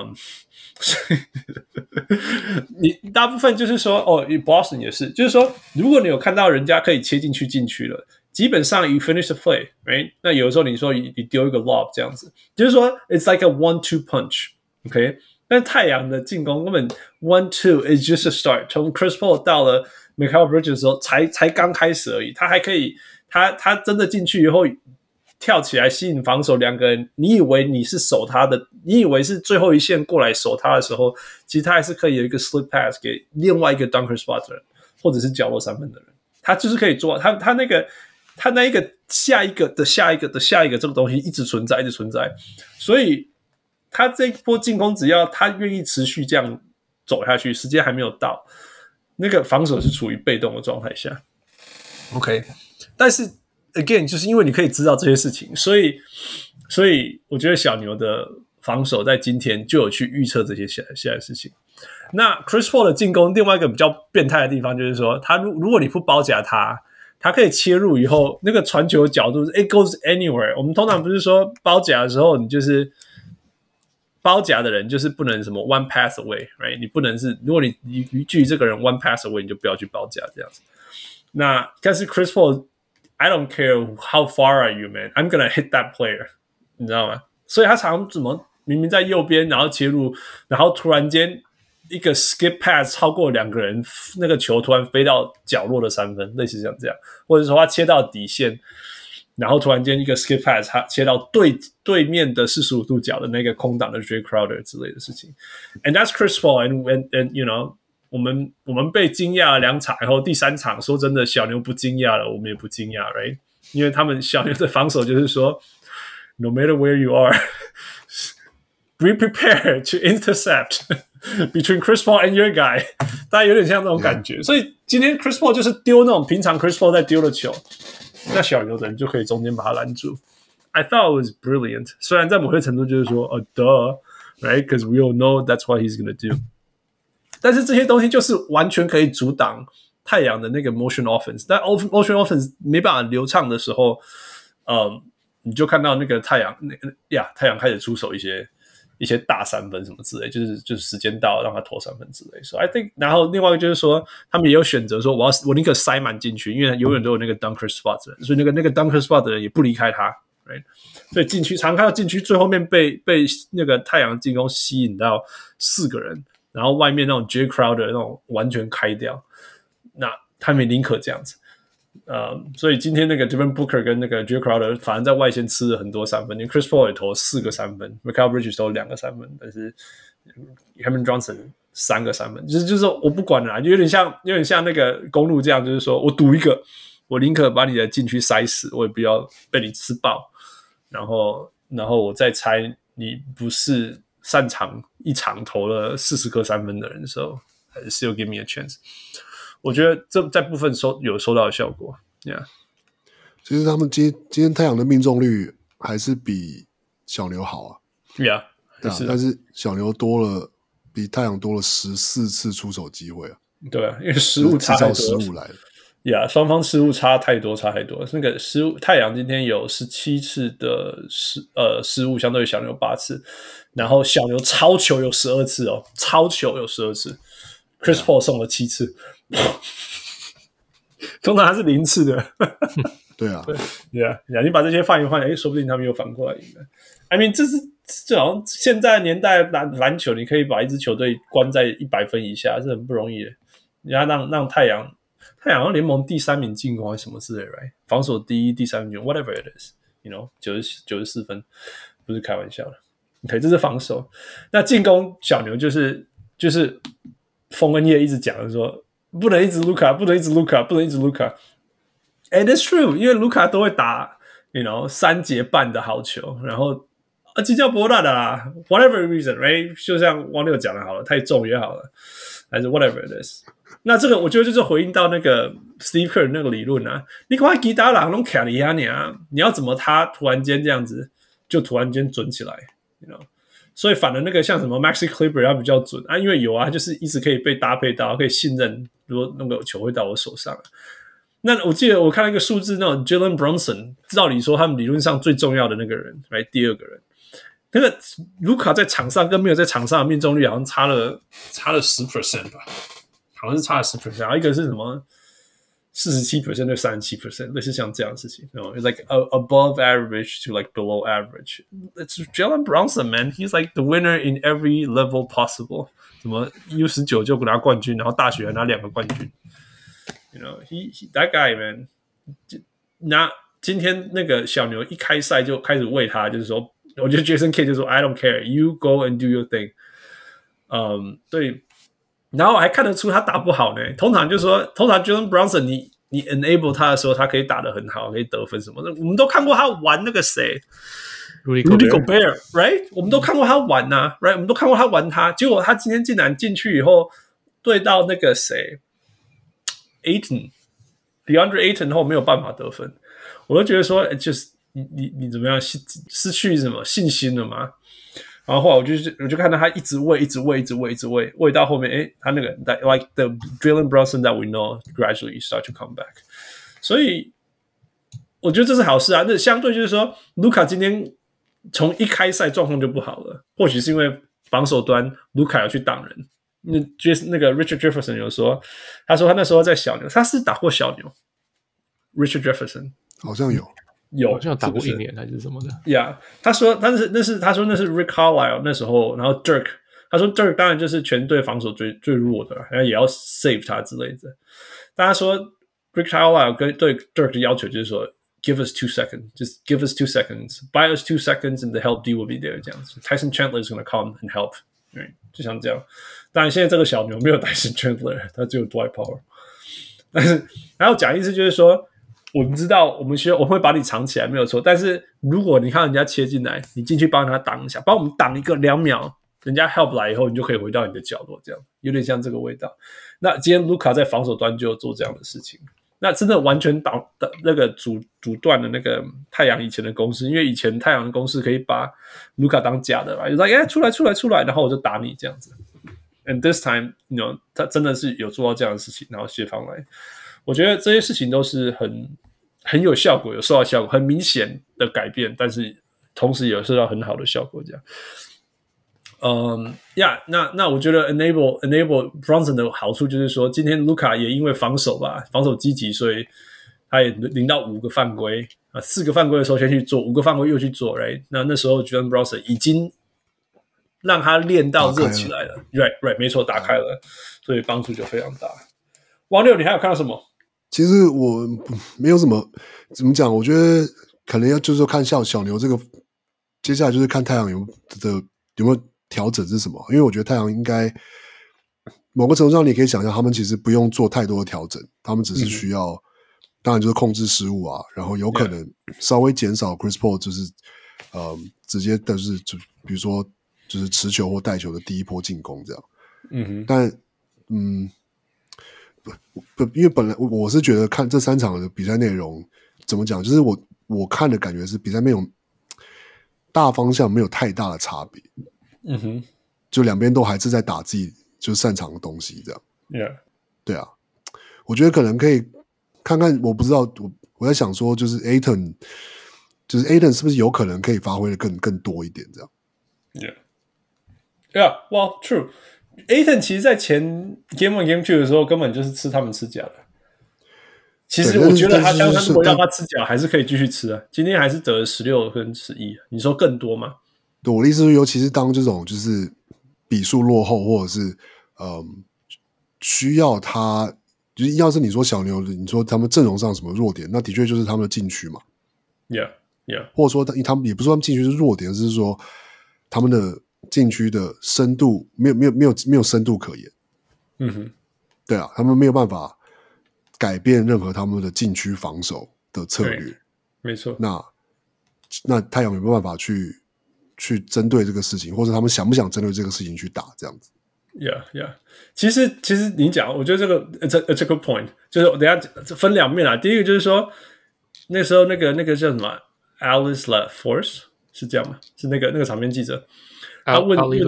你大部分就是說Boston 也是，就是說，如果你有看到人家可以切進去禁區了，基本上 you finish the play, right？ 那有的时候你說你丟一個 lob 這樣子，就是說 it's like a 1-2 punch，OK？ 但太陽的進攻根本 1-2 is just a start， 從 Chris Paul 到了 Mikal Bridges 的時候才剛開始而已，他還可以，他真的進去以後。跳起來吸引防守，兩個人，你以為你是守他的，你以為是最後一線過來守他的時候，其實他還是可以有一個 slip pass 給另外一個 dunker spot 的人，或者是角落三分的人，他就是可以做他他那一個下一個的下一個的下一個這個東西一直存在，一直存在，所以他這一波進攻只要他願意持續這樣走下去，時間還沒有到，那個防守是處於被動的狀態下。OK， 但是 again 就是因為你可以知道這些事情，所以我覺得小牛的防守在今天就有去預測這些下來的事情。那 Chris Paul 的進攻另外一個比較變態的地方就是說，他如果你不包夾他可以切入以後那個傳球的角度 it goes anywhere。我們通常不是說包夾的時候，你就是包夾的人就是不能什麼 one pass away，right？ 你不能是如果你距離這個人 one pass away， 你就不要去包夾這樣子。那但是 Chris Paul，I don't care how far are you, man. I'm gonna hit that player， 你知道嗎？所以他常怎麼明明在右邊，然後切入，然後突然間一個 skip pass 超過兩個人，那個球突然飛到角落的三分，類似像這樣，或者說他切到底線，然後突然間一個 skip pass 他切到對面的45度角的那個空檔的 Jay Crowder 之類的事情。And that's Chris Paul, and you know。我們被驚訝了2場，然後第3場說真的小牛不驚訝了，我們也不驚訝 ，right？ 因為他們小牛的防守就是說 ，no matter where you are, be prepared to intercept between Chris Paul and your guy， 大家有點像這種感覺。所以今天 Chris Paul 就是丟那種平常 Chris Paul 在丟的球，那小牛的人就可以中間把他攔住。I thought it was brilliant， 雖然在某些程度就是說duh， right？Because we all know that's what he's gonna do。但是這些東西就是完全可以阻擋太陽的那個 motion offense， 但 motion offense 沒辦法流暢的時候，你就看到那個太陽開始出手一些大三分什麼之類，就是時間到讓他投三分之類。So I think， 然後另外一個就是說，他們也有選擇說，我寧可塞滿進去，因為永遠都有那個 dunker spot 的人，所以那個 dunker spot 的人也不離開他 ，right？ 所以禁區常看到禁區最後面被那個太陽進攻吸引到4個人。然後外面那種 Jay Crowder 那種完全開掉，那他們寧可這樣子，所以今天那個 Devin Booker 跟那個 Jay Crowder 反而在外線吃了很多三分，因為 Chris Paul 也投4個三分 ，Mikal Bridges 投2個三分，但是 Cameron Johnson 3個三分，就是我不管了啦，就有點像那個公路這樣，就是說我賭一個，我寧可把你的禁區塞死，我也不要被你吃爆，然後我再猜你不是擅長一場投了40顆三分的人， so still give me a chance。 我覺得這在部分有收到的效果。Yeah， 其實他們今天太陽的命中率還是比小牛好啊。 Yeah， 對啊，但是小牛比太陽多了14次出手機會啊。 對啊，因為失誤差太多， 失誤來了。 雙方失誤差太多。那個失誤，太陽今天有17次的失誤，相對於小牛8次，然後小牛超球有12次哦，超球有12次 ，Chris Paul 送了7次，通常他是0次的。 对啊， 你把這些換一換，說不定他們又反過來贏了。I mean， 這好像現在年代籃球，你可以把一支球隊關在100分以下，是很不容易的。你要讓太陽好像聯盟第3名進攻還是什麼之類的 ，right？ 防守第1、第3名 ，whatever it is，you know， 94分，不是開玩笑的。OK， 這是防守。那進攻小牛就是風跟葉一直講的說，不能一直盧卡，不能一直盧卡，不能一直盧卡。And it's true， 因為盧卡都會打 ，you know， 3節半的好球，然後這叫不爛的啦 ，whatever reason，right？ 就像汪六講的好了，太重也好了，還是 whatever it is。那這個我覺得就是回應到那個 Steve Kerr 那個理論啊，你看其他人都卡你啊你要怎麼他突然間這樣子就突然間準起來 ，you know？ 所以反而那個像什麼 Maxi Kleber 要比較準啊，因為有啊，就是一直可以被搭配到，可以信任，如果那個球會到我手上。那我記得我看了一個數字，那種 Jalen Brunson， 照理說他們理論上最重要的那個人，來第2個人，那個盧卡在場上跟沒有在場上的命中率好像差了 10% 吧。好像是差了 10%， 然後一個是什麼 47% 對 37%， 類似像這樣的事情。It's like above average to like below average. It's Jalen Brunson, man. He's like the winner in every level possible. 什麼 U19 就拿冠軍，然後大學還拿2個冠軍。You know, that guy, man. 那今天那個小牛一開賽就開始餵他，就是說，我覺得 Jason Kidd 就說 I don't care, you go and do your thing. 對。然後還看得出他打不好呢。通常 Jalen Brunson， 你 enable 他的時候，他可以打得很好，可以得分什麼的。我們都看過他玩那個誰 Rudy Gobert，right？ 我們都看過他玩啊 ，right？ 我們都看過他玩他，結果他今天竟然進去以後對到那個誰 DeAndre Ayton 後沒有辦法得分，我都覺得說，就是你怎麼樣失去什麼信心了嗎？然後後來我就看到他一直餵到後面，他那個 like the Jalen Brunson that we know gradually start to come back， 所以我覺得這是好事啊。那相對就是說，盧卡今天從一開賽狀況就不好了，或許是因為防守端盧卡要去擋人。那個 Richard Jefferson 有說，他說他那時候在小牛，他是打過小牛。Richard Jefferson 好像有。 好像打過1年還是什麼的。 Yeah， 他說那是 Rick Carlisle 那時候，然後 Dirk， 他說 Dirk 當然就是全队防守最弱的，然後也要 save 他之類的。但他說 Rick Carlisle 对 Dirk 的要求就是說 ，give us 2 seconds， just give us 2 seconds， buy us 2 seconds and the help D will be there 這樣子。Tyson Chandler is gonna come and help， 就像這樣。當然現在這個小牛沒有 Tyson Chandler， 他只有 Dwight Powell。但是然後講意思就是說。我們知道，我们會把你藏起來，沒有錯。但是如果你看人家切進來，你進去幫他擋一下，幫我們擋一個2秒，人家 help 來以後，你就可以回到你的角落，這樣有點像這個味道。那今天盧卡在防守端就做這樣的事情，那真的完全那個阻斷了那個太陽以前的攻勢，因為以前太陽的攻勢可以把盧卡當假的，就說出來，然後我就打你這樣子。And this time， 他真的是有做到這樣的事情，然後協防來。我覺得這些事情都是很有效果，有收到效果，很明顯的改變，但是同時也有收到很好的效果。這樣，那我覺得 enable Brunson 的好處就是說，今天盧卡也因為防守積極，所以他也領到5個犯規啊，4個犯規的時候先去做，5個犯規又去做 ，right？ 那時候 Jalen Brunson 已經讓他練到熱起來了 ，right， 沒錯，打開了，所以幫助就非常大。王六，你還有看到什麼？ 其實我沒有什麼怎麼講，我覺得可能要就是說看小牛這個，接下來就是看太陽有沒有調整是什麼，因為我覺得太陽應該某個程度上你可以想象，他們其實不用做太多的調整，他們只是需要，當然就是控制失誤啊，然後有可能稍微減少 Chris Paul 就是直接的是就比如說就是持球或帶球的第一波進攻這樣，但因為本來我是覺得看這3場的比賽內容怎麼講，就是我看的感覺是比賽內容大方向沒有太大的差別，就兩邊都還是在打自己就擅長的東西這樣，對啊，我覺得可能可以看看，我不知道我在想說，就是 Ayton 是不是有可能可以發揮的更多一點這樣 ，well true。Ayton 其實在前 Game 1 Game 2的時候根本就是吃他們吃假的。其實我覺得他如果讓他吃假還是可以繼續吃啊。今天還是得了16跟11，你說更多嗎？ 對，我的意思是，尤其是當這種就是比數落後，或者是需要他，就是要是你說小牛，你說他們陣容上什麼弱點，那的確就是他們的禁區嘛。 Yeah， 或者說他們也不是說他們禁區是弱點，是說他們的禁區的深度沒有深度可言，对啊，他們沒有辦法改變任何他們的禁區防守的策略， 沒錯。 那太陽有沒有辦法去針對這個事情，或者他們想不想針對這個事情去打這樣子 ？Yeah， 其實你講，我覺得這個 it's a good point， 就是等一下分兩面啦。第一個就是說，那時候那個叫什麼 Alice LaForce 是這樣嗎？是那個場面記者。他問 Ali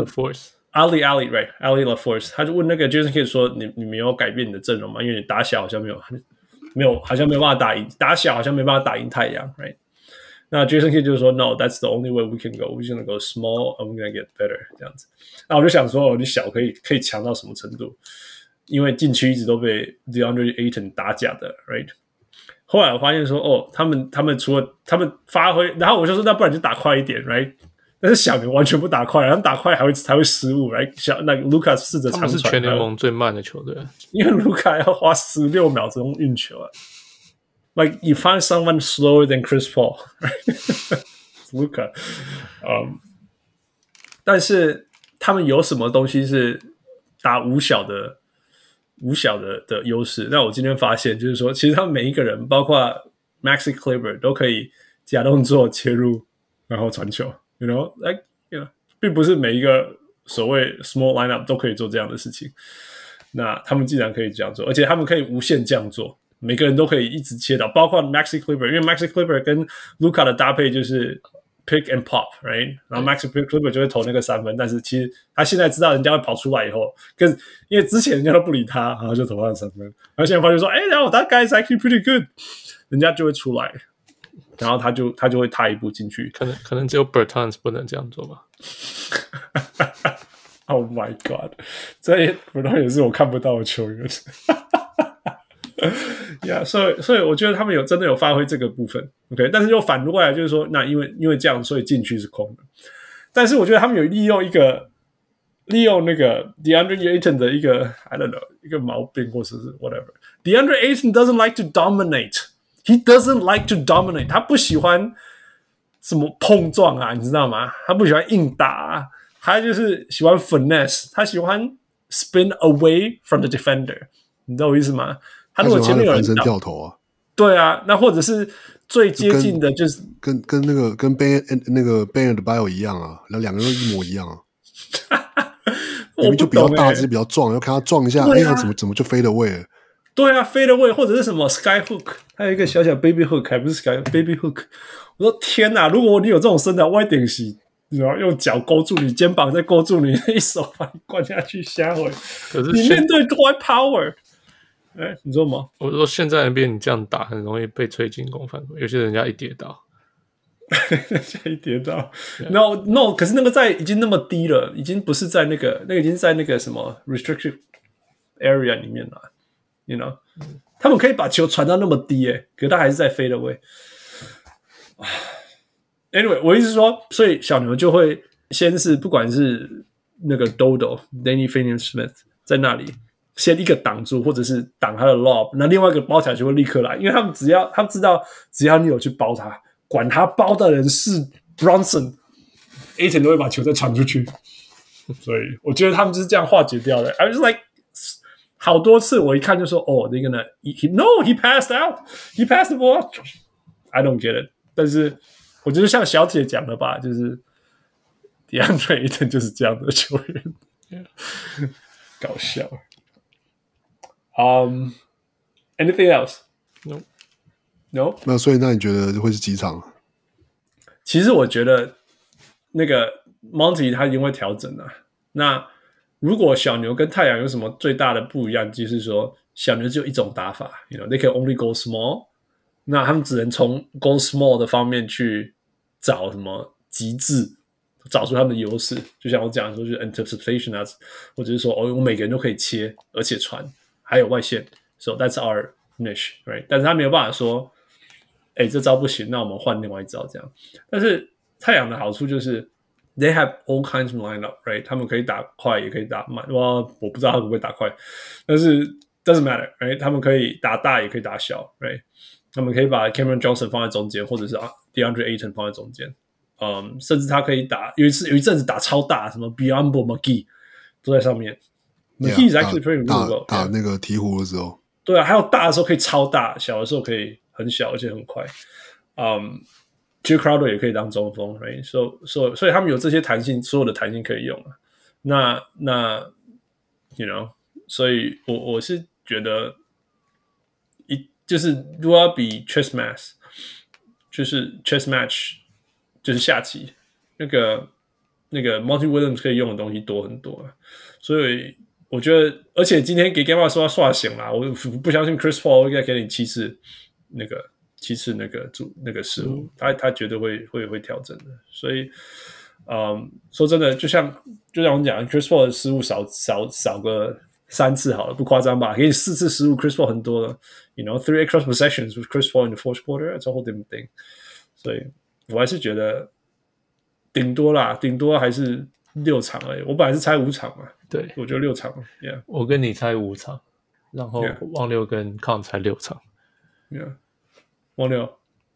LaForce， 他就問那個 Jason Kidd 說：“你沒有改變你的陣容嗎？因為你打小好像沒有，好像沒辦法打贏，打小好像沒辦法打贏太陽 ，right？” 那 Jason Kidd 就說 ：“No, that's the only way we can go. We're gonna go small and we're gonna get better。”這樣子。那我就想說，你小可以強到什麼程度？因為禁區一直都被 DeAndre Ayton 打假的 ，right？ 後來我發現說，他們除了他們發揮，然後我就說，那不然就打快一點 ，right？但是小牛完全不打快，他們打快還會失誤，來那個盧卡試着長傳，他們是全聯盟最慢的球隊，因為盧卡要花16秒鐘運球啊。Like you find someone slower than Chris Paul, right? Luka， 但是他們有什麼東西是打5小的五小的優勢。那我今天發現就是說，其實他們每一個人，包括 Maxi Kleber 都可以假動作切入，然後傳球。You know, like, you know, 並不是每一個所謂 small lineup 都可以做這樣的事情。那他們既然可以這樣做，而且他們可以無限這樣做，每個人都可以一直切到，包括 Maxi Kleber， 因為 Maxi Kleber 跟 Luka 的搭配就是 pick and pop， right？ 然後 Maxi Kleber 就會投那個三分，但是其實他現在知道人家會跑出來以後，因為之前人家都不理他，然後就投他的三分，然後現在發現說，然後 that guy is actually pretty good， 人家就會出來。然後他就會踏一步進去， 可能只有 Bertans 不能這樣做吧。 Oh my god， 這 Bertans 也是我看不到的球員。Yeah， 所以我覺得他們真的有發揮這個部分 ，OK， 但是又反過來就是說，那因為這樣，所以禁區是空的。但是我覺得他們有利用那個 DeAndre Ayton 的一個 I don't know 一個毛病或者是 whatever。DeAndre Ayton doesn't like to dominate。He doesn't like to dominate， 他不喜歡什麼碰撞啊，你知道嗎？他不喜歡硬打啊，他就是喜歡 finesse， 他喜歡 spin away from the defender， 你知道我意思嗎？他如果前面有人翻身跳投啊， 對啊，那或者是最接近的就是跟那個跟 Ben 的 Bio 一樣啊，然後兩個人都一模一樣啊。明明就比較大只，比較壯，要看他撞一下，怎麼就飛得位了？ 對啊，fade away 或者是什麼 sky hook， 還有一個小小 baby hook， 還不是 sky baby hook。我說天哪，如果你有這種身材，我一定是然後用腳勾住你肩膀，再勾住你，一手把你灌下去下回。可是你面對 Dwight Power， 你說嗎？ 我說現在 NBA 你這樣打很容易被吹進攻犯規，有些人家一跌倒， 一跌倒 ，no， 可是那個已經那麼低了，已經不是在那個已經在那個什麼 restricted area 裡面了。You know， 他們可以把球傳到那麼低可是他還是在 fade away。Anyway， 我意思是說，所以小牛就會先是不管是那個 Dodo、Danny Finney-Smith 在那裡先一個擋住，或者是擋他的 lob， 那另外一個包起來就會立刻來，因為他們知道只要你有去包他，管他包的人是 Bronson、Ayton 都會把球再傳出去。所以我覺得他們就是這樣化解掉的。I was like。好多次我一看就說they're gonna he passed out, he passed the ball. I don't get it. 但是我觉得像小鐵講的吧，就是 DeAndre Ayton 就是這樣的球員，搞笑。Anything else? No. 那所以那你覺得會是幾場？ 其實我覺得那個 Monty 他一定會調整的。那如果小牛跟太陽有什麼最大的不一樣，就是說小牛只有一種打法 ，you know, they can only go small， 那他們只能從 go small 的方面去找什麼極致，找出他們的優勢。就像我講的說，就是 anticipation 啊，或者是說我每個人都可以切，而且傳，還有外線 ，so that's our niche， right？ 但是他沒有辦法說，這招不行，那我們換另外一招這樣。但是太陽的好處就是，they have all kinds of lineup, right? 他們可以打快，也可以打慢。我不知道他会不會打快，但是 doesn't matter, right? 他們可以打大，也可以打小 ，right? 他們可以把 Cameron Johnson 放在中間，或者是 DeAndre Ayton 放在中間。甚至他可以打，有一陣子打超大，什麼 Biyombo、McGee 都在上面。McGee is actually pretty good. 打那個鹈鶘的時候， 對啊，還有大的時候可以超大，小的時候可以很小，而且很快。Jay Crowder 也可以當中鋒 ，right？ 所以他們有這些彈性，所有的彈性可以用啊。那 you know， 所以我是覺得就是如果要比 chess match， 就是 chess match， 就是下棋那個 Monty Williams 可以用的東西多很多啊。所以我覺得，而且今天給 Gamma 說他刷醒啦，我不相信 Chris Paul 應該給你7次那個失誤，他絕對會調整的。所以，說真的，就像我講，Chris Paul 的失誤少個3次好了，不誇張吧？給你4次失誤 ，Chris Paul 很多了。You know, 3 extra possessions with Chris Paul in the fourth quarter, that's a whole different thing. 所以我還是覺得頂多還是6場而已。我本來是猜5場嘛， 對， 我覺得6場。Yeah， 我跟你猜5場，然後汪六跟康猜6場。 Yeah。汪六，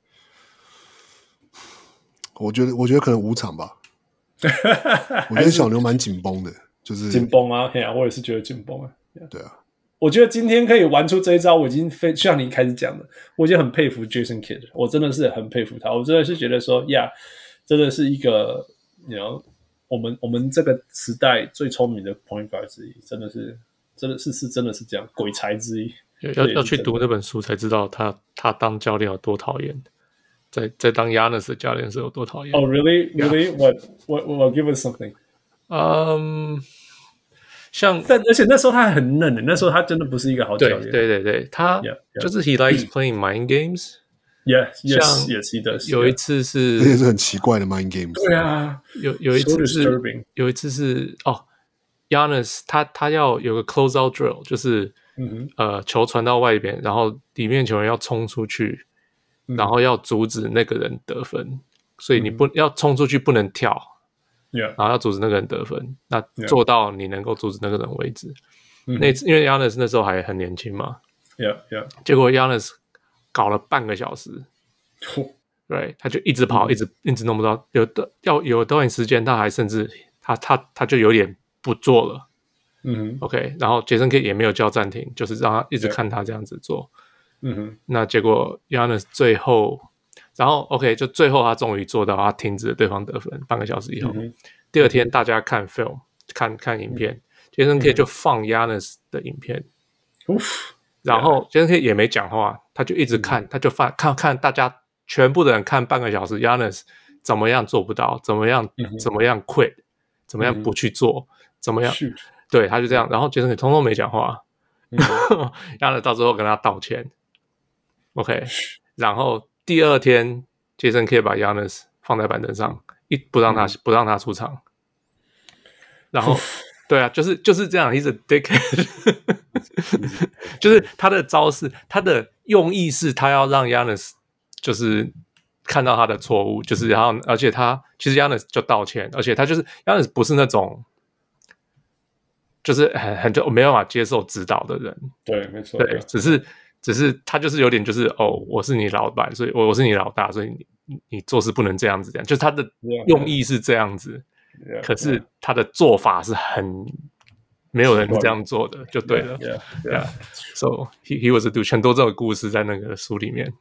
我覺得可能5場吧。我覺得小牛蠻緊繃的，就是緊繃啊，我也是覺得緊繃啊。 對啊， 我覺得今天可以玩出這一招，我已經像你一開始講的，我已經很佩服 Jason Kidd， 我真的是很佩服他，我真的是覺得說呀，真的是一個我們這個時代最聰明的 point guard 之一，真的是这樣鬼才之一。 要去讀那本書才知道他当教練有多討厭，在当 Giannis 的教練是有多討厭。 Oh really? Really? What? Give us something. 而且那時候他還很嫩的，那时候他真的不是一個好教練。 对，他就是 he likes playing mind games. Yes, he does. 有一次是， 这也是很奇怪的 mind games。 对啊， 有一次是Giannis 他要有個 closeout drill， 就是球傳到外邊，然後裡面球員要衝出去，然後要阻止那個人得分，所以你要衝出去不能跳。然後要阻止那個人得分，那做到你能夠阻止那個人為止。因為 Giannis 那時候還很年輕嘛，結果 Giannis 搞了半個小時，對，他就一直跑，一直弄不到。有段時間，他還甚至他就有點不做了。OK， 然後傑森 Kidd 也沒有叫暫停，就是讓他一直看他這樣子做。那結果 Giannis 最後。然後 OK， 就最後他終於做到，他停止了對方得分。半個小時以後，第二天大家看 film 看影片，Jason Kidd 就放 Giannis 的影片，然後 Jason Kidd 也沒講話，他就一直看，他就看大家全部的人看半個小時 ，Giannis 怎麼樣做不到，怎麼樣 quit， 怎麼樣不去做，怎麼樣，對，他就這樣，然後 Jason Kidd 通通沒講話，Giannis 到最後跟他道歉 ，OK， 然後。第二天 ，Jason Kidd 把 Giannis 放在板凳上，不讓他出场。然後，對啊，就是這樣 ，He's a dickhead 。就是他的招式，他的用意是他要讓 Giannis 就是看到他的錯誤，就是然後，而且其實 Giannis 就道歉，而且他就是 Giannis 不是那種就是就沒辦法接受指導的人。 對，沒錯。 對，只是他就是有點就是我是你老闆，所以我是你老大，所以你做事不能這樣子，就是他的用意是這樣子，可是他的做法是很沒有人這樣做的，就對了。So he was a dude， 很多這種故事在那個書裡面。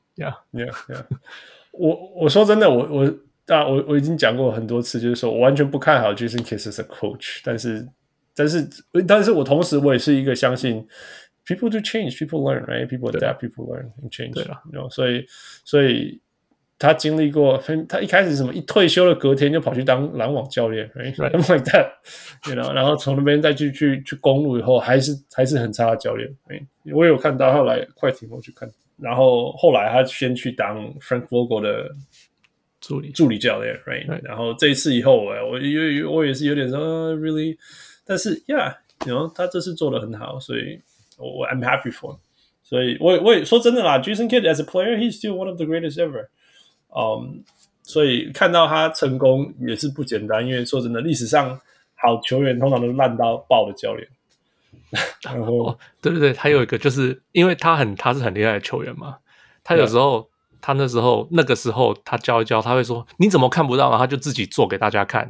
我說真的，我已經講過很多次，就是說我完全不看好 Jason Kidd as a coach， 但是我同時我也是一個相信。People do change, people learn, right? People adapt, people learn and change. 對啦， 所以他經歷過，他一開始什麼一退休了，隔天就跑去當籃網教練 ，right? Something like that, you know. 然後從那邊再去公路以後，還是很差的教練。Right? 我有看到後來快艇我去看，然後後來他先去當 Frank Vogel 的助理教練 ，right? 然後這一次以後，我也是有點說 really， 但是 yeah，you know, 他這次做得很好，所以。I'm happy for him. 所以我也說真的啦 Jason Kidd as a player, he's still one of the greatest ever. 所以看到他成功也是不簡單，因為說真的，歷史上好球員通常都爛到爆的教練。然後對，他有一個就是因為他是很厲害的球員嘛，他有時候他那個時候他教一教，他會說你怎麼看不到，然後他就自己做給大家看。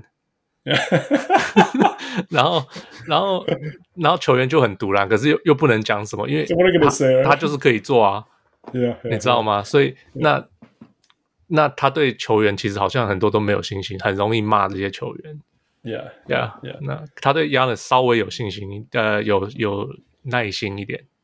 然後球員就很賭爛，可是又不能講什麼，因為他就是可以做啊，你知道嗎？所以那他對球員其實好像很多都沒有信心，很容易罵這些球員。那他對 Giannis 稍微有信心，有耐心一點。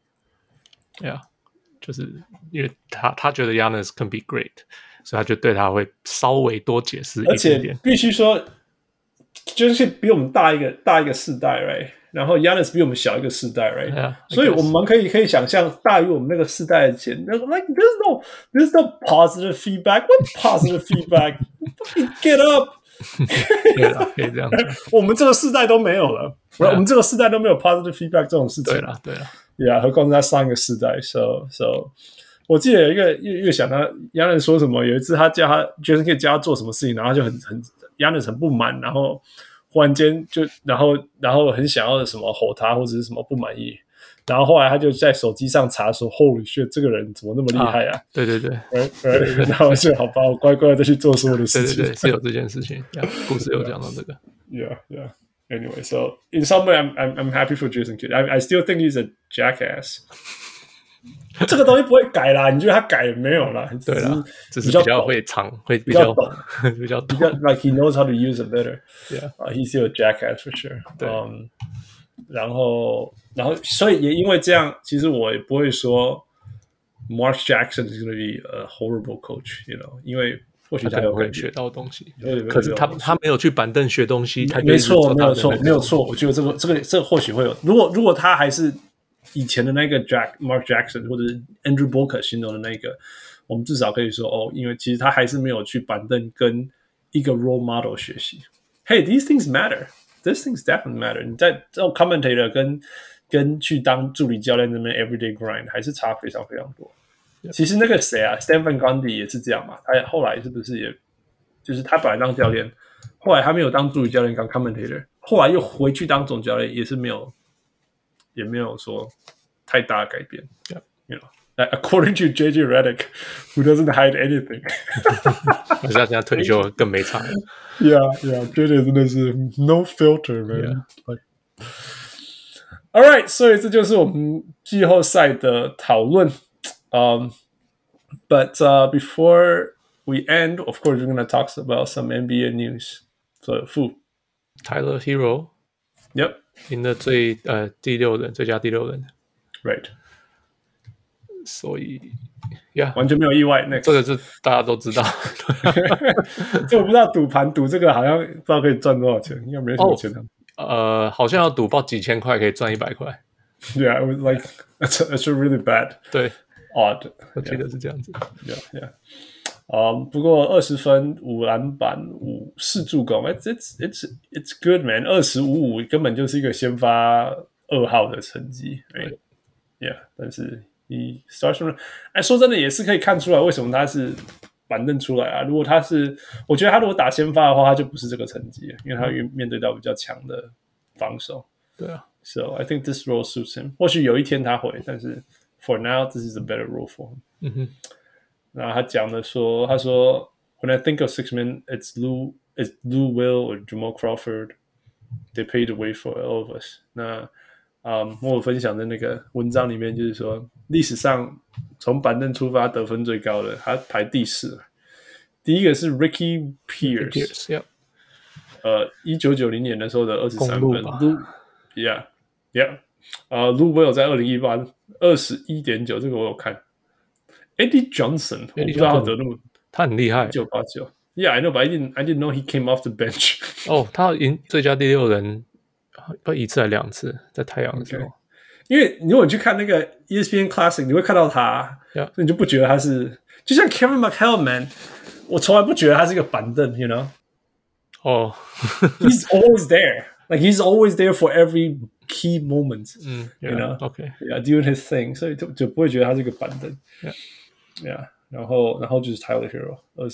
就是因為他覺得 Giannis can be great， 所以他就對他會稍微多解釋一點點。 而且必須說。就是比我們大一個世代 ，right？ 然後 Giannis 比我們小一個世代 ，right？ 所以我們可以想象，大於我們那個世代的前 ，like there's no positive feedback. What positive feedback? Get up！ 对了，可以這樣講。 我們這個世代都沒有了，我們這個世代都沒有 positive feedback 這種事情。 對了， 何況是在上一個世代。So， 我記得有一個越想他 Giannis 說什麼，有一次他叫他 Jason Kidd 叫他做什麼事情，然後他就很。Giannis 很不滿，然後忽然間然後很想要什麼吼他或者是什麼不滿意，然後後來他就在手機上查說 Holy shit， 這個人怎麼那麼厲害啊？ 對， 然後就好吧，我乖乖的去做所有的事情。 對，是有這件事情，故事有講到這個。 Yeah. Anyway, so in some way, I'm happy for Jason Kidd. I still think he's a jackass. 这個東西不會改啦，你覺得他改沒有啦？ 對啦，只是比較會長，會比較懂，比較懂。 Like he knows how to use it better. Yeah, he's still a jackass for sure. 對， 然後，所以也因為這樣，其實我也不會說 Mark Jackson is going to be a horrible coach, you know， 因為或許他有會學到東西，可是他沒有去板凳學東西，他沒錯，沒有錯。我覺得這個或許會有，如果他還是以前的那個 Mark Jackson 或者是 Andrew Bogut 形容的那個，我們至少可以說哦，因為其實他還是沒有去板凳跟一個 role model 學習。Hey, these things matter. These things definitely matter. 你在這種 commentator 跟去當助理教練那邊 everyday grind 還是差非常非常多。其實那個誰啊 ，Stephen Gundy 也是這樣嘛。他後來是不是也就是他本來當教練，後來他沒有當助理教練，當 commentator， 後來又回去當總教練，也沒有說太大的改變。 Yeah. You know, like according to JJ Redick, who doesn't hide anything. 可是他现在退休了更沒差。 Yeah, JJ 真的是 no filter, man. Yeah. All right, 所以這就是我們季後賽的討論。But before we end, of course, we're going to talk about some NBA news. So, Fu. Tyler Hero. Yep. 贏了第六人，最佳第六人。 Right. 所以，Yeah， 完全沒有意外。Next. 這個是大家都知道。 這我不知道賭盤賭這個好像不知道可以賺多少錢，應該沒什麼錢的。 好像要賭爆幾千塊可以賺100塊。 Yeah, it was like that's really bad. 對 ，odd. 我記得是這樣子。 Yeah. 不過20分5籃板4助攻 ，it's good man. 25-5根本就是一個先發2號的成績 ，right? Yeah. 但是he starts from， 說真的也是可以看出來為什麼他是板凳出來啊。如果他是，我覺得他如果打先發的話，他就不是這個成績，因為他面對到比較強的防守。 對啊。 So I think this role suits him. 或許有一天他會，但是 for now this is a better role for him. 然後他講的說，他說 When I think of six men, it's Lou Will or Jamal Crawford. They paved the way for all of us. 那我有分享的那個文章裡面就是說，歷史上從板凳出發得分最高的，他排第4。第一個是 Ricky Pierce， 1990年的時候的23分。Lou Will 在2018 21.9， 這個我有看。Eddie Johnson， 我不知道他得那麼， 他很厲害。 1989 ，Yeah, I know, but I didn't know he came off the bench. 他贏最佳第六人，不1次還2次，在太陽的時候。 Okay. 因為如果你去看那個 ESPN Classic， 你會看到他，所以你就不覺得他是，就像 Kevin McHale，man， 我從來不覺得他是一個板凳 ，you know？ He's always there. Like he's always there for every key moment. You know? Okay. Yeah, doing his thing. 所以就不會覺得他是一個板凳。Yeah. 然後就是 Tyler Hero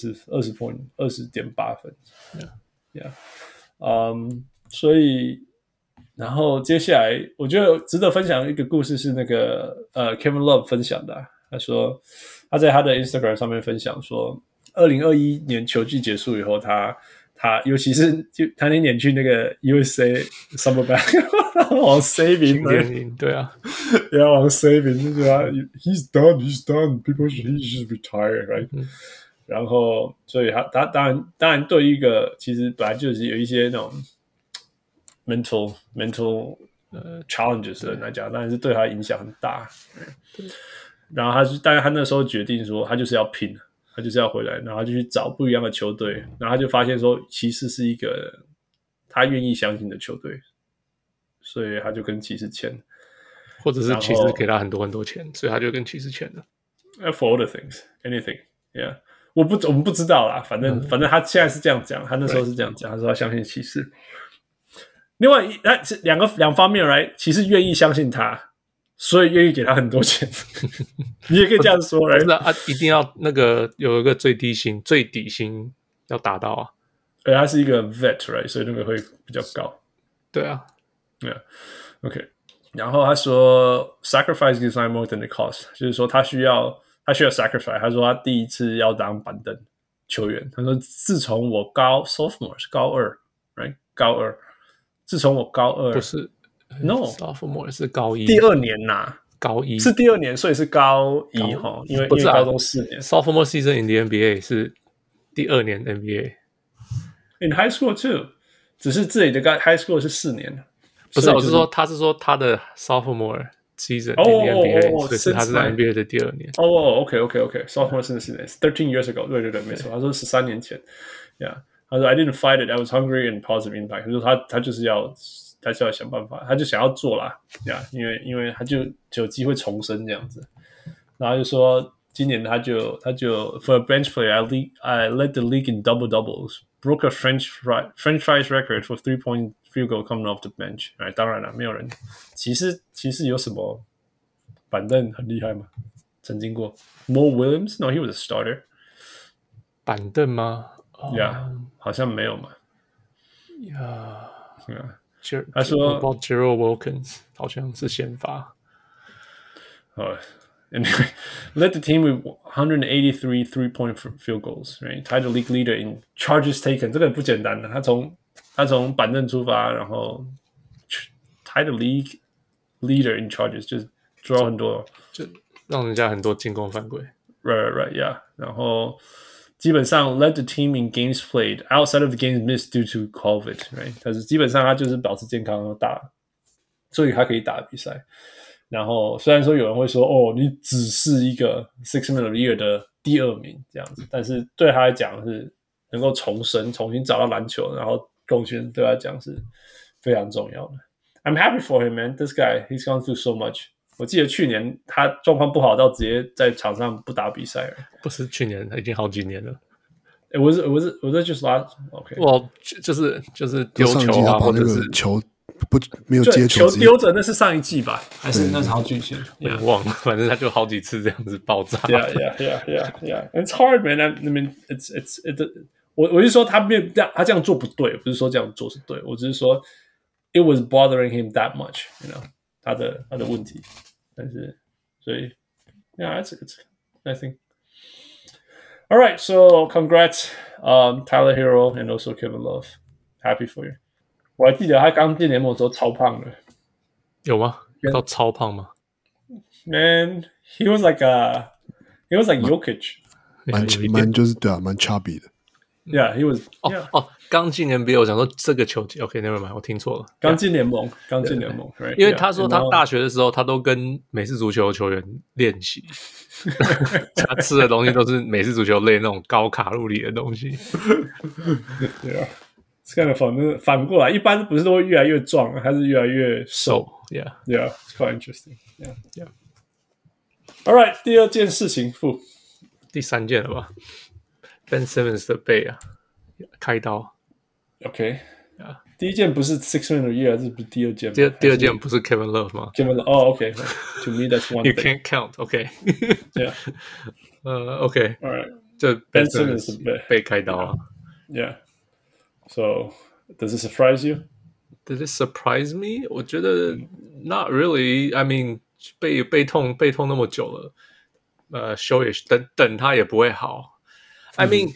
20.8分。Yeah. 所以然後接下來我覺得值得分享一個故事是那個Kevin Love 分享的。他說他在他的 Instagram 上面分享說，2021年球季結束以後，他尤其是就他那年去那個 USA Summer Basketball 往 saving， 對啊， 要往 saving 就覺得 he's done people he should retire right，然後所以他當然對於一個其實本來就是有一些那種 mental challenges 的人來講，當然是對他影響很大。然後但是他那時候決定說他就是要拼。他就是要回來，然後他就去找不一樣的球隊，然後他就發現說，騎士是一個他願意相信的球隊，所以他就跟騎士簽， 或者是騎士給他很多很多錢，所以他就跟騎士簽了。 For all the things, anything, yeah， 我們不知道啦，反正他現在是這樣講，他那時候是這樣講，他說他相信騎士。另外兩方面 ，right， 騎士願意相信他。所以願意給他很多錢，你也可以這樣說， 不是啊，一定要那個有一個最底薪要達到啊。 而他是一個 vet， right， 所以那個會比較高。 對啊 ，Yeah， OK。然後他說 ，sacrifice is not more than the cost， 就是說他需要 sacrifice。他說他第一次要當板凳球員，他說自從我sophomore 是高2 ，right， 高2 自從我高二不是 ，no sophomore 是高一， 第2年吶， 高一是第2年，所以是高一哈，因为高中4年。 Sophomore season in the NBA 是第2年 NBA。In high school too， 只是这里的 high school 是4年。 不是，我是说他的 sophomore season in the NBA， 所以是他是在 NBA 的第2年。 OK，sophomore season 13 years ago， 对，没錯，他說13年前 ，Yeah， 他說 I didn't fight it， I was hungry and positive impact， 他說他就是要想辦法，他就想要做啦 ，Yeah， 因為他就有機會重生這樣子，然後就說今年他就 for a bench player I led the league in double doubles，broke a French fries record for 3-point field goal coming off the bench， 當然了，沒有人騎士有什麼板凳很厲害嗎？曾經過 Mo Williams No he was a starter 板凳嗎 ？Yeah， 好像沒有嘛。 Yeah， 他說 about Gerald Wilkins 好像是先發。 Anyway, led the team with 183 three-point field goals, right? Tied the league leader in charges taken. 這個不簡單的，他從板凳出發，然後 tied the league leader in charges， 就是抓很多， 就讓人家很多進攻犯規。 Right, yeah. 然後基本上 led the team in games played outside of the games missed due to COVID, right? 但是基本上他就是保持健康打，所以他可以打比賽。然後雖然說有人會說哦，你只是一個 Sixth Man of the Year 的第2名這樣子，但是對他來講是能夠重新找到籃球，然後貢獻對他來講是非常重要的。I'm happy for him, man. This guy, he's gone through so much. 我記得去年他狀況不好到直接在場上不打比賽了。 不是去年，已經好幾年了。 Was it just last? Okay. Well, 就是丟球啊，或者是球。沒有接球丟着，那是上一季吧？還是那是好幾年？ 我忘了，反正他就好幾次這樣子爆炸。 Yeah. It's hard, man. I mean, it's. 我是說他這樣做不對，不是說這樣做是對，我只是說 it was bothering him that much, you know, 他的問題。但是所以 yeah, it's I think. All right, so congrats, Tyler Hero and also Kevin Love. Happy for you. 我還記得他剛進聯盟的時候超胖的， 有嗎？到超胖嗎 ？Man, he was like Jokic， 蠻就是對啊，蠻 chubby 的。 Yeah, he was. 剛進 NBA， 我想說這個球季 ，OK，never mind， 我聽錯了。剛進聯盟 ，right? 因為他說他大學的時候，他都跟美式足球球員練習，他吃的東西都是美式足球類那種高卡路里的東西。 對啊。kind of fun， 反過來，一般不是都會越來越壯，還是越來越瘦 ？Yeah, it's quite interesting. Yeah. All right， 第2件事情， 第3件了吧 ？Ben Simmons 的背啊，開刀。 OK， 第1件不是 Sixth Man of the Year， 還是不是第2件？ 第二件不是 Kevin Love 嗎 ？Kevin Love，OK，To me that's one. You can't count. OK. Yeah. OK. All right. 就 Ben Simmons 的背開刀啊。 Yeah. So, does it surprise you? Does it surprise me? 我覺得 not really. I mean, 背痛那麼久了，休也等他也不會好。I mean,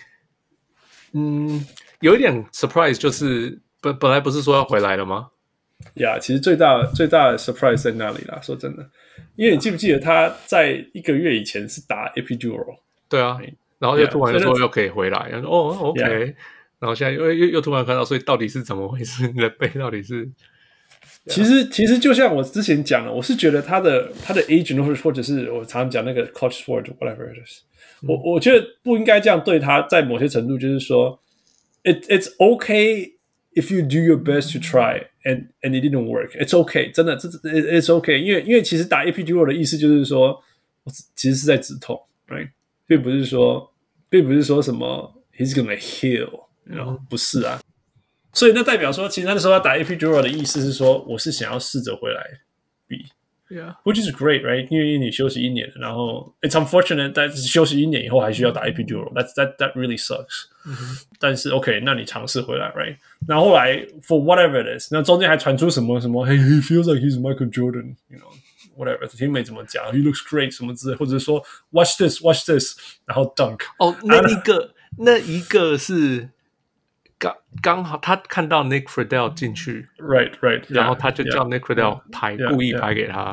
有一點 surprise 就是本來不是說要回來了嗎？ Yeah, 其實最大的 surprise 在那裡啦。說真的，因為你記不記得他在1個月以前是打 epidural？ 對啊，然後又突然說又可以回來，然後說OK。Yeah.然後現在又突然看到，所以到底是怎麼回事？你的背到底是？ 其實就像我之前講的，我是覺得他的 agent 或者是我常常講那個 coach sport whatever it is，我覺得不應該這樣對他，在某些程度就是說 it's okay if you do your best to try and it didn't work. It's okay， 真的it's okay， 因為其實打 epidural 的意思就是說，其實是在止痛 ，right？ 並不是說什麼 he's gonna heal。不是啊，所以那代表說，其實那時候他打 epidural 的意思是說，我是想要試着回來比 ，which is great, right？ 因為你休息1年了，然後 it's unfortunate， 但是休息1年以後還需要打 epidural，that really sucks。但是 OK， 那你嘗試回來 ，right？ 然後後來 for whatever it is， 那中間還傳出什麼 ，Hey, he feels like he's Michael Jordan，you know。Whatever， teammate 怎麼講 ？He looks great 什麼之類，或者說 watch this， 然後 dunk。 那一個是。 剛好他看到 Nick Friedel 進去 ，right， 然後他就叫 Nick Friedel 拍，故意拍給他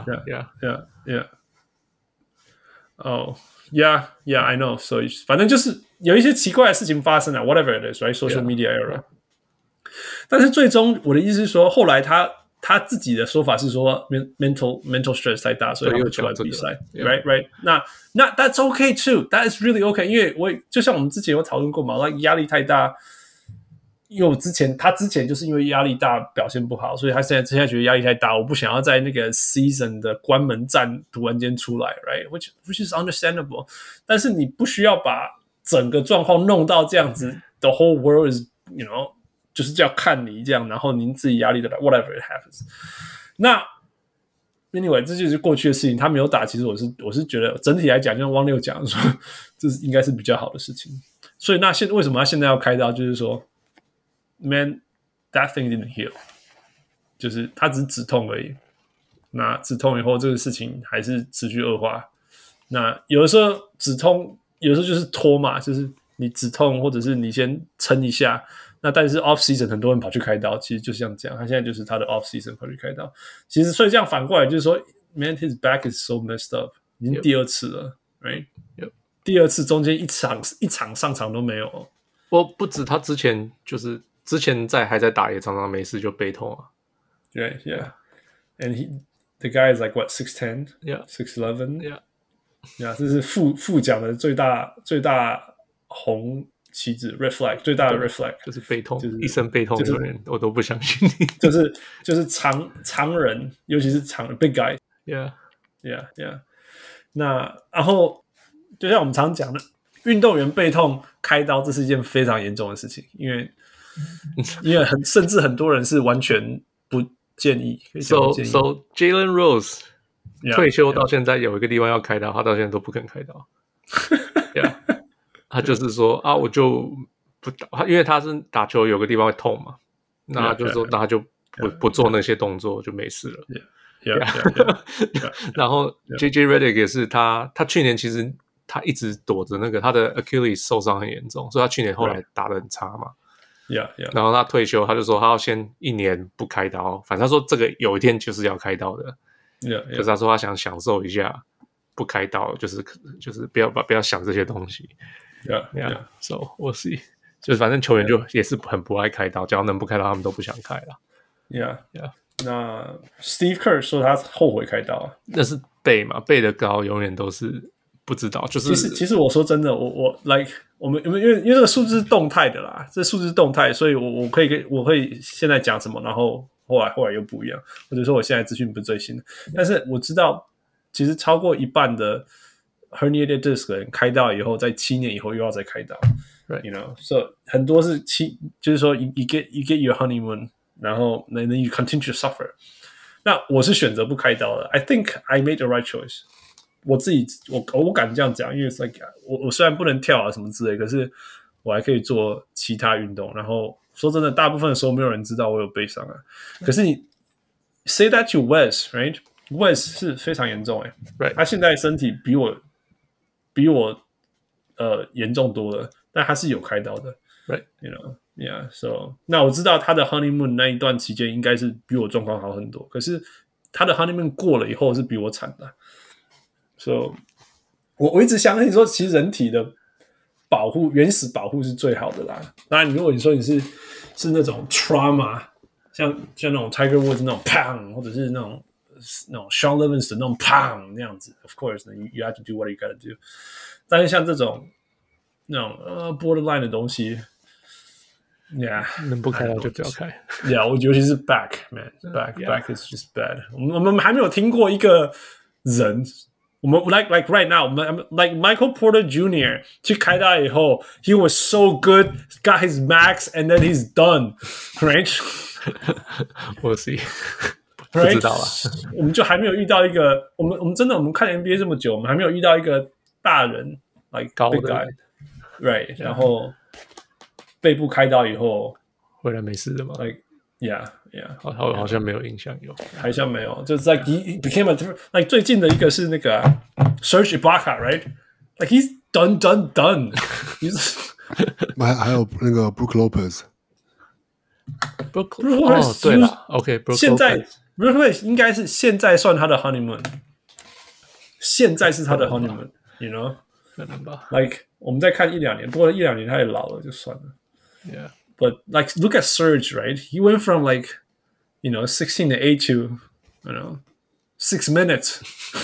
，yeah。Oh, yeah, I know. 所以反正就是有一些奇怪的事情发生了 ，whatever it is, right? Social media era. 但是最終我的意思是說，後來他自己的說法是說 mental stress 太大，所以他不出來比賽 ，right? 那 that's okay too. That is really okay. 因為就像我們之前有討論過嘛，那壓力太大。因為他之前就是因為壓力大表現不好，所以他現在覺得壓力太大，我不想要在那個 season 的關門戰突然間出來 ，right? Which is understandable. 但是你不需要把整個狀況弄到這樣子 ，the whole world is就是要看你這樣，然後您自己壓力的 whatever it happens. 那 anyway 這就是過去的事情，他沒有打，其實我是覺得整體來講，就像汪六講說，這應該是比較好的事情。所以那為什麼他現在要開刀？就是說。Man, that thing didn't heal. 就是它只是止痛而已。那止痛以後，這個事情還是持續惡化。那有的時候止痛，有的時候就是拖嘛，就是你止痛，或者是你先撐一下。那但是 off season 很多人跑去開刀，其實就像這樣。他現在就是他的 off season 跑去開刀。其實所以這樣反過來就是說 ，Man, his back is so messed up. 已經第二次了 ，right? 第二次中間一場上場都沒有。 不止他之前就是。之前還在打也常常沒事就背痛啊。 Yeah. And the guy is like what 6'10", yeah, 6'11", yeah. 这是副獎的最大紅旗子 red flag 最大的 red flag 就是背痛，就是一身背痛的人，我都不相信你。 就是常人，尤其是常人 big guy。 Yeah. 那然後就像我們常講的，運動員背痛開刀，這是一件非常嚴重的事情，因為甚至很多人是完全不建議。 So Jalen Rose 退休到現在有一個地方要開刀，他到現在都不肯開刀。他就是說啊，我就不打，因為他是打球有個地方會痛嘛，那他就說，那他就不做那些動作就沒事了。然後 JJ Redick 也是他去年其實他一直躲着那個他的 Achilles 受傷很嚴重，所以他去年後來打得很差嘛。然後他退休，他就說他要先1年不開刀，反正他說這個有一天就是要開刀的。可是他說他想享受一下不開刀，就是不要想這些東西。So we'll see， 就是反正球員就也是很不愛開刀，只要能不開刀，他們都不想開了。 那 Steve Kerr 說他後悔開刀， 那是背嘛，背的高永遠都是不知道。就是其實我說真的，我 like 我們因為這個數字是動態的啦，這數字是動態，所以我可以現在講什麼，然後後來又不一樣，或者說我現在資訊不是最新的，但是我知道其實超過一半的 herniated disc 人開刀以後，在7年以後又要再開刀。You know, so 很多是就是說 you get your honeymoon， 然後 then you continue to suffer。那我是選擇不開刀的。I think I made the right choice。我敢這樣講，因為 it's like 我雖然不能跳啊什麼之類，可是我還可以做其他運動。然後說真的，大部分的時候沒有人知道我有背傷啊。可是你 say that to Wes, right? Wes 是非常嚴重 right. 他現在身體比我嚴重多了，但他是有開刀的 ，right? You know, yeah. So 那我知道他的 honeymoon 那一段期間應該是比我狀況好很多，可是他的 honeymoon 過了以後是比我慘的。So 我一直相信說，其實人體的保護，原始保護是最好的啦。當然，如果你說你是那種 trauma， 像那種 Tiger Woods 那種 pang， 或者是那種 Shaun Livingston 那種 pang 那樣子 ，of course you have to do what you gotta do。但是像這種那種borderline 的東西 ，yeah， 能不開刀就不要開。 Yeah， 尤其是 back man，back is just bad。我們還沒有聽過一個人。我們 like right now， 我們 like Michael Porter Jr. 去開刀以後 ，he was so good, got his max, and then he's done, right? We'll see， right? 不知道啦。 我們就還沒有遇到一個，我們真的我們看 NBA 這麼久，我們還沒有遇到一個大人 like 高的 big guy, right? 然後背部開刀以後回來沒事的嗎 ？Like yeah. 好像沒有印象有， 好像沒有，就是 like he became like 最近的一個是那個 Serge Ibaka, right? Like he's done. 還有那個 Brook Lopez， Brook Lopez 對了 ，OK， 现在 Brook Lopez 应该是现在算他的 honeymoon， 现在是他的 honeymoon，you know， 可能吧 like 我们再看1-2年，不過1-2年他也老了就算了。 Yeah. But like, look at Serge, right? He went from like, 16 to 8 to, 6 minutes.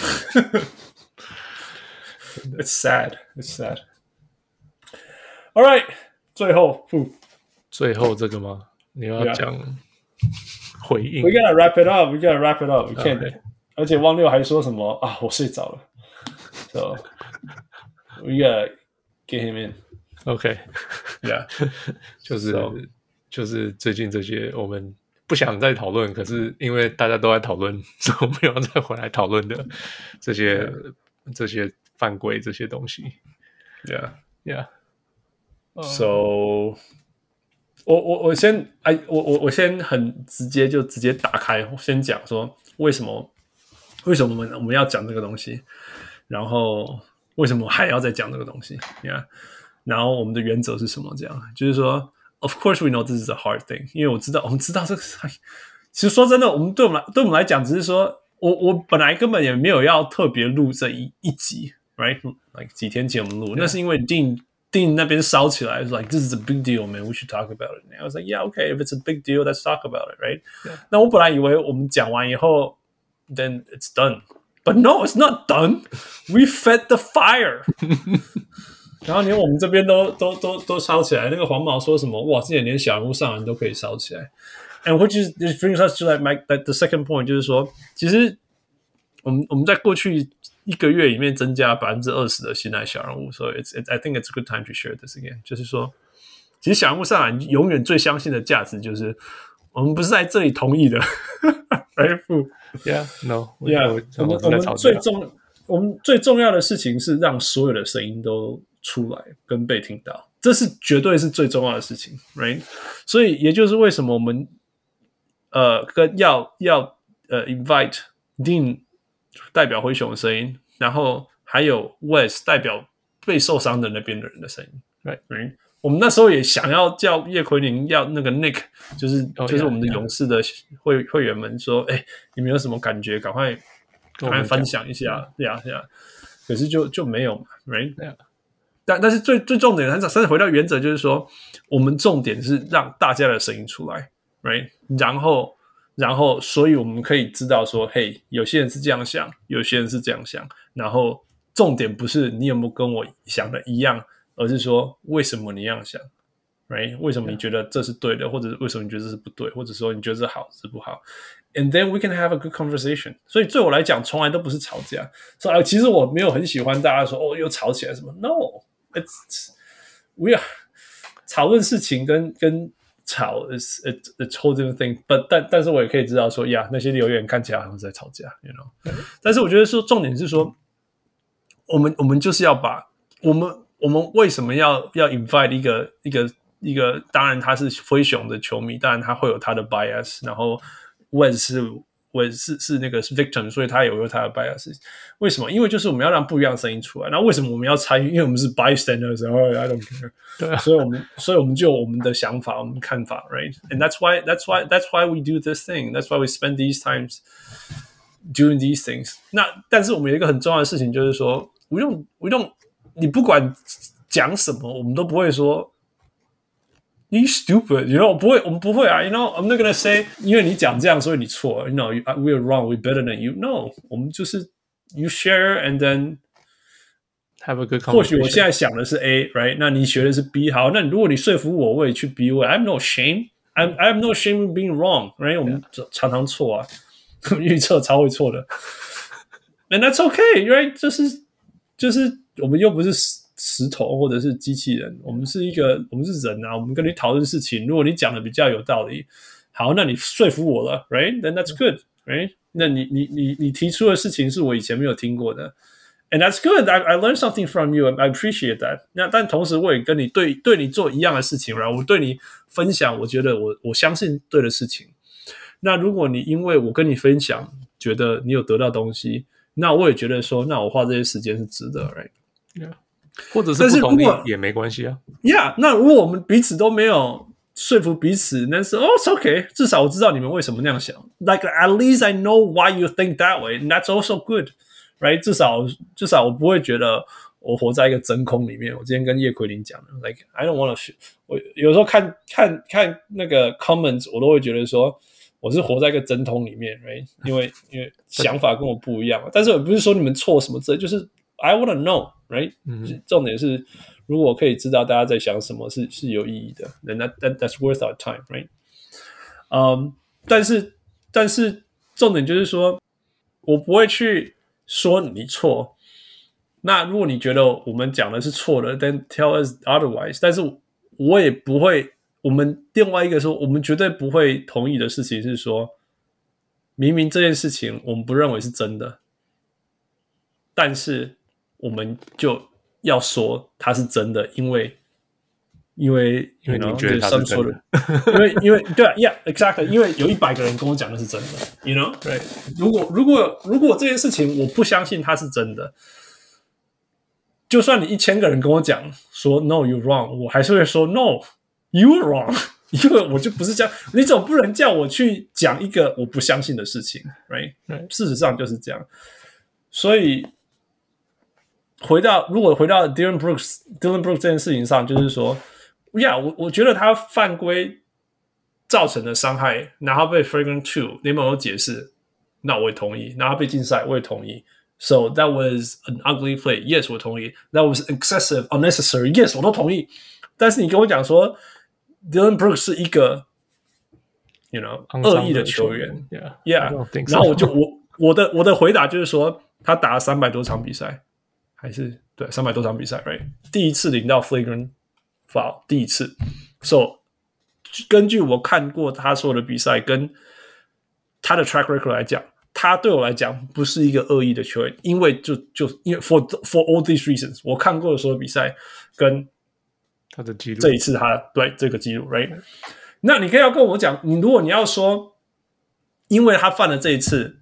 It's sad. It's sad. All right. 最後这個嗎？你要講回應 We gotta wrap it up. We can't. Okay. 而且汪六還說什麼啊？我睡着了。So we gotta get him in. OK， Yeah， 就是最近這些我們不想再討論，可是因為大家都在討論，所以我們要再回來討論的這些犯規這些東西。Yeah. So， 我先很直接打開，先講說為什麼我們要講這個東西，然後為什麼還要再講這個東西 ？Yeah。然後我們的原則是什麼？這樣就是說 ，Of course we know this is a hard thing， 因為我們知道這個。其實說真的，對我們來講，只是說我本來根本也沒有要特別錄這一集 ，right？Like 幾天前我們錄，那是因為Dean那邊燒起來 ，like this is a big deal, man. We should talk about it. And I was like, yeah, okay. If it's a big deal, let's talk about it, right? 那我本來以為我們講完以後 ，then it's done. But no, it's not done. We fed the fire. 然後連我們這邊都燒起來，那個黃毛說什麼？哇，之前連小人物上籃都可以燒起來。And which brings us to like the second point， 就是說，其實我們在過去1個月裡面增加20%的新來小人物，所以 I think it's a good time to share this again。就是說，其實小人物上籃永遠最相信的價值就是我們不是在這裡同意的 ，right？ Yeah, no, yeah， 我們最重要的事情是讓所有的聲音都出來跟被聽到，這是絕對是最重要的事情 ，right？ 所以也就是為什麼我們要invite Dean 代表灰熊的聲音，然後還有 Wes 代表被受傷的那邊的人的聲音 ，right？ 我們那時候也想要叫葉奎寧，要那個 Nick， 就是我們的勇士的會員們說，你們有什麼感覺？趕快分享一下，對啊。可是就沒有嘛 ，right？ 但是最重點，但是回到原則，就是說，我們重點是讓大家的聲音出來 ，right？ 然後，所以我們可以知道說，嘿，有些人是這樣想，有些人是這樣想。然後重點不是你有沒有跟我想的一樣，而是說為什麼你這樣想 ，right？ 為什麼你覺得這是對的，或者為什麼你覺得這是不對，或者說你覺得這好是不好 ？And then we can have a good conversation。所以對我來講，從來都不是吵架。所以其實我沒有很喜歡大家說又吵起來什麼 ，No。We are 討論事情跟吵 is a whole different thing， 但是我也可以知道說呀，那些留言看起來好像是在吵架 ，you know。但是我覺得說重點是說，我們就是要把我們為什麼要 invite 一個，當然他是灰熊的球迷，當然他會有他的 bias， 然後 Wes 是那個是 victim， 所以他也有他的 bias。為什麼？因為就是我們要讓不一樣的聲音出來。那為什麼我們要參與？因為我們是 bystanders， I don't care。對啊，所以我們就有我們的想法，我們的看法 ，right？ And that's why we do this thing. That's why we spend these times doing these things. 但是我們有一個很重要的事情，就是說，we don't，你不管講什麼，我們都不會說。You stupid, you know? 我們不會啊 you know? I'm not gonna say 因為你講這樣所以你錯 you know, we're wrong, we're better than you. No, 我們就是 you share and then have a good conversation. 或許我現在想的是 A, right? 那你學的是 B, 好，那如果你說服我，我也去 B 位 I have no shame. I have no shame in being wrong, right? 我們常常錯啊，預測超會錯的。And that's okay, right? 就是我們又不是石頭或者是機器人，我們是人啊，我們跟你討論事情，如果你講的比較有道理，好，那你說服我了 ，right? Then that's good, right? 那你提出的事情是我以前沒有聽過的 ，and that's good. I learned something from you. I appreciate that. 那但同時我也跟你對你做一樣的事情，然後我對你分享，我覺得我相信對的事情。那如果你因為我跟你分享，覺得你有得到東西，那我也覺得說，那我花這些時間是值得 ，right? Yeah. 或者是不同意也沒關係啊。 Yeah， 那如果我們彼此都沒有說服彼此，但是it's okay， 至少我知道你們為什麼那樣想。Like at least I know why you think that way, and that's also good, right？ 至少我不會覺得我活在一個真空裡面。我今天跟葉奎林講的 ，like I don't want to， 我有時候看那個 comments， 我都會覺得說我是活在一個真空裡面 ，right？ 因為想法跟我不一樣，但是我不是說你們錯什麼之類，就是 I want to know, right？ 重點是。如果我可以知道大家在想什麼是有意義的 then that's worth our time, right? 但是重點就是說，我不會去說你錯。那如果你覺得我們講的是錯的 then tell us otherwise. 但是我也不會，我們另外一個說，我們絕對不會同意的事情是說，明明這件事情我們不認為是真的，但是我們就要說它是真的，因為你覺得它是真的，因為對啊 ，yeah exactly， 因為有100個人跟我講的是真的 ，you know， right？ 如果這件事情我不相信它是真的，就算你1000個人跟我講說 no you wrong， 我還是會說 no you wrong， 因為我就不是這樣，你總不能叫我去講一個我不相信的事情 ，right？ 事實上就是這樣，所以。如果回到 Dylan Brooks 這件事情上，就是說 ，yeah， 我覺得他犯規造成的傷害，然後被 Flagrant 2聯盟有解釋，那我也同意，然後被禁賽，我也同意。So that was an ugly play. Yes， 我同意。That was excessive, unnecessary. Yes， 我都同意。但是你跟我講說 ，Dylan Brooks 是一個 惡意的球員 ，yeah， 然後我的回答就是說，他打了300多場比賽。還是對300多場比賽 ，right？ 第一次領到 flagrant foul， 第一次。So 根據我看過他所有的比賽跟他的 track record 來講，他對我來講不是一個惡意的球員，因為因為 for all these reasons， 我看過的所有比賽跟他的記錄， 這一次他對這個記錄 ，right？ 那你可以要跟我講，如果你要說，因為他犯了這一次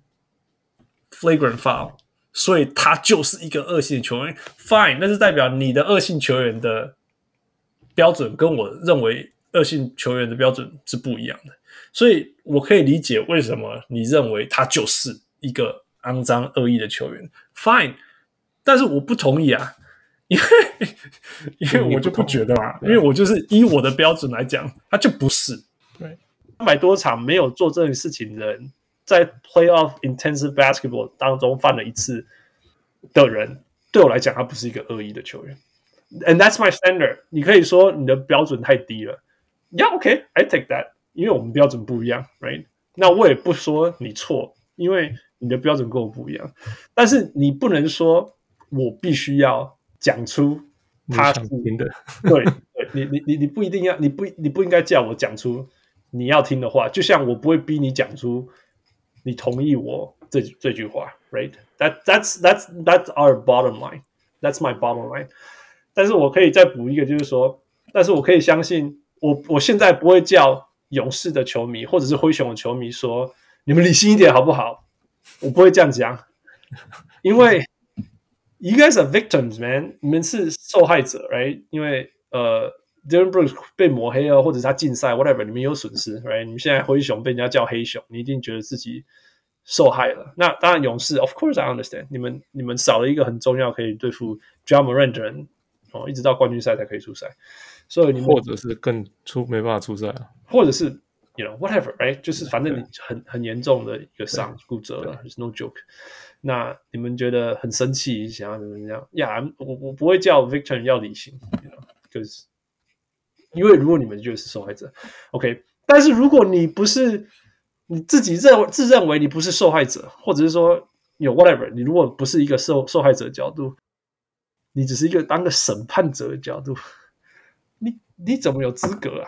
flagrant foul。所以他就是一個惡性球員 ，fine， 那是代表你的惡性球員的標準跟我認為惡性球員的標準是不一樣的，所以我可以理解為什麼你認為他就是一個骯髒惡意的球員 ，fine， 但是我不同意啊，因為我就不覺得嘛，因為我就是依我的標準來講，他就不是，對，300多場沒有做這件事情的人。在 playoff intensive basketball 當中犯了一次的人，對我來講，他不是一個惡意的球員。And that's my standard。你可以說你的標準太低了 ，Yeah, okay, I take that。因為我們標準不一樣 ，right？ 那我也不說你錯，因為你的標準跟我不一樣。但是你不能說我必須要講出他是聽的， 對，你不一定要，你不應該叫我講出你要聽的話，就像我不會逼你講出。你同意我這句話 ，right? That's our bottom line. That's my bottom line. 但是我可以再補一個，就是說，但是我可以相信，我現在不會叫勇士的球迷或者是灰熊的球迷說，你們理性一點好不好？我不會這樣講，因為 you guys are victims, man. 你們是受害者 ，right? 因為Dylan Brooks 被抹黑了，或者是他禁賽 ，whatever， 你們有損失 ，right？ 你們現在灰熊被人家叫黑熊，你一定覺得自己受害了。那當然，勇士 ，of course I understand， 你們少了一個很重要可以對付 Ja Morant 的人，一直到冠軍賽才可以出賽，所以你们或者是沒辦法出赛啊， 或者是 whatever，right？ 就是反正你很嚴重的一個傷骨折了 ，it's no joke。那你們覺得很生氣，想要怎麼樣？呀，我不會叫 Victor 要理性 ，because 因為如果你們就是受害者 ，OK， 但是如果你不是你自己自認為你不是受害者，或者是說whatever， 你如果不是一個受害者的角度，你只是一個當個審判者的角度，你怎麼有資格啊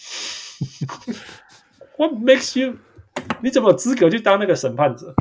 ？What makes you？ 你怎麼有資格去當那個審判者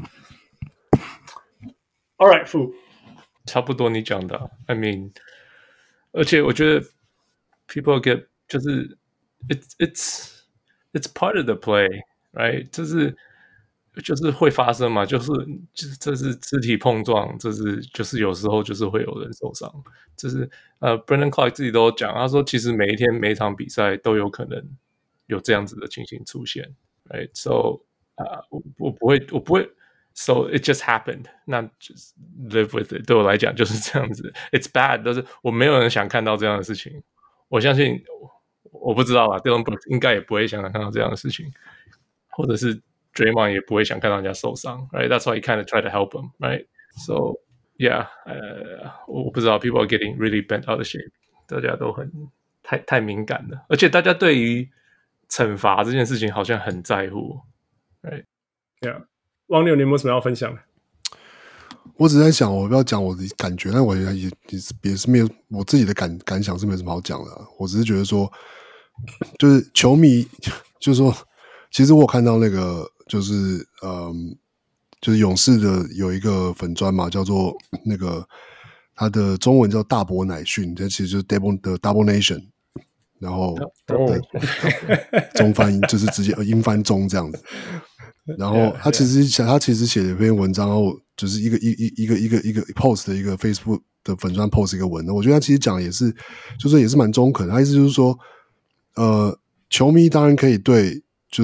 ？All right， Fu， 差不多你講的 ，I mean， 而且我覺得 people get 就是 it's part of the play， right？ 就是會發生嘛，就是這是肢體碰撞，就是有時候就是會有人受傷，Brandon Clark 自己都講，他說其實每一天每一場比賽都有可能有這樣子的情形出現 ，right？ So 我不會 ，so it just happened， 那 just live with it。对我來講就是這樣子 ，it's bad， 但是我沒有人想看到這樣的事情。我相信，我不知道啦 ，Dillon Brooks 應該也不會想看到這樣的事情，或者是 Draymond 也不會想看到人家受傷 ，right？That's why he kind of try to help him， right？So yeah， 我不知道 ，people are getting really bent out of shape， 大家都很太敏感了，而且大家对于懲罰這件事情好像很在乎 ，right？ Yeah， 汪六，你有沒有什麼要分享的？ 我只在想，我不要講我的感覺，但我也是沒有我自己的感想是沒什麼好講的、啊。我只是覺得說，就是球迷，就是說，其實我有看到那個，就是就是勇士的有一個粉專嘛，叫做那個他的中文叫大伯乃遜，這其實就是 Double Nation， 然後中翻就是直接英翻中這樣子。然後他其實寫了一篇文章，然後就是一個 post 的一個 Facebook 的粉專 post 一個文，我覺得他其實講的也是，就是也是蠻中肯的。他意思就是說，球迷當然可以對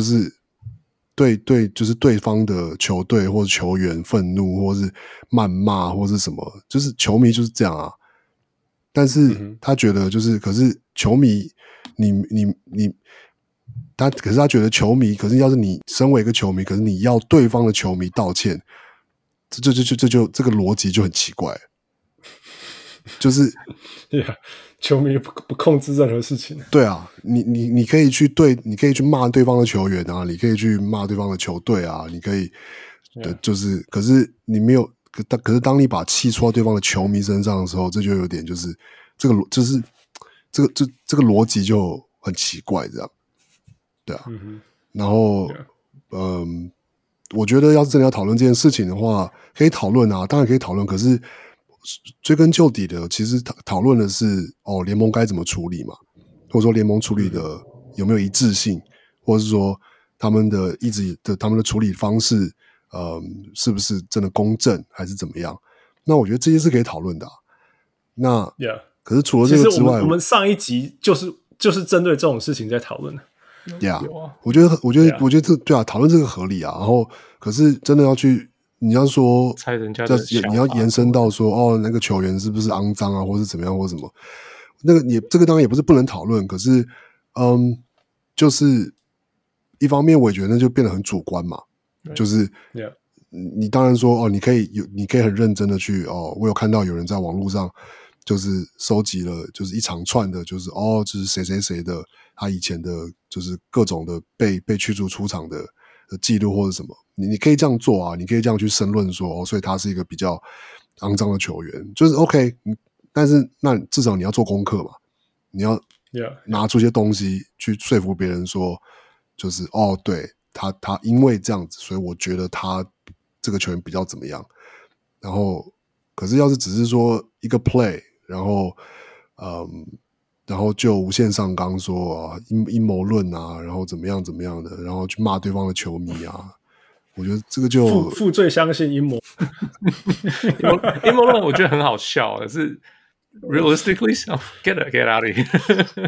對方的球隊或者球員憤怒，或是謾罵，或是什麼，就是球迷就是這樣啊。但是他覺得就是，可是球迷，可是他覺得球迷，可是要是你身為一個球迷，可是你要對方的球迷道歉，這個邏輯就很奇怪，就是， 球迷不控制任何事情。 對啊，你可以去罵對方的球員啊，你可以去罵對方的球隊啊，你可以，就是，可是你沒有，可是當你把氣出到對方的球迷身上的時候，這就有點就是這個邏輯就很奇怪，這樣。對啊，然後，我覺得要是真的要討論這件事情的話，可以討論啊，當然可以討論。可是追根究底的，其實討論的是聯盟該怎麼處理嘛，或者說聯盟處理的有沒有一致性，或者是說他們的處理方式，是不是真的公正還是怎麼樣？那我覺得這些是可以討論的啊。那可是除了這個之外， 我們上一集就是針對這種事情在討論的。 我覺得這對啊，討論這個合理啊。然後，可是真的要去，你要說猜人家的想法， 你要延伸到說那個球員是不是骯髒啊，或是怎麼樣，或什麼？那個這個當然也不是不能討論，可是就是一方面，我也覺得那就變得很主觀嘛。就是你當然說你可以很認真的去我有看到有人在網絡上就是收集了，就是一長串的，就是就是誰誰誰的。他以前的就是各種的被驅逐出場的記錄或者什麼，你可以這樣做啊，你可以這樣去申論說所以他是一個比較骯髒的球員，就是 OK， 但是那至少你要做功課嘛，你要拿出一些東西去說服別人說，就是對他因為這樣子，所以我覺得他這個球員比較怎麼樣。然後，可是要是只是說一個 play， 然後就無限上綱說陰謀論啊，然後怎麼樣的，然後去罵對方的球迷啊，我覺得這個就負最相信陰謀陰謀論，我覺得很好笑，可是 realistically get out of here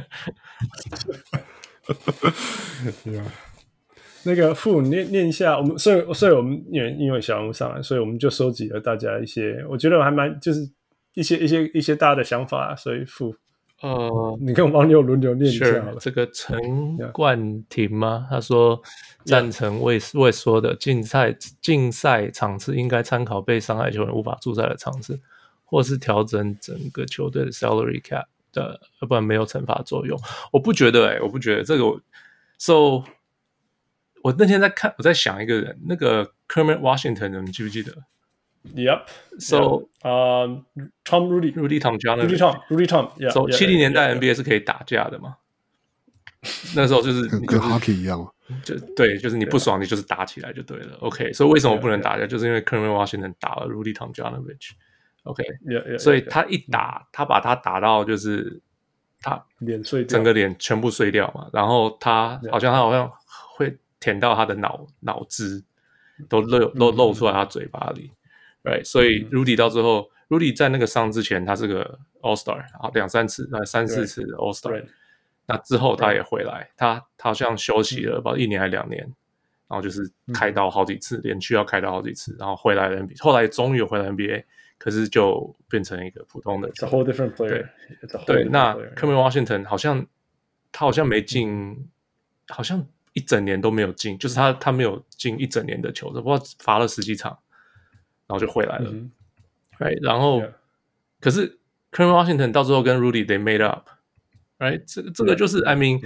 那個傅念一下，我們所以我们因為小人物上來，所以我們就收集了大家一些，我覺得還蠻就是一些大家的想法，所以傅。你跟汪六輪流念一下好了。 這個陳冠廷嗎？他說贊成魏說的競賽場次應該參考被傷害球員無法出賽的場次，或是調整整個球隊的 salary cap 的，要不然沒有懲罰作用。我不覺得這個。So 我那天我在想一個人，那個 Kermit Washington， 你們記不記得 ？Yep. So, Tom Rudy Tomjanovich. Yeah. So 70年代 NBA 是可以打架的嘛？那時候就是跟 hockey 一樣， 對，就是你不爽你就是打起來就對了。OK， 所以為什麼不能打架？就是因為 Kermit Washington 打了 Rudy Tomjanovich。OK， 所以他一打，他把他打到就是他臉碎掉， 整個臉全部碎掉嘛。然後他好像會舔到他的腦汁，都露出來他嘴巴裡。Right， 所以 Rudy 到最後 ，Rudy 在那個傷之前，他是個 All Star， 3-4次的 All Star， 那之後他也回來，他好像休息了不知道1年還2年，然後就是開刀好幾次，連續要開刀好幾次，然後回來了 NBA， 後來終於有回來 NBA， 可是就變成一個普通的。 It's a whole different player. 对，那 Kermit Washington 他好像没進，好像一整年都没有進，就是他沒有進一整年的球，不知道罰了10幾場，然後就回來了。Right， 然後可是 Kermit Washington 到最後跟 Rudy they made up。Right， 這個就是 I mean，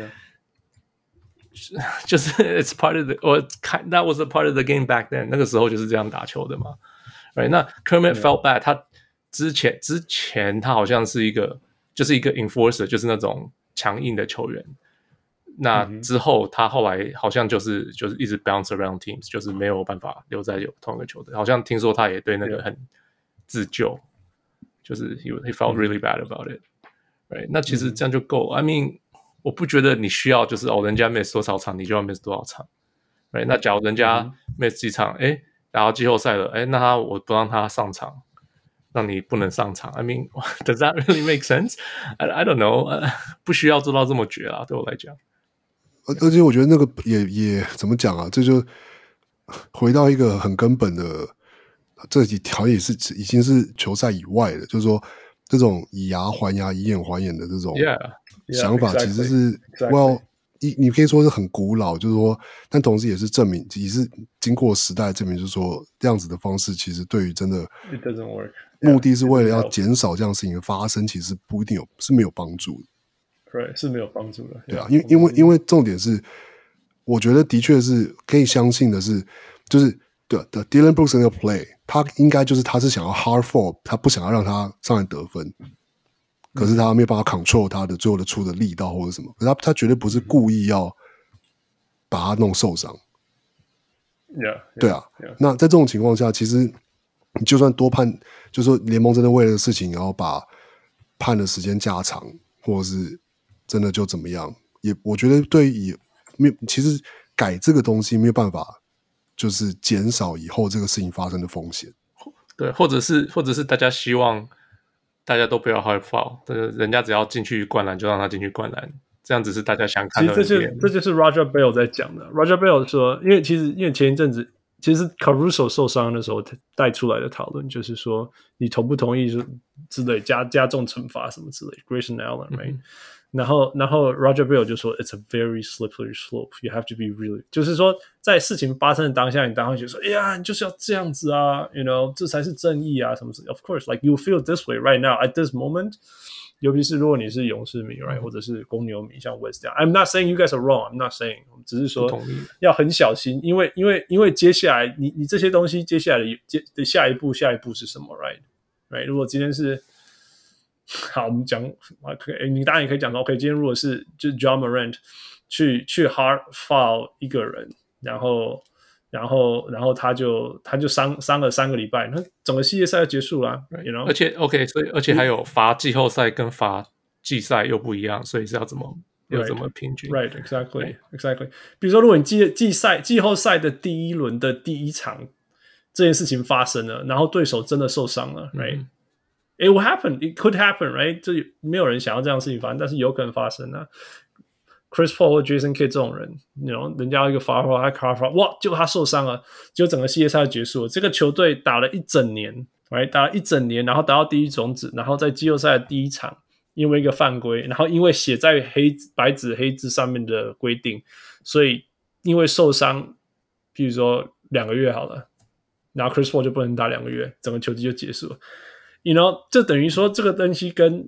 就是 it's part of that was a part of the game back then， 那個時候就是這樣打球的嘛。Right， 那 Kermit felt bad， 他之前他好像是一個 enforcer， 就是那種強硬的球員。那之後他後來好像就是一直 bounce around teams， 就是沒有辦法留在同一個球隊。好像聽說他也對那個很自救，就是 he felt really bad about it。Right， 那其實這樣就夠。I mean， 我不覺得你需要就是人家 miss 多少場，你就要 miss 多少場。Right， 那假如人家 miss 幾場，打到季後賽了，那我不讓他上場，讓你不能上場。I mean， does that really make sense? I don't know， 不需要做到這麼絕啦，對我來講。 而且我覺得那個也怎麼講啊？這就回到一個很根本的，這幾條也是已經是球賽以外的，就是說。這種以牙還牙、以眼還眼的這種想法，其實是 well， 你可以說是很古老，就是說，但同時也是證明，也是經過時代證明，就是說，這樣子的方式其實對於真的 it doesn't work， 目的是為了要減少這樣事情的發生，其實不一定是沒有幫助的。 對，是沒有幫助的。 對啊，因為重點是，我覺得的確是可以相信的是，就是對 Dillon Brooks 那個 play。他應該就是他是想要 hard fall， 他不想要讓他上來得分，可是他沒有辦法 control 他的最後的出的力道或者什麼，可是他絕對不是故意要把他弄受傷。對啊，那在這種情況下，其實你就算多判，就是說聯盟真的為了事情，然後把判的時間加長，或者是真的就怎麼樣，也我覺得對於其實改這個東西沒有辦法。就是減少以後這個事情發生的風險， 對，或者是大家希望大家都不要 hard foul， 人家只要進去灌籃就讓他進去灌籃，這樣子是大家想看的。 其實這就是 Raja Bell 在講的。Raja Bell 說，因為前一陣子，其實 Caruso 受傷的時候帶出來的討論就是說，你同不同意之類加重懲罰什麼之類 Grayson Allen，right？然後 Raja Bell 就說 It's a very slippery slope. You have to be really， 就是說在事情發生的當下，你當然會覺得說，哎呀，你就是要這樣子啊 ，you know， 這才是正義啊，什麼什麼。Of course, like you feel this way right now at this moment. 尤其是如果你是勇士迷 ，right， 或者是公牛迷，像 West 這樣。I'm not saying you guys are wrong. I'm not saying， 只是說要很小心，因為接下來你這些東西接下來的下一步是什麼 ，right？ 如果今天是好，我們講，你當然也可以講說 ，OK， 今天如果是就是 Ja Morant 去 hard foul 一個人，然後他就傷了3個禮拜，那整個系列賽就結束了 ，you know？ 而且 OK， 所以而且還有罰季後賽跟罰季賽又不一樣，所以是要怎麼平均 ？Right, exactly。比如說，如果你季後賽的第一輪的第一場這件事情發生了，然後對手真的受傷了 ，right？It will happen. It could happen, right? 這沒有人想要這樣的事情發生，但是有可能發生啊。Chris Paul 或 Jason Kidd 這種人，人家一個罰球，他卡罰，哇，就他受傷了，就整個系列賽就結束了。這個球隊打了一整年， right? 打了一整年，然後達到第一種子，然後在季後賽的第一場，因為一個犯規，然後因為寫在白紙黑字上面的規定，所以因為受傷，譬如說2個月好了，然後 Chris Paul 就不能打2個月，整個球季就結束了。You know， 這等於說這個東西跟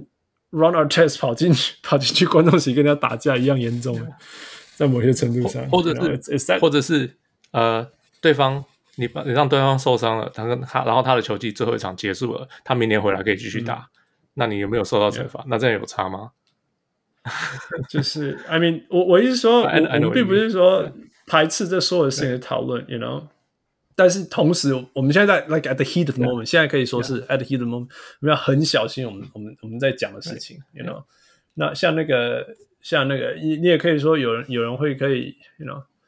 Ron Artest 跑進去觀眾席跟人家打架一樣嚴重，在某些程度上， 或者是對方你讓對方受傷了，然後他的球季最後一場結束了，他明年回來可以繼續打，那你有沒有受到懲罰？那這樣有差嗎？ 就是 I mean， 我意思說，我們並不是說排斥這所有的事情的討論 ，you know。但是同時，我們現在在 like at the heat of the moment， 現在可以說是 at the heat of the moment， 我們要很小心我們在講的事情 ，you know。那像那個，你也可以說有人會可以 ，you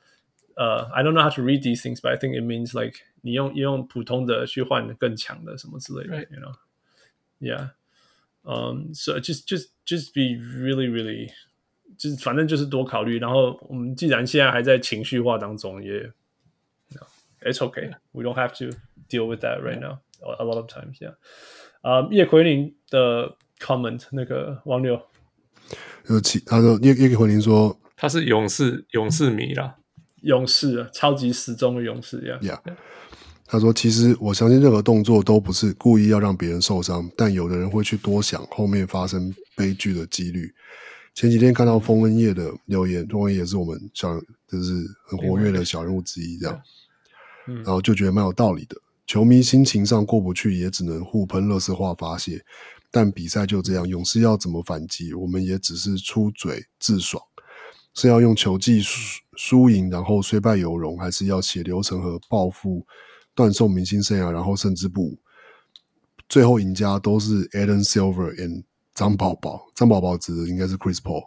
know，I don't know how to read these things, but I think it means like 你用普通的去換更強的什麼之類的 ，you know，yeah，so just be really really 就是反正就是多考慮。然後我們既然現在還在情緒化當中，也 it's okay. We don't have to deal with that right now. A lot of times, yeah. 叶奎林的 comment 那个王六， 他说叶奎林说他是勇士迷啦， 勇士啊，超級死忠的勇士呀。 他說：“其實我相信任何動作都不是故意要讓別人受傷，但有的人會去多想後面發生悲劇的幾率。前幾天看到風恩葉的留言，風恩葉也是我們就是很活躍的小人物之一，這樣，然後就覺得蠻有道理的。球迷心情上過不去，也只能互噴垃圾話發洩。但比賽就這樣，勇士要怎麼反擊，我們也只是出嘴自爽。是要用球技輸贏，然後雖敗猶榮，還是要血流成河報復？”斷送明星生涯，然後甚至不武，最後贏家都是 Adam Silver and 張寶寶。張寶寶指的應該是 Chris Paul。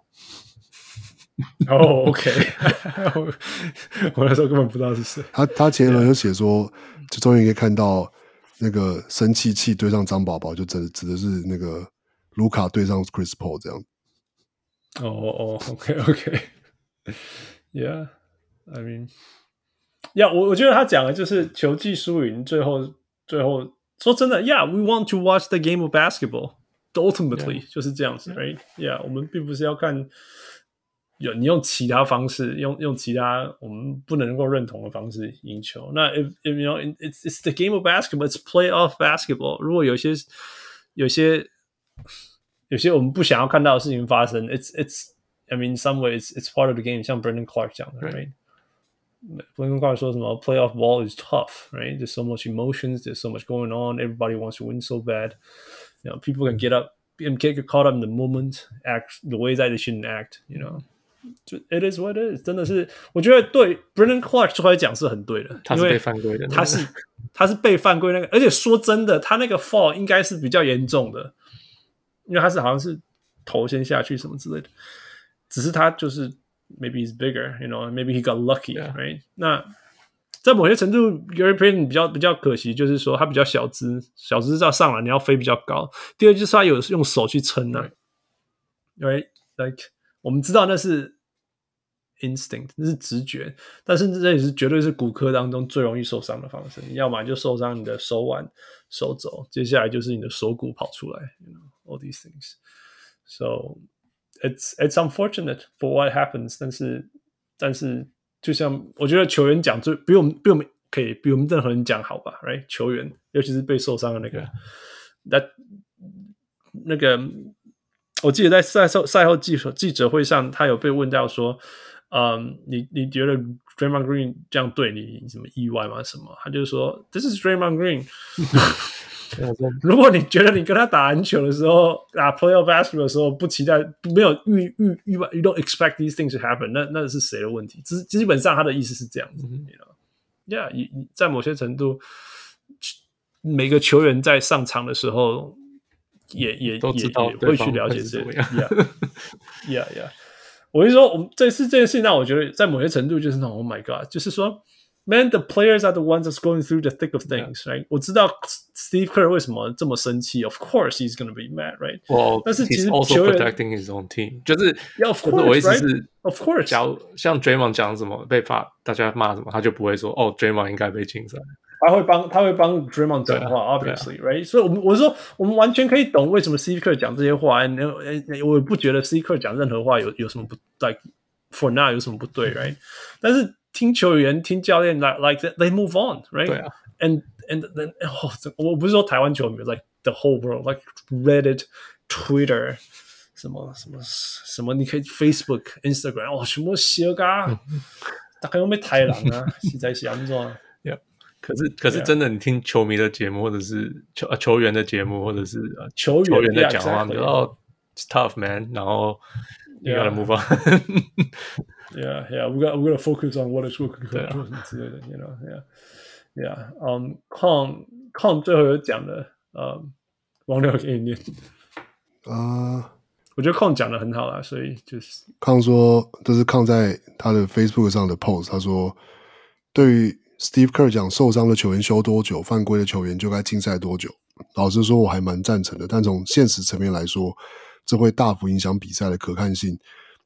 哦 ，OK， 我那時候根本不知道是誰。 他前一輪就寫說，就終於可以看到那個生氣對上張寶寶，就指的是那個盧卡對上 Chris Paul 這樣。 OK，Yeah，I mean。我覺得他講的就是球技輸贏，最後說真的 ，Yeah， we want to watch the game of basketball. Ultimately， 就是這樣子 ，right？ Yeah， 我們並不是要看你用其他方式，用其他我們不能夠認同的方式贏球。那 if you know it's the game of basketball, it's playoff basketball. 如果有些我們不想要看到的事情發生 ，it's I mean, in some way it's part of the game， 像 Brandon Clark 講的 ，right？Brandon Clark 說什麼 playoff ball is tough, right? There's so much emotions, there's so much going on, everybody wants to win so bad. You know, people can get caught up in the moment, act the way that they shouldn't act, you know. It is what it is. 真的是，我覺得對 Brandon Clark 出來講是很對的， 他是被犯規的， 他是被犯規那個，而且說真的，他那個 fall 應該是比較嚴重的，因為他是好像是頭先下去什麼之類的，只是他就是 maybe he's bigger, you know, maybe he got lucky, right? 那在某些程度 Gary Payton 比較可惜，就是說他比較小只要上來你要飛比較高。第二就是他有用手去撐啊 ，right? Like 我們知道那是 instinct， 那是直覺，但是這也是絕對是骨科當中最容易受傷的方式。你要麼就受傷你的手腕、手肘，接下來就是你的鎖骨跑出來 ，you know, all these things. So it's unfortunate for what happens， 但是就像我覺得球員講比我們可以比我們任何人講好吧 ，right？ 球員尤其是被受傷的那個，我記得在賽後記者會上，他有被問到說，你覺得 Draymond Green 這樣對你什麼意外嗎？什麼？他就說 ，This is Draymond Green 。如果你覺得你跟他打籃球的時候，打 playoff basketball 的時候不期待，沒有預外 ，you don't expect these things to happen， 那是誰的問題？基本上他的意思是這樣子，你知道 ？Yeah， 你在某些程度，每個球員在上場的時候，也會去了解這些。Yeah， 我就說，我們這次這件事情讓我覺得，在某些程度就是那種 ，Oh my God， 就是說。Man, the players are the ones that's going through the thick of things, right? 我知道 Steve Kerr 為什麼這麼生氣 Of course he's going to be mad, right? Well, 但是其實 he's also protecting his own team. 就是 of course, 我意思是 right? Of course. 假如像 Draymond 講什麼被大家罵什麼，他就不會說Draymond 應該被禁賽。 他會幫 Draymond 講話 ，obviously, right? 所以我說我們完全可以懂為什麼 Steve Kerr 講這些話。我不覺得 Steve Kerr 講任何話有什麼不 like for now 有什麼不對 ，right? 但是聽球員、聽教練 like they move on, right? 對啊 and then 我不是說台灣球迷 like the whole world, like Reddit, Twitter, 什麼你可以 Facebook, Instagram 什麼寫噶，大概有沒有台人啊？實在是安怎 ？Yeah. 可是真的，你聽球迷的節目，或者是球員的節目，或者是球員在講話，你就it's tough man， 然後you gotta move on。Yeah, we're gonna focus on what is working 之類的 ，you know, yeah. Con 最後有講的，王六給你念。我覺得 Con 講的很好啦，所以就是 Con 說，這是 Con 在他的 Facebook 上的 post， 他說，對於 Steve Kerr 講受傷的球員休多久，犯規的球員就該禁賽多久。老實說，我還蠻贊成的，但從現實層面來說，這會大幅影響比賽的可看性。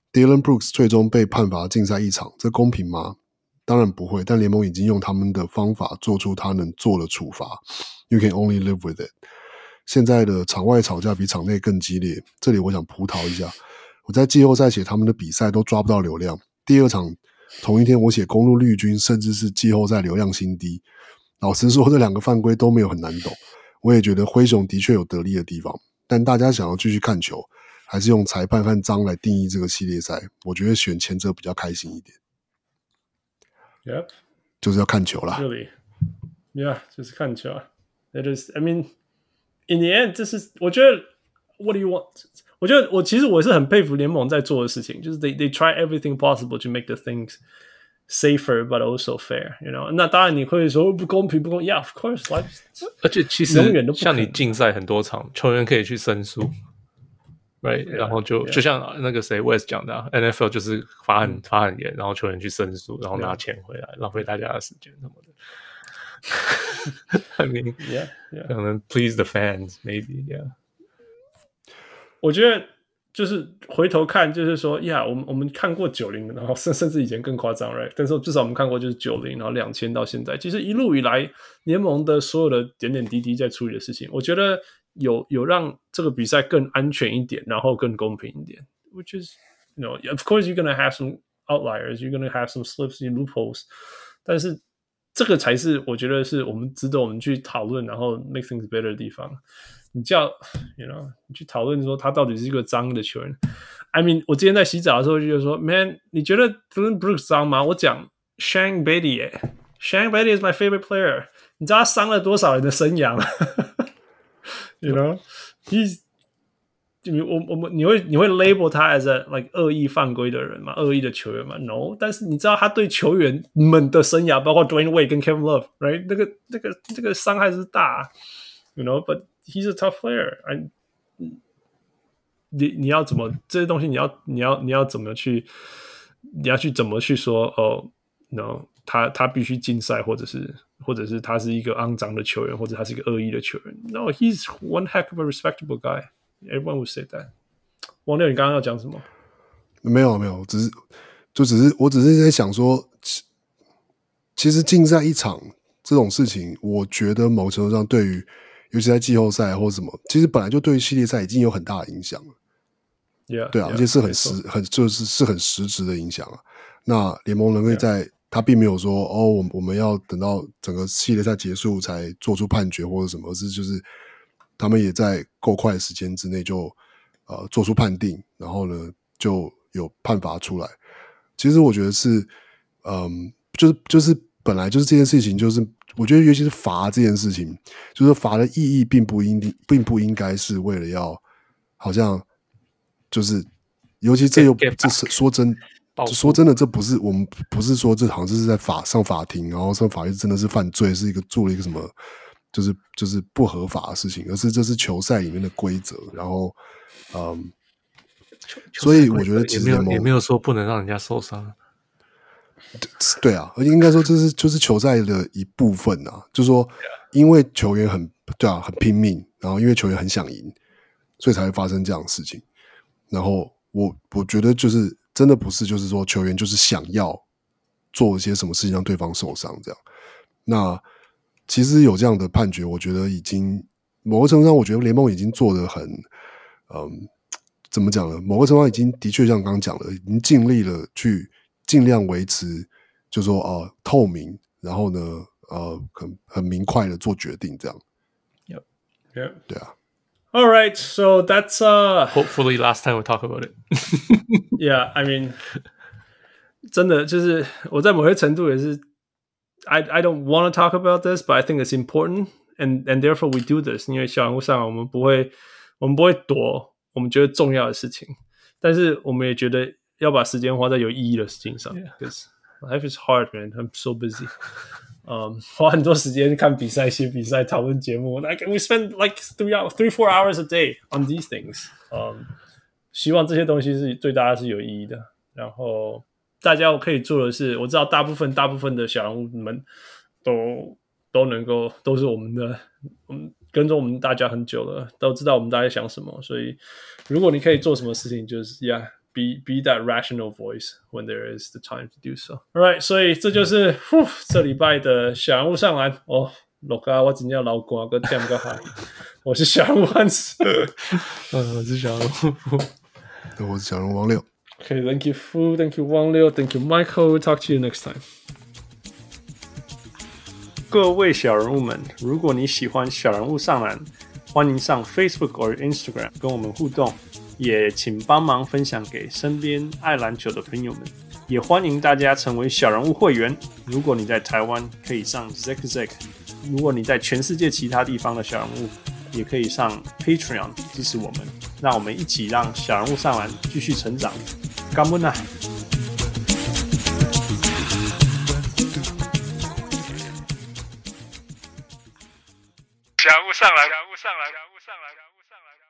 Dillon Brooks 最終被判罰禁賽1場，這公平嗎？當然不會，但聯盟已經用他們的方法做出他能做的處罰。You can only live with it。現在的場外吵架比場內更激烈，這裡我想葡萄一下。我在季後賽寫他們的比賽都抓不到流量，第2場同一天我寫公鹿綠軍甚至是季後賽流量新低。老實說，這2個犯規都沒有很難懂。我也覺得灰熊的確有得力的地方，但大家想要繼續看球，還是用裁判和髒來定義這個系列賽？我覺得選前者比較開心一點。 Yep， 就是要看球啦。 Really， yeah， 就是看球。It is. I mean, in the end， 這是我覺得 What do you want？ 我覺得其實我是很佩服聯盟在做的事情，就是 they try everything possible to make the things safer but also fair. You know， 那當然你会說不公平不公 ，Yeah, of course. Like， 而且其實像你禁赛很多场，球員可以去申訴。Right， 然後就像那個誰 West 講的、啊、NFL 就是罰很嚴，然後球員去申訴，然後拿錢回來，浪費大家的時間什麼的。I mean， 可能 please the fans maybe， yeah。 我覺得就是回頭看，就是說我們看過90，然後甚至以前更誇張 ，right？ 但是至少我們看過就是90，然後2000到現在，其實一路以來聯盟的所有的點點滴滴在處理的事情，我覺得有讓這個比賽更安全一點，然後更公平一點。Which is, you know, of course you're gonna have some outliers, you're gonna have some slips, loopholes， 但是這個才是我覺得是我們值得我們去討論，然後 make things better 的地方。你去討論說他到底是一個髒的球員。I mean， 我之前在洗澡的時候就說 ，Man， 你覺得 Dillon Brooks 髒嗎？我講 Shane Battier，Shane Battier is my favorite player。你知道他傷了多少人的生涯嗎？You know， 你會 label 他 as a like 惡意犯規的人嗎？惡意的球員嗎 ？No， 但是你知道他對球員們的生涯，包括 Dwayne Wade 跟 Kevin Love，right？ 那個傷害是大 ，you know，but he's a tough player。你要怎麼這些東西？你要怎麼去？你要去怎麼去說？哦 ，no， 他必須禁賽，或者是他是一個骯髒的球員，或者他是一個惡意的球員。No， he's one heck of a respectable guy. Everyone would say that。王六，你剛剛要講什麼？ 沒有，我只是在想說，其實禁賽1場這種事情，我覺得某程度上對於，尤其在季後賽或什麼，其實本來就對於系列賽已經有很大的影響了。對啊，而且是很實質的影響啊。那聯盟能夠在他並沒有說我們要等到整個系列賽結束才做出判決或者什麼，而是就是他們也在夠快的時間之內就做出判定，然後呢就有判罰出來。其實我覺得是就是本來就是這件事情，就是我覺得尤其是罰這件事情，就是罰的意義並不應該是為了要好像就是尤其這是說真的，這不是我们不是說這好像就是在上法庭，然後上法院真的是犯罪，是做了一個什麼就是不合法的事情，而是這是球賽裡面的規則，然後所以我覺得其實也沒有說不能讓人家受傷。 对啊，而且應該說這是就是球賽的一部分啊，就是說因為球員很很拼命，然後因為球員很想贏，所以才會發生這樣的事情。然後我覺得就是真的不是就是說球員就是想要做一些什麼事情讓對方受傷這樣。那其實有這樣的判決，我覺得已經某個程度上，我覺得聯盟已經做得很怎麼講呢？某個程度上已經的確像剛剛講的，已經盡力了去盡量維持，就是說透明，然後呢很明快的做決定這樣。 Yep. 對啊。 All right, so that's hopefully last time we talk about it. Yeah, I mean, 真的就是我在某些程度也是 I don't want to talk about this, but I think it's important, and therefore we do this. 因為小人物上我們不會躲我們覺得重要的事情，但是我們也覺得要把時間花在有意義的事情上。Because life is hard, man. I'm so busy. 花很多時間看比賽、寫比賽、討論節目。Like we spend like 3-4 hours a day on these things. 希望這些東西是對大家是有意義的。然後大家可以做的是，我知道大部分的小人物們都能夠都是我們的，跟着我們大家很久了，都知道我們大家想什麼。所以如果你可以做什麼事情，就是 be that rational voice when there is the time to do so. All right， 所以这就是这禮拜的小人物上籃哦。錄啊，我真正流汗個點個嗨。我是小人物漢斯， 我是小人物， 我是小人物王六。 Okay, thank you, Fu. Thank you, Wang Liu. Thank you, Michael. We'll talk to you next time. 各位小人物們，如果你喜歡小人物上籃，歡迎上 Facebook 或 Instagram 跟我們互動，也請幫忙分享給身邊愛籃球的朋友們。也歡迎大家成為小人物會員。如果你在台灣，可以上 Zack； 如果你在全世界其他地方的小人物，也可以上 Patreon 支持我們。讓我們一起讓小人物上籃繼續成長。感恩啊！ 小人物上籃，小人物上籃，小人物上籃，小人物上籃。